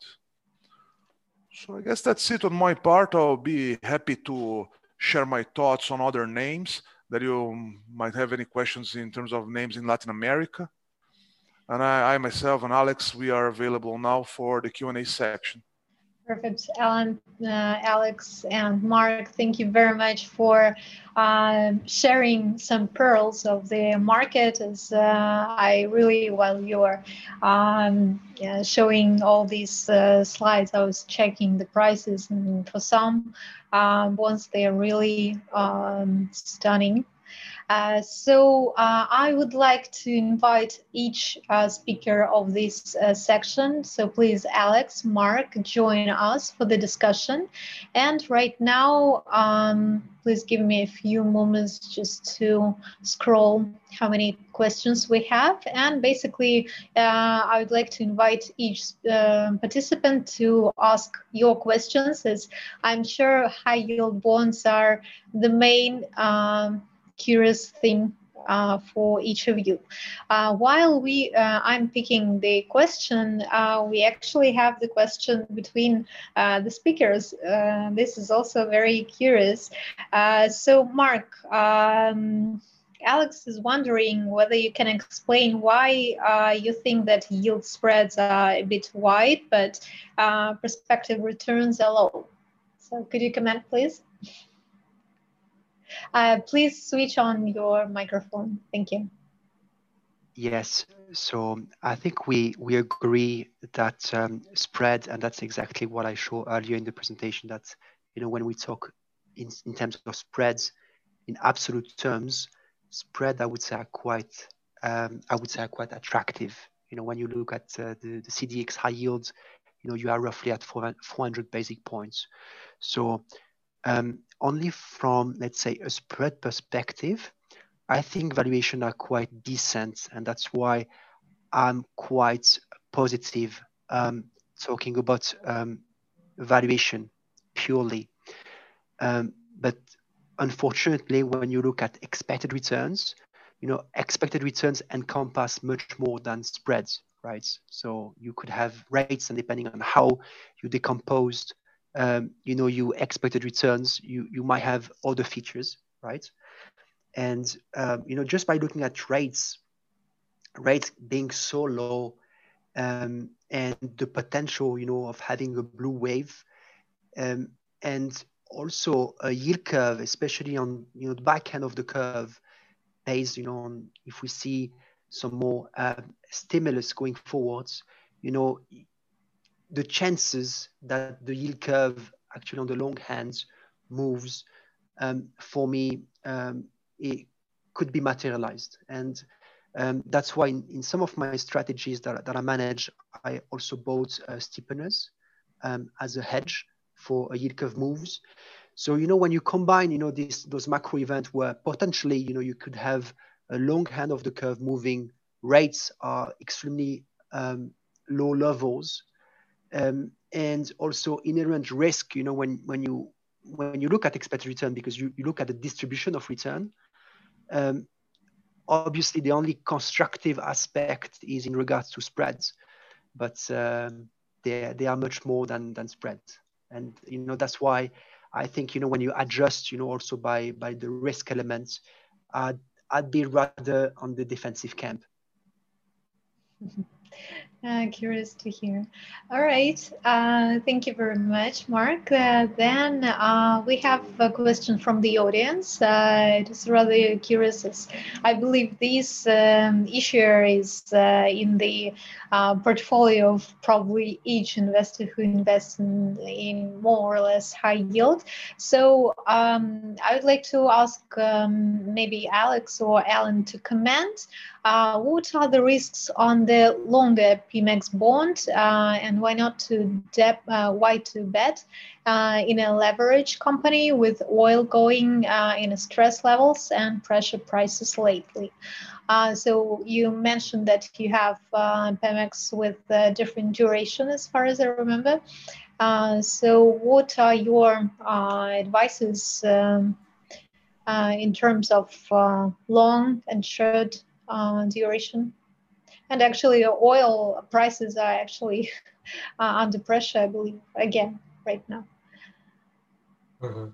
So I guess that's it on my part. I'll be happy to share my thoughts on other names that you might have any questions in terms of names in Latin America. And I, I myself and Alex, we are available now for the Q and A section. Perfect. Alan, uh, Alex, and Mark, thank you very much for uh, sharing some pearls of the market. As uh, I really, while you were um, yeah, showing all these uh, slides, I was checking the prices, and for some um, bonds, they are really um, stunning. Uh, so uh, I would like to invite each uh, speaker of this uh, section. So please, Alex, Mark, join us for the discussion. And right now, um, please give me a few moments just to scroll how many questions we have. And basically, uh, I would like to invite each uh, participant to ask your questions, as I'm sure high yield bonds are the main um, curious thing uh, for each of you. Uh, while we, uh, I'm picking the question, uh, we actually have the question between uh, the speakers. Uh, this is also very curious. Uh, so Mark, um, Alex is wondering whether you can explain why uh, you think that yield spreads are a bit wide, but uh, prospective returns are low. So could you comment, please? Uh, please switch on your microphone. Thank you. Yes, so I think we we agree that um, spread, and that's exactly what I showed earlier in the presentation, that, you know, when we talk in, in terms of spreads, in absolute terms, spread, I would say, are quite, um, I would say, are quite attractive. You know, when you look at uh, the, the C D X high yields, you know, you are roughly at four hundred basis points. So um, only from, let's say, a spread perspective, I think valuation are quite decent, and that's why I'm quite positive um, talking about um, valuation purely. Um, but unfortunately, when you look at expected returns, you know, expected returns encompass much more than spreads, right? So you could have rates, and depending on how you decomposed, um, you know, you expected returns, you you might have other features, right? And um, you know, just by looking at rates, rates being so low, um, and the potential, you know, of having a blue wave, um, and also a yield curve, especially on, you know, the back end of the curve, based, you know, on if we see some more uh, stimulus going forwards, you know, the chances that the yield curve actually on the long hands moves, um, for me, um, it could be materialized. And um, that's why in, in some of my strategies that, that I manage, I also bought uh, steepeners um, as a hedge for a yield curve moves. So, you know, when you combine, you know, this, those macro events where potentially, you know, you could have a long hand of the curve moving, rates are extremely um, low levels, um, and also inherent risk, you know, when, when you when you look at expected return, because you, you look at the distribution of return, um, obviously the only constructive aspect is in regards to spreads, but um, they, they are much more than, than spreads. And, you know, that's why I think, you know, when you adjust, you know, also by, by the risk elements, I'd, I'd be rather on the defensive camp. Uh, curious to hear. All right. Uh, thank you very much, Mark. Uh, then uh, we have a question from the audience. Uh, it is rather curious, as I believe this um, issue is uh, in the uh, portfolio of probably each investor who invests in, in more or less high yield. So um, I would like to ask um, maybe Alex or Alan to comment. Uh, what are the risks on the longer P M X bond, uh, and why not to dep uh, why to bet uh, in a leverage company with oil going uh, in stress levels and pressure prices lately? Uh, so you mentioned that you have uh, P M X with uh, different duration, as far as I remember. Uh, so what are your uh, advices um, uh, in terms of uh, long and short Uh, duration? And actually oil prices are actually uh, under pressure, I believe, again right now. Mm-hmm.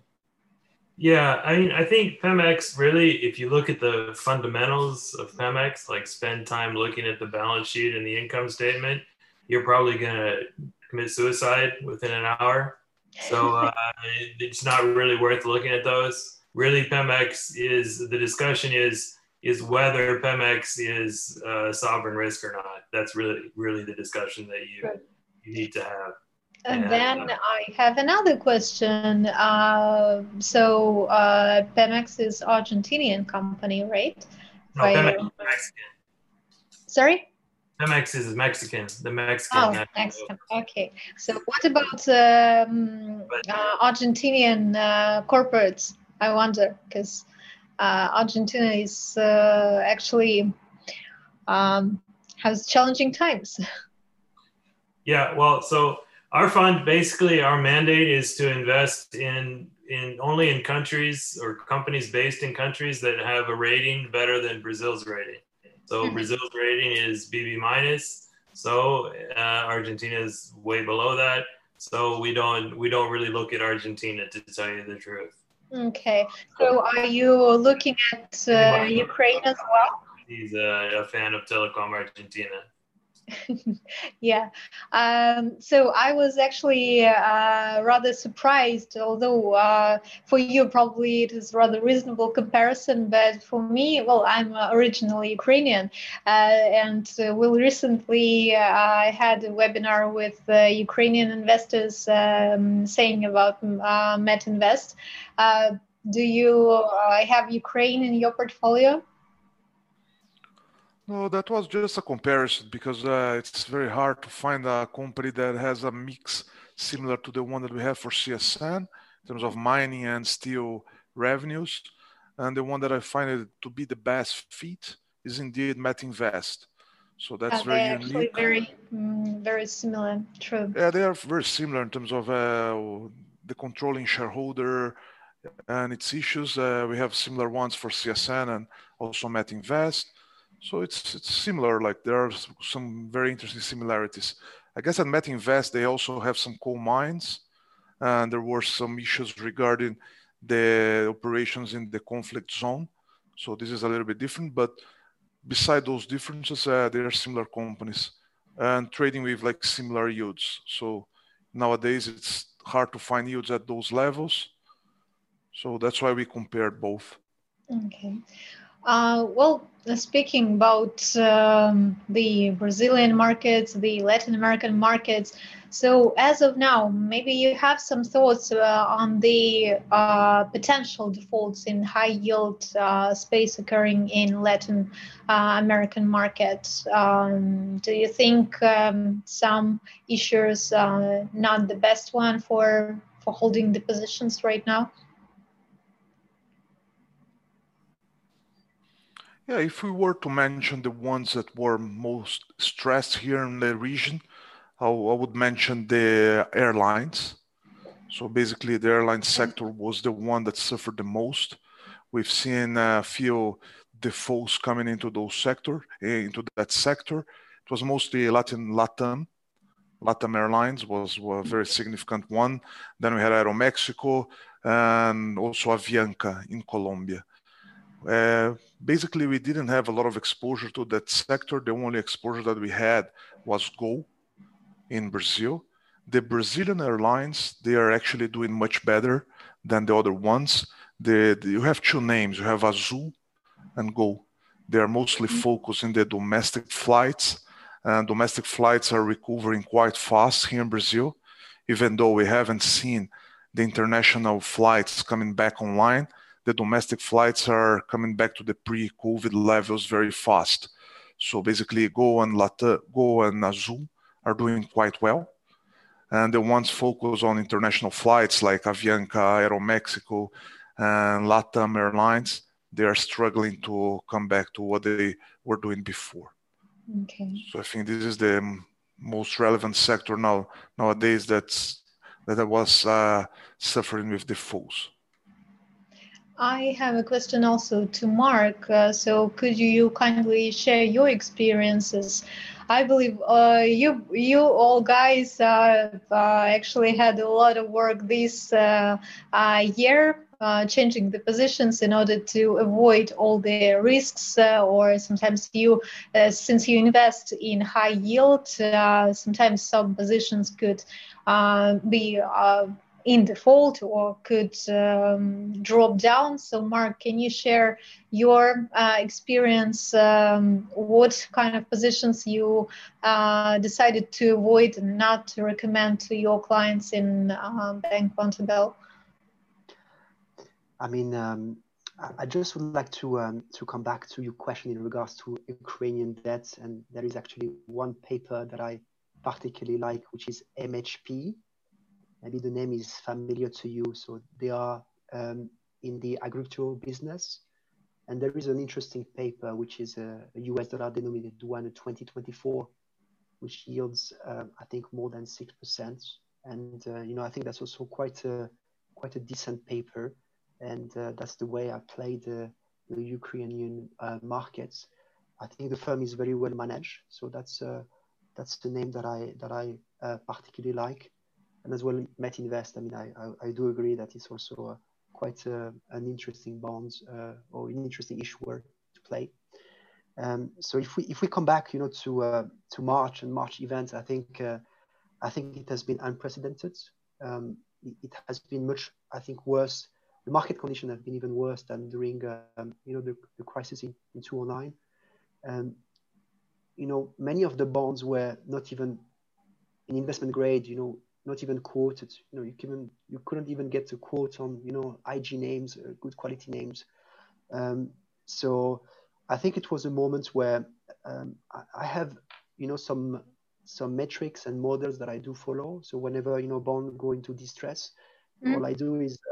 Yeah, I mean, I think Pemex really, if you look at the fundamentals of Pemex, like spend time looking at the balance sheet and the income statement, you're probably going to commit suicide within an hour. So uh, it's not really worth looking at those. Really, Pemex is, the discussion is, is whether Pemex is uh, sovereign risk or not. That's really, really the discussion that you, right. you need to have. And, and then uh, I have another question. Uh, so uh, Pemex is Argentinian company, right? No, Pemex is Mexican. Sorry? Pemex is Mexican, the Mexican. Oh, Mexican. Okay. So what about um, uh, Argentinian uh, corporates? I wonder, because Uh, Argentina is uh, actually um, has challenging times. Yeah, well, so our fund, basically our mandate is to invest in, in only in countries or companies based in countries that have a rating better than Brazil's rating. So mm-hmm. Brazil's rating is B B minus. So uh, Argentina is way below that. So we don't, we don't really look at Argentina, to tell you the truth. Okay, so are you looking at uh, Ukraine as well? He's a, a fan of Telecom Argentina. Yeah, um, so I was actually uh, rather surprised, although uh, for you probably it is rather reasonable comparison, but for me, well, I'm originally Ukrainian, uh, and uh, well, recently uh, I had a webinar with uh, Ukrainian investors um, saying about uh, Metinvest. Uh, do you uh, have Ukraine in your portfolio? No, that was just a comparison because uh, it's very hard to find a company that has a mix similar to the one that we have for C S N in terms of mining and steel revenues. and the one that I find it to be the best fit is indeed Metinvest. So that's uh, very they're unique. actually very, mm, very similar. True. Yeah, they are very similar in terms of uh, the controlling shareholder and its issues. Uh, we have similar ones for C S N and also Metinvest. So it's it's similar. Like there are some very interesting similarities. I guess at Metinvest they also have some coal mines, and there were some issues regarding the operations in the conflict zone. So this is a little bit different, but beside those differences, uh, they are similar companies and trading with like similar yields. So nowadays it's hard to find yields at those levels. So that's why we compared both. Okay. Uh, well, speaking about um, the Brazilian markets, the Latin American markets, so as of now, maybe you have some thoughts uh, on the uh, potential defaults in high yield uh, space occurring in Latin uh, American markets. Um, do you think um, some issuers uh, not the best one for for holding the positions right now? Yeah, if we were to mention the ones that were most stressed here in the region, I, I would mention the airlines. So basically the airline sector was the one that suffered the most. We've seen a few defaults coming into those sector, into that sector. It was mostly Latin, Latam. Latam Airlines was, was a very significant one. Then we had Aeromexico and also Avianca in Colombia. Uh, basically, we didn't have a lot of exposure to that sector. The only exposure that we had was Gol in Brazil. The Brazilian airlines, they are actually doing much better than the other ones. The, the, you have two names. You have Azul and Gol. They are mostly focused in the domestic flights, and domestic flights are recovering quite fast here in Brazil, even though we haven't seen the international flights coming back online. The domestic flights are coming back to the pre-COVID levels very fast. So basically, Gol and Latam, Gol and Azul are doing quite well. And the ones focused on international flights like Avianca, Aeromexico, and Latam Airlines, they are struggling to come back to what they were doing before. Okay. So I think this is the most relevant sector now nowadays that's that I was uh, suffering with defaults. I have a question also to Mark. Uh, so could you kindly share your experiences? I believe uh, you you all guys uh, uh, actually had a lot of work this uh, uh, year, uh, changing the positions in order to avoid all the risks, uh, or sometimes you, uh, since you invest in high yield, uh, sometimes some positions could uh, be uh, in default or could um, drop down. So Mark, can you share your uh, experience? Um, what kind of positions you uh, decided to avoid and not to recommend to your clients in uh, Bank Vontobel? I mean, um, I just would like to um, to come back to your question in regards to Ukrainian debt, and there is actually one paper that I particularly like, which is M H P. Maybe the name is familiar to you. So they are um, in the agricultural business. And there is an interesting paper, which is a, a U S dollar denominated one in twenty twenty-four, which yields, uh, I think, more than six percent. And, uh, you know, I think that's also quite a, quite a decent paper. And uh, that's the way I play the, the Ukrainian uh, markets. I think the firm is very well managed. So that's, uh, that's the name that I, that I uh, particularly like. And as well, Metinvest. I mean, I, I, I do agree that it's also a, quite a, an interesting bond uh, or an interesting issuer to play. Um, so if we if we come back, you know, to uh, to March and March events, I think uh, I think it has been unprecedented. Um, it, it has been much, I think, worse. The market conditions have been even worse than during um, you know the, the crisis in, in two thousand nine. Um, you know, many of the bonds were not even in investment grade. You know. Not even quoted, you know, you can you couldn't even get a quote on, you know, I G names, uh, good quality names. Um, so I think it was a moment where um, I, I have, you know, some some metrics and models that I do follow. So whenever, you know, bond go into distress, mm. all I do is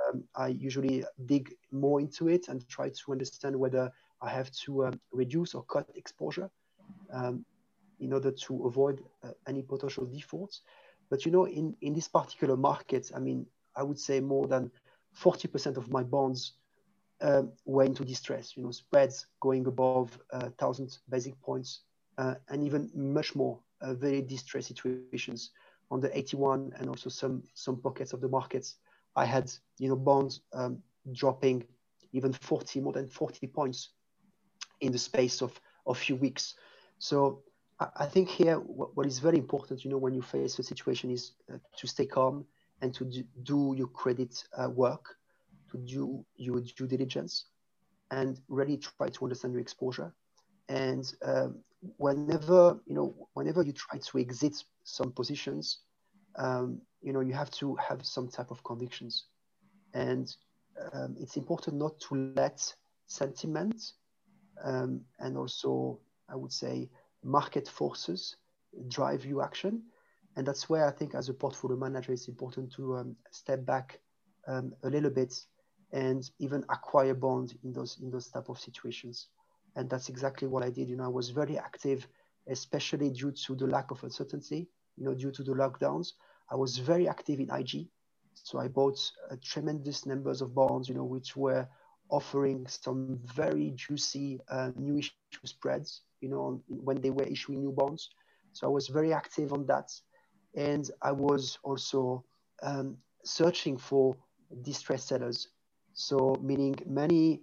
um, I usually dig more into it and try to understand whether I have to um, reduce or cut exposure um, in order to avoid uh, any potential defaults. But you know, in, in this particular market, I mean, I would say more than forty percent of my bonds um, were into distress, you know, spreads going above uh, one thousand basic points, uh, and even much more uh, very distressed situations on the eighty-one, and also some, some pockets of the markets. I had, you know, bonds um, dropping even forty, more than forty points in the space of a few weeks. So I, I think here what, what is very important, you know, when you face a situation is uh, to stay calm and to do, do your credit uh, work, to do your due diligence, and really try to understand your exposure. And um, whenever, you know, whenever you try to exit some positions, um, you know, you have to have some type of convictions. And um, it's important not to let sentiment um, and also, I would say, market forces drive your action. And that's where I think as a portfolio manager, it's important to um, step back um, a little bit and even acquire bonds in those, in those type of situations. And that's exactly what I did. You know, I was very active, especially due to the lack of uncertainty, you know, due to the lockdowns. I was very active in I G. So I bought a tremendous numbers of bonds, you know, which were offering some very juicy uh, new issue spreads, you know, when they were issuing new bonds. So I was very active on that. And I was also um, searching for distressed sellers. So meaning many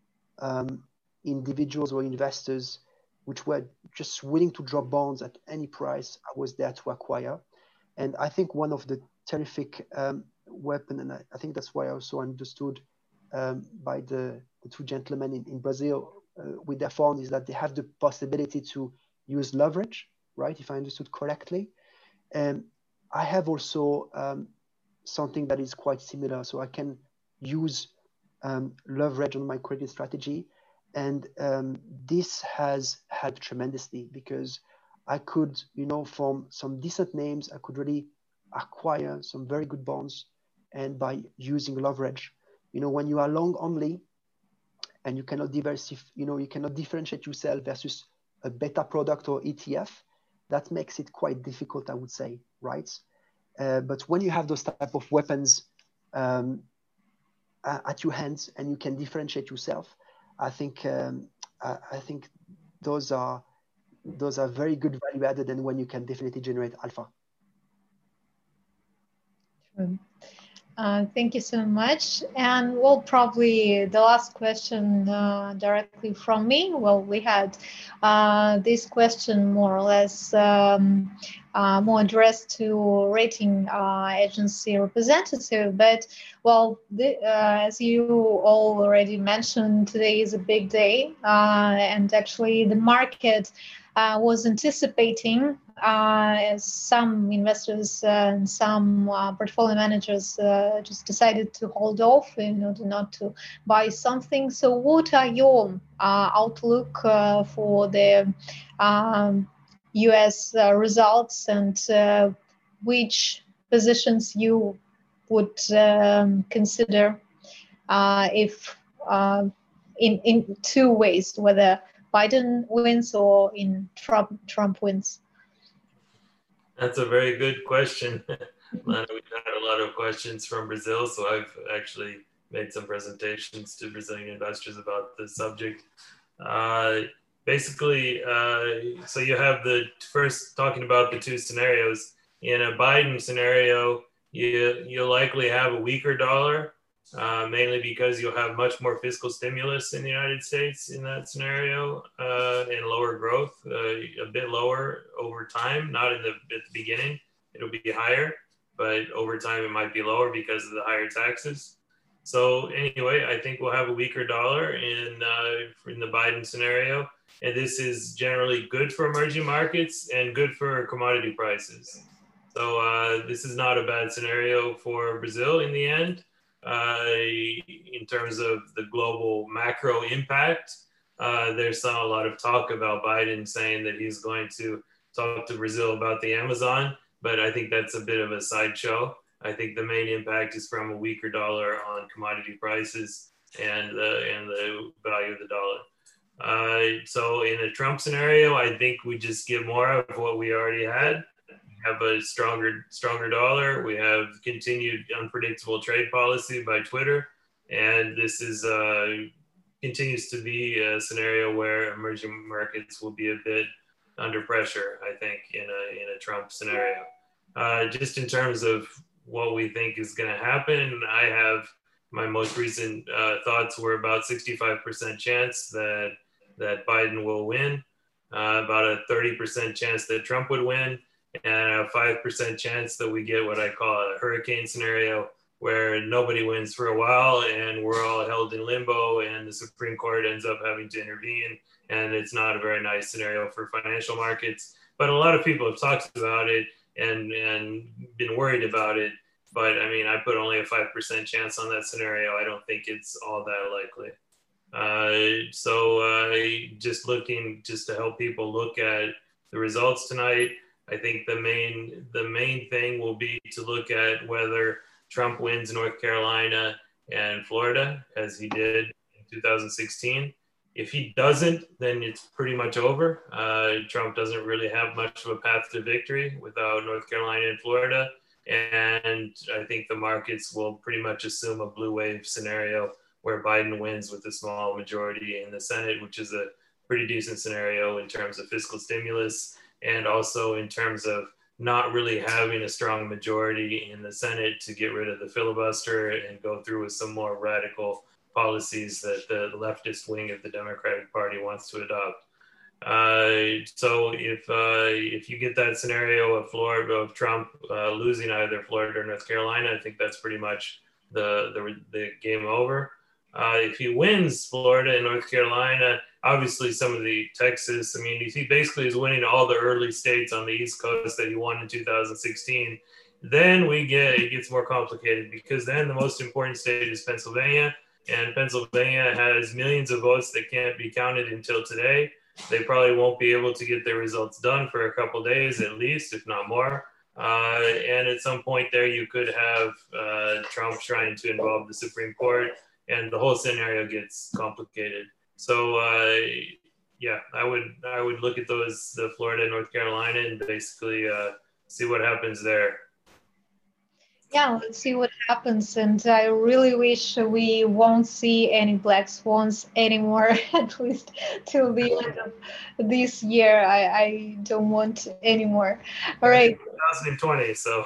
um, individuals or investors which were just willing to drop bonds at any price, I was there to acquire. And I think one of the terrific um, weapon, and I, I think that's why I also understood um, by the, the two gentlemen in, in Brazil uh, with their fund, is that they have the possibility to use leverage, right? If I understood correctly. And I have also um, something that is quite similar. So I can use um, leverage on my credit strategy. And um, this has helped tremendously because I could, you know, from some decent names, I could really acquire some very good bonds. And by using leverage, you know, when you are long only and you cannot diversify, you know, you cannot differentiate yourself versus a beta product or E T F, that makes it quite difficult, I would say, right? Uh, but when you have those type of weapons um, at your hands and you can differentiate yourself, I think um, I, I think those are those are very good value added, and when you can definitely generate alpha. True. Uh, thank you so much. And well, probably the last question uh, directly from me. Well, we had uh, this question more or less um, uh, more addressed to rating uh, agency representative. But well, the, uh, as you all already mentioned, today is a big day, uh, and actually the market uh, was anticipating. Uh, as some investors uh, and some uh, portfolio managers uh, just decided to hold off in order not to buy something. So what are your uh, outlook uh, for the um, U S uh, results, and uh, which positions you would um, consider uh, if uh, in, in two ways, whether Biden wins or in Trump, Trump wins? That's a very good question. Lana, we've had a lot of questions from Brazil, so I've actually made some presentations to Brazilian investors about this subject. Uh, basically, uh, so you have the first talking about the two scenarios. In a Biden scenario, you, you'll likely have a weaker dollar, uh, mainly because you'll have much more fiscal stimulus in the United States in that scenario, uh, and lower growth, uh, a bit lower over time, not in the, at the beginning, it'll be higher, but over time it might be lower because of the higher taxes. So anyway, I think we'll have a weaker dollar in, uh, in the Biden scenario, and this is generally good for emerging markets and good for commodity prices. So uh, this is not a bad scenario for Brazil in the end. Uh, in terms of the global macro impact, uh, there's a lot of talk about Biden saying that he's going to talk to Brazil about the Amazon, but I think that's a bit of a sideshow. I think the main impact is from a weaker dollar on commodity prices and the, and the value of the dollar. Uh, so in a Trump scenario, I think we just get more of what we already had. We have a stronger, stronger dollar. We have continued unpredictable trade policy by Twitter. And this is uh, continues to be a scenario where emerging markets will be a bit under pressure, I think, in a, in a Trump scenario. Uh, just in terms of what we think is going to happen, I have my most recent uh, thoughts were about sixty-five percent chance that that Biden will win, uh, about a thirty percent chance that Trump would win, and a five percent chance that we get what I call a hurricane scenario, where nobody wins for a while and we're all held in limbo and the Supreme Court ends up having to intervene. And it's not a very nice scenario for financial markets. But a lot of people have talked about it and, and been worried about it. But I mean, I put only a five percent chance on that scenario. I don't think it's all that likely. Uh, so uh, just looking, just to help people look at the results tonight, I think the main, the main thing will be to look at whether Trump wins North Carolina and Florida, as he did in two thousand sixteen. If he doesn't, then it's pretty much over. Uh, Trump doesn't really have much of a path to victory without North Carolina and Florida. And I think the markets will pretty much assume a blue wave scenario where Biden wins with a small majority in the Senate, which is a pretty decent scenario in terms of fiscal stimulus and also in terms of not really having a strong majority in the Senate to get rid of the filibuster and go through with some more radical policies that the leftist wing of the Democratic Party wants to adopt. Uh, so if uh, if you get that scenario of Florida, of Trump uh, losing either Florida or North Carolina, I think that's pretty much the the, the game over. Uh, if he wins Florida and North Carolina, obviously some of the Texas, I mean, he basically is winning all the early states on the East Coast that he won in two thousand sixteen. Then we get, it gets more complicated because then the most important state is Pennsylvania, and Pennsylvania has millions of votes that can't be counted until today. They probably won't be able to get their results done for a couple days at least, if not more. Uh, and at some point there, you could have uh, Trump trying to involve the Supreme Court, and the whole scenario gets complicated. So uh, yeah, I would I would look at those, the Florida and North Carolina, and basically uh, see what happens there. Yeah, let's see what happens. And I really wish we won't see any black swans anymore, at least till the end of this year. I, I don't want any more. All right. twenty twenty, so.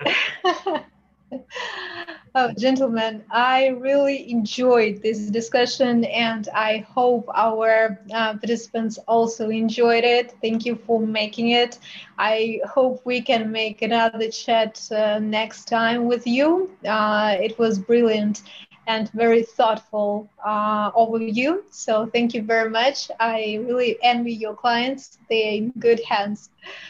Oh, gentlemen, I really enjoyed this discussion and I hope our uh, participants also enjoyed it. Thank you for making it. I hope we can make another chat uh, next time with you. Uh, it was brilliant and very thoughtful uh, overview. So thank you very much. I really envy your clients. They're in good hands.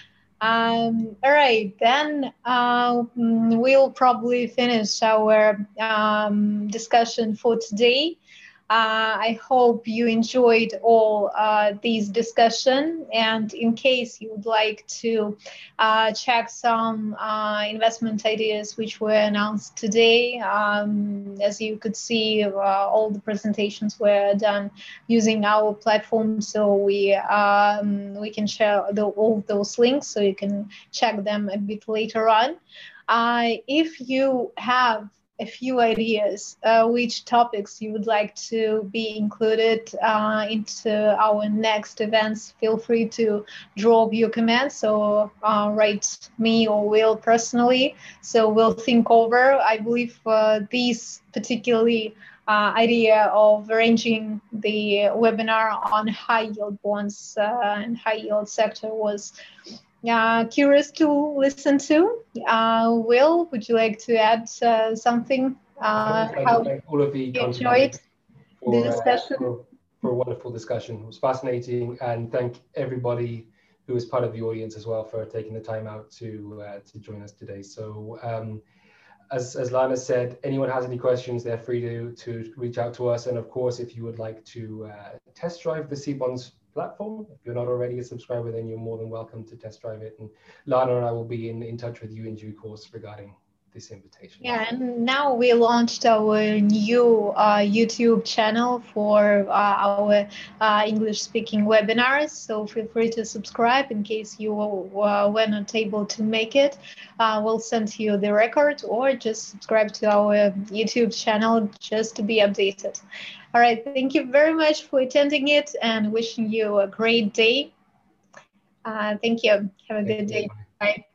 Um, all right, then uh, we'll probably finish our um, discussion for today. Uh, I hope you enjoyed all uh, these discussion, and in case you would like to uh, check some uh, investment ideas which were announced today, um, as you could see, uh, all the presentations were done using our platform, so we um, we can share the, all those links, so you can check them a bit later on. Uh, if you have a few ideas uh, which topics you would like to be included uh, into our next events, feel free to drop your comments or uh, write me or Will personally, so we'll think over. I believe uh, these particularly uh, idea of arranging the webinar on high yield bonds uh, and high yield sector was Uh, curious to listen to. Uh, Will, would you like to add uh, something? Uh, how thank all of the you enjoyed for, the discussion? Uh, for, for a wonderful discussion. It was fascinating, and thank everybody who was part of the audience as well for taking the time out to uh, to join us today. So, um, as as Lana said, anyone has any questions, they're free to to reach out to us. And of course, if you would like to uh, test drive the CBonds platform, if you're not already a subscriber, then you're more than welcome to test drive it. And Lana and I will be in, in touch with you in due course regarding this invitation. Yeah, and now we launched our new uh, YouTube channel for uh, our uh, English-speaking webinars. So feel free to subscribe in case you uh, were not able to make it. Uh, we'll send you the record, or just subscribe to our YouTube channel just to be updated. All right, thank you very much for attending it, and wishing you a great day. Uh, thank you. Have a Thank good you. day. Bye.